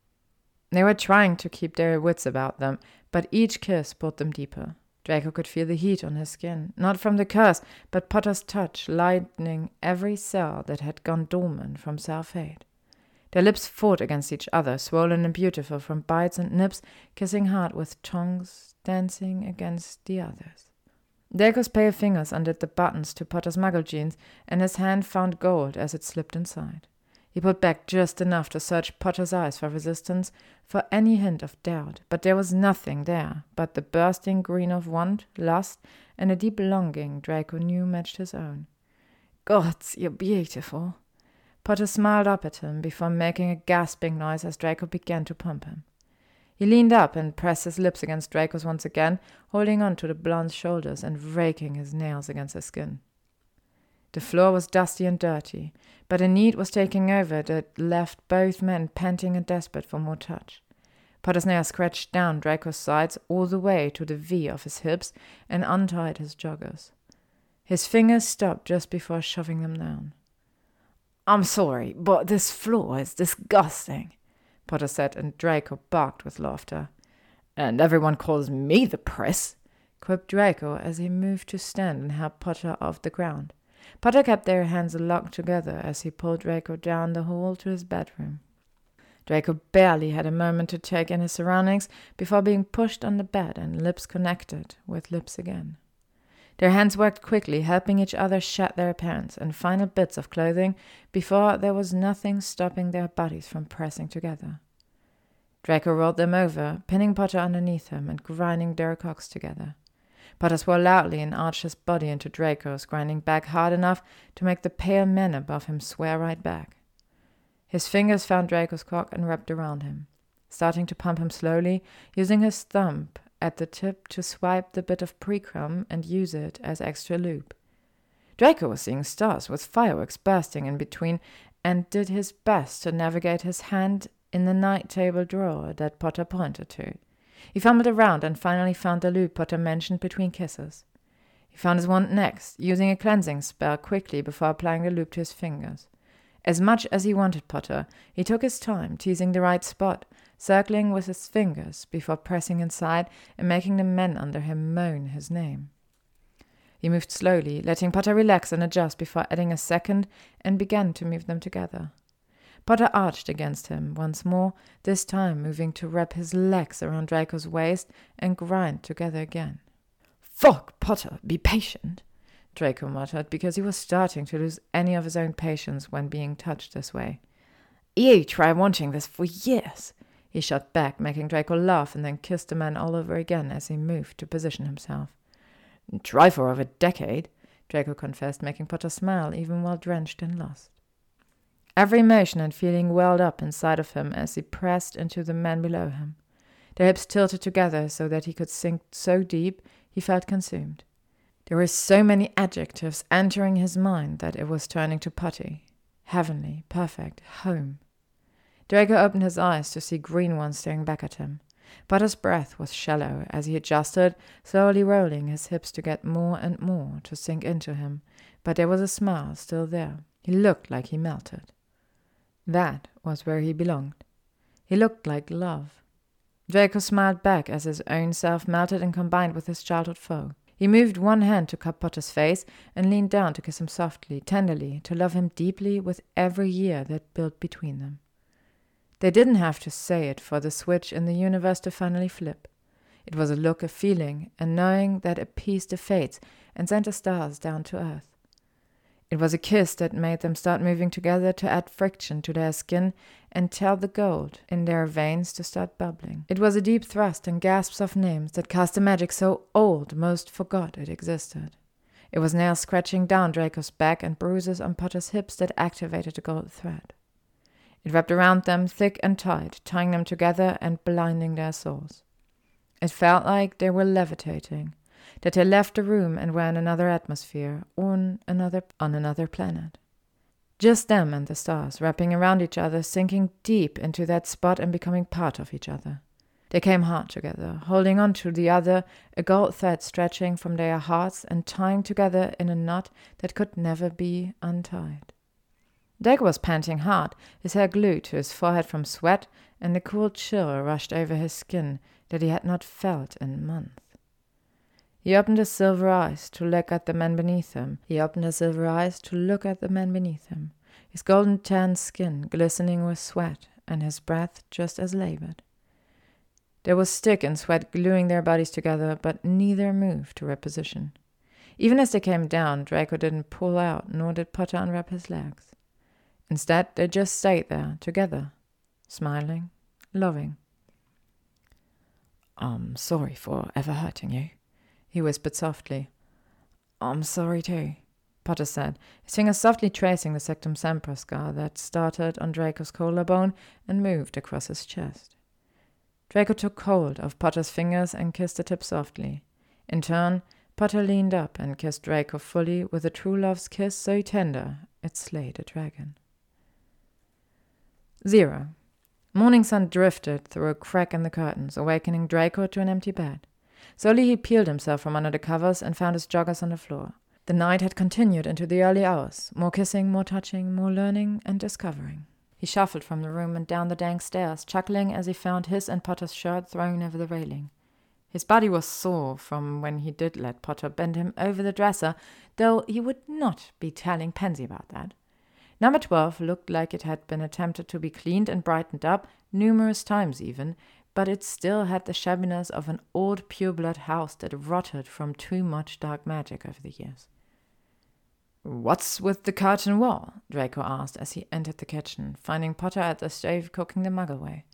B: They were trying to keep their wits about them, but each kiss pulled them deeper. Draco could feel the heat on his skin, not from the curse, but Potter's touch lightening every cell that had gone dormant from self-hate. Their lips fought against each other, swollen and beautiful from bites and nips, kissing hard with tongues dancing against the others. Draco's pale fingers undid the buttons to Potter's muggle jeans, and his hand found gold as it slipped inside. He pulled back just enough to search Potter's eyes for resistance, for any hint of doubt, but there was nothing there but the bursting green of want, lust, and a deep longing Draco knew matched his own. "Gods, you're beautiful." Potter smiled up at him before making a gasping noise as Draco began to pump him. He leaned up and pressed his lips against Draco's once again, holding on to the blonde's shoulders and raking his nails against his skin. The floor was dusty and dirty, but a need was taking over that left both men panting and desperate for more touch. Potter's nails scratched down Draco's sides all the way to the V of his hips and untied his joggers. His fingers stopped just before shoving them down. "I'm sorry, but this floor is disgusting," Potter said, and Draco barked with laughter. "And everyone calls me the press," quipped Draco as he moved to stand and help Potter off the ground. Potter kept their hands locked together as he pulled Draco down the hall to his bedroom. Draco barely had a moment to take in his surroundings before being pushed on the bed and lips connected with lips again. Their hands worked quickly, helping each other shed their appearance and final bits of clothing before there was nothing stopping their bodies from pressing together.
A: Draco rolled them over, pinning Potter underneath him and grinding their cocks together. Potter swore loudly and arched his body into Draco's, grinding back hard enough to make the pale men above him swear right back. His fingers found Draco's cock and wrapped around him, starting to pump him slowly, using his thumb at the tip to swipe the bit of precrum and use it as extra lube. Draco was seeing stars with fireworks bursting in between and did his best to navigate his hand in the night table drawer that Potter pointed to. He fumbled around and finally found the lube Potter mentioned between kisses. He found his wand next, using a cleansing spell quickly before applying the lube to his fingers. As much as he wanted Potter, he took his time, teasing the right spot, circling with his fingers before pressing inside and making the men under him moan his name. He moved slowly, letting Potter relax and adjust before adding a second, and began to move them together. Potter arched against him once more, this time moving to wrap his legs around Draco's waist and grind together again.
B: "Fuck, Potter, be patient,"
A: Draco muttered, because he was starting to lose any of his own patience when being touched this way.
B: "You try wanting this for years,"
A: he shot back, making Draco laugh and then kissed the man all over again as he moved to position himself.
B: "Try for over a decade,"
A: Draco confessed, making Potter smile even while drenched in lust. Every emotion and feeling welled up inside of him as he pressed into the man below him. Their hips tilted together so that he could sink so deep he felt consumed. There were so many adjectives entering his mind that it was turning to putty. Heavenly, perfect, home. Draco opened his eyes to see green ones staring back at him. Potter's breath was shallow as he adjusted, slowly rolling his hips to get more and more to sink into him, but there was a smile still there. He looked like he melted. That was where he belonged. He looked like love. Draco smiled back as his own self melted and combined with his childhood foe. He moved one hand to cup Potter's face and leaned down to kiss him softly, tenderly, to love him deeply with every year that built between them. They didn't have to say it for the switch in the universe to finally flip. It was a look, a feeling, and knowing that appeased the fates and sent the stars down to earth. It was a kiss that made them start moving together to add friction to their skin and tell the gold in their veins to start bubbling. It was a deep thrust and gasps of names that cast a magic so old most forgot it existed. It was nails scratching down Draco's back and bruises on Potter's hips that activated the gold thread. It wrapped around them thick and tight, tying them together and blinding their souls. It felt like they were levitating, that they left the room and were in another atmosphere, on another on another planet. Just them and the stars, wrapping around each other, sinking deep into that spot and becoming part of each other. They came hard together, holding on to the other, a gold thread stretching from their hearts and tying together in a knot that could never be untied. Draco was panting hard, his hair glued to his forehead from sweat, and a cool chill rushed over his skin that he had not felt in months. He opened his silver eyes to look at the man beneath him. He opened his silver eyes to look at the man beneath him, his golden tanned skin glistening with sweat, and his breath just as labored. There was stick and sweat gluing their bodies together, but neither moved to reposition. Even as they came down, Draco didn't pull out, nor did Potter unwrap his legs. Instead, they just stayed there, together, smiling, loving.
B: "I'm sorry for ever hurting you,"
A: he whispered softly.
B: "I'm sorry too,"
A: Potter said, his fingers softly tracing the Sectum Sempra scar that started on Draco's collarbone and moved across his chest. Draco took hold of Potter's fingers and kissed the tip softly. In turn, Potter leaned up and kissed Draco fully with a true love's kiss so tender it slayed a dragon. Zero. Morning sun drifted through a crack in the curtains, awakening Draco to an empty bed. Slowly he peeled himself from under the covers and found his joggers on the floor. The night had continued into the early hours, more kissing, more touching, more learning and discovering. He shuffled from the room and down the dank stairs, chuckling as he found his and Potter's shirt thrown over the railing. His body was sore from when he did let Potter bend him over the dresser, though he would not be telling Pansy about that. Number twelve looked like it had been attempted to be cleaned and brightened up, numerous times even, but it still had the shabbiness of an old pure-blood house that rotted from too much dark magic over the years. "What's with the curtain wall?" Draco asked as he entered the kitchen, finding Potter at the stove cooking the mug away.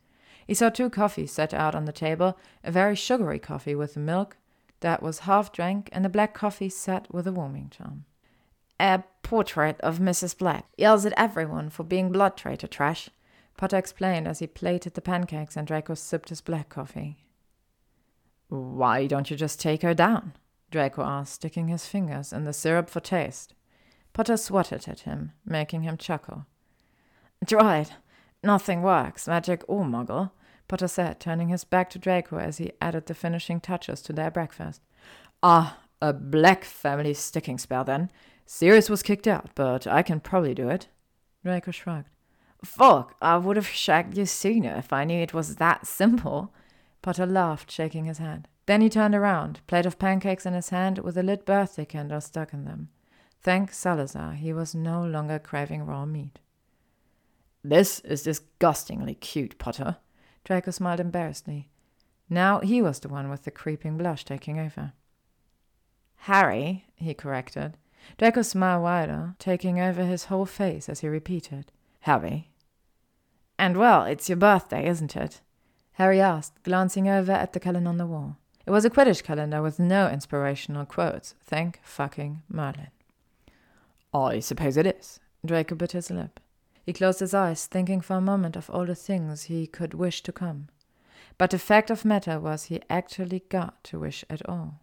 A: He saw two coffees set out on the table, a very sugary coffee with milk that was half drank, and a black coffee set with a warming charm.
C: A portrait of Missus Black. Yells at everyone for being blood traitor trash,
A: Potter explained as he plated the pancakes and Draco sipped his black coffee.
B: Why don't you just take her down?
A: Draco asked, sticking his fingers in the syrup for taste. Potter swatted at him, making him chuckle.
C: Tried. Nothing works, magic or muggle,
A: Potter said, turning his back to Draco as he added the finishing touches to their breakfast.
B: Ah, a black family sticking spell then. Sirius was kicked out, but I can probably do it.
A: Draco shrugged.
C: Fuck, I would have shagged you sooner if I knew it was that simple.
A: Potter laughed, shaking his head. Then he turned around, plate of pancakes in his hand with a lit birthday candle stuck in them. Thank Salazar, he was no longer craving raw meat.
B: This is disgustingly cute, Potter.
A: Draco smiled embarrassedly. Now he was the one with the creeping blush taking over.
C: Harry,
A: he corrected. Draco smiled wider, taking over his whole face as he repeated.
B: Harry.
C: And well, it's your birthday, isn't it?
A: Harry asked, glancing over at the calendar on the wall. It was a Quidditch calendar with no inspirational quotes. Thank fucking Merlin.
B: I suppose it is.
A: Draco bit his lip. He closed his eyes, thinking for a moment of all the things he could wish to come. But the fact of matter was he actually got to wish at all.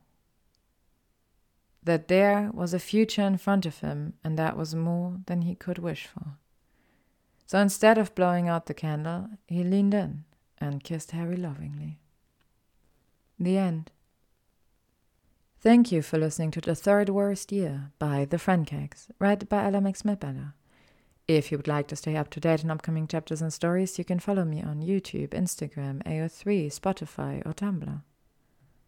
A: That there was a future in front of him, and that was more than he could wish for. So instead of blowing out the candle, he leaned in and kissed Harry lovingly. The end. Thank you for listening to The Third Worst Year by The Friendcakes, read by Ella McSmith-Bella. If you would like to stay up to date on upcoming chapters and stories, you can follow me on YouTube, Instagram, A O three, Spotify, or Tumblr.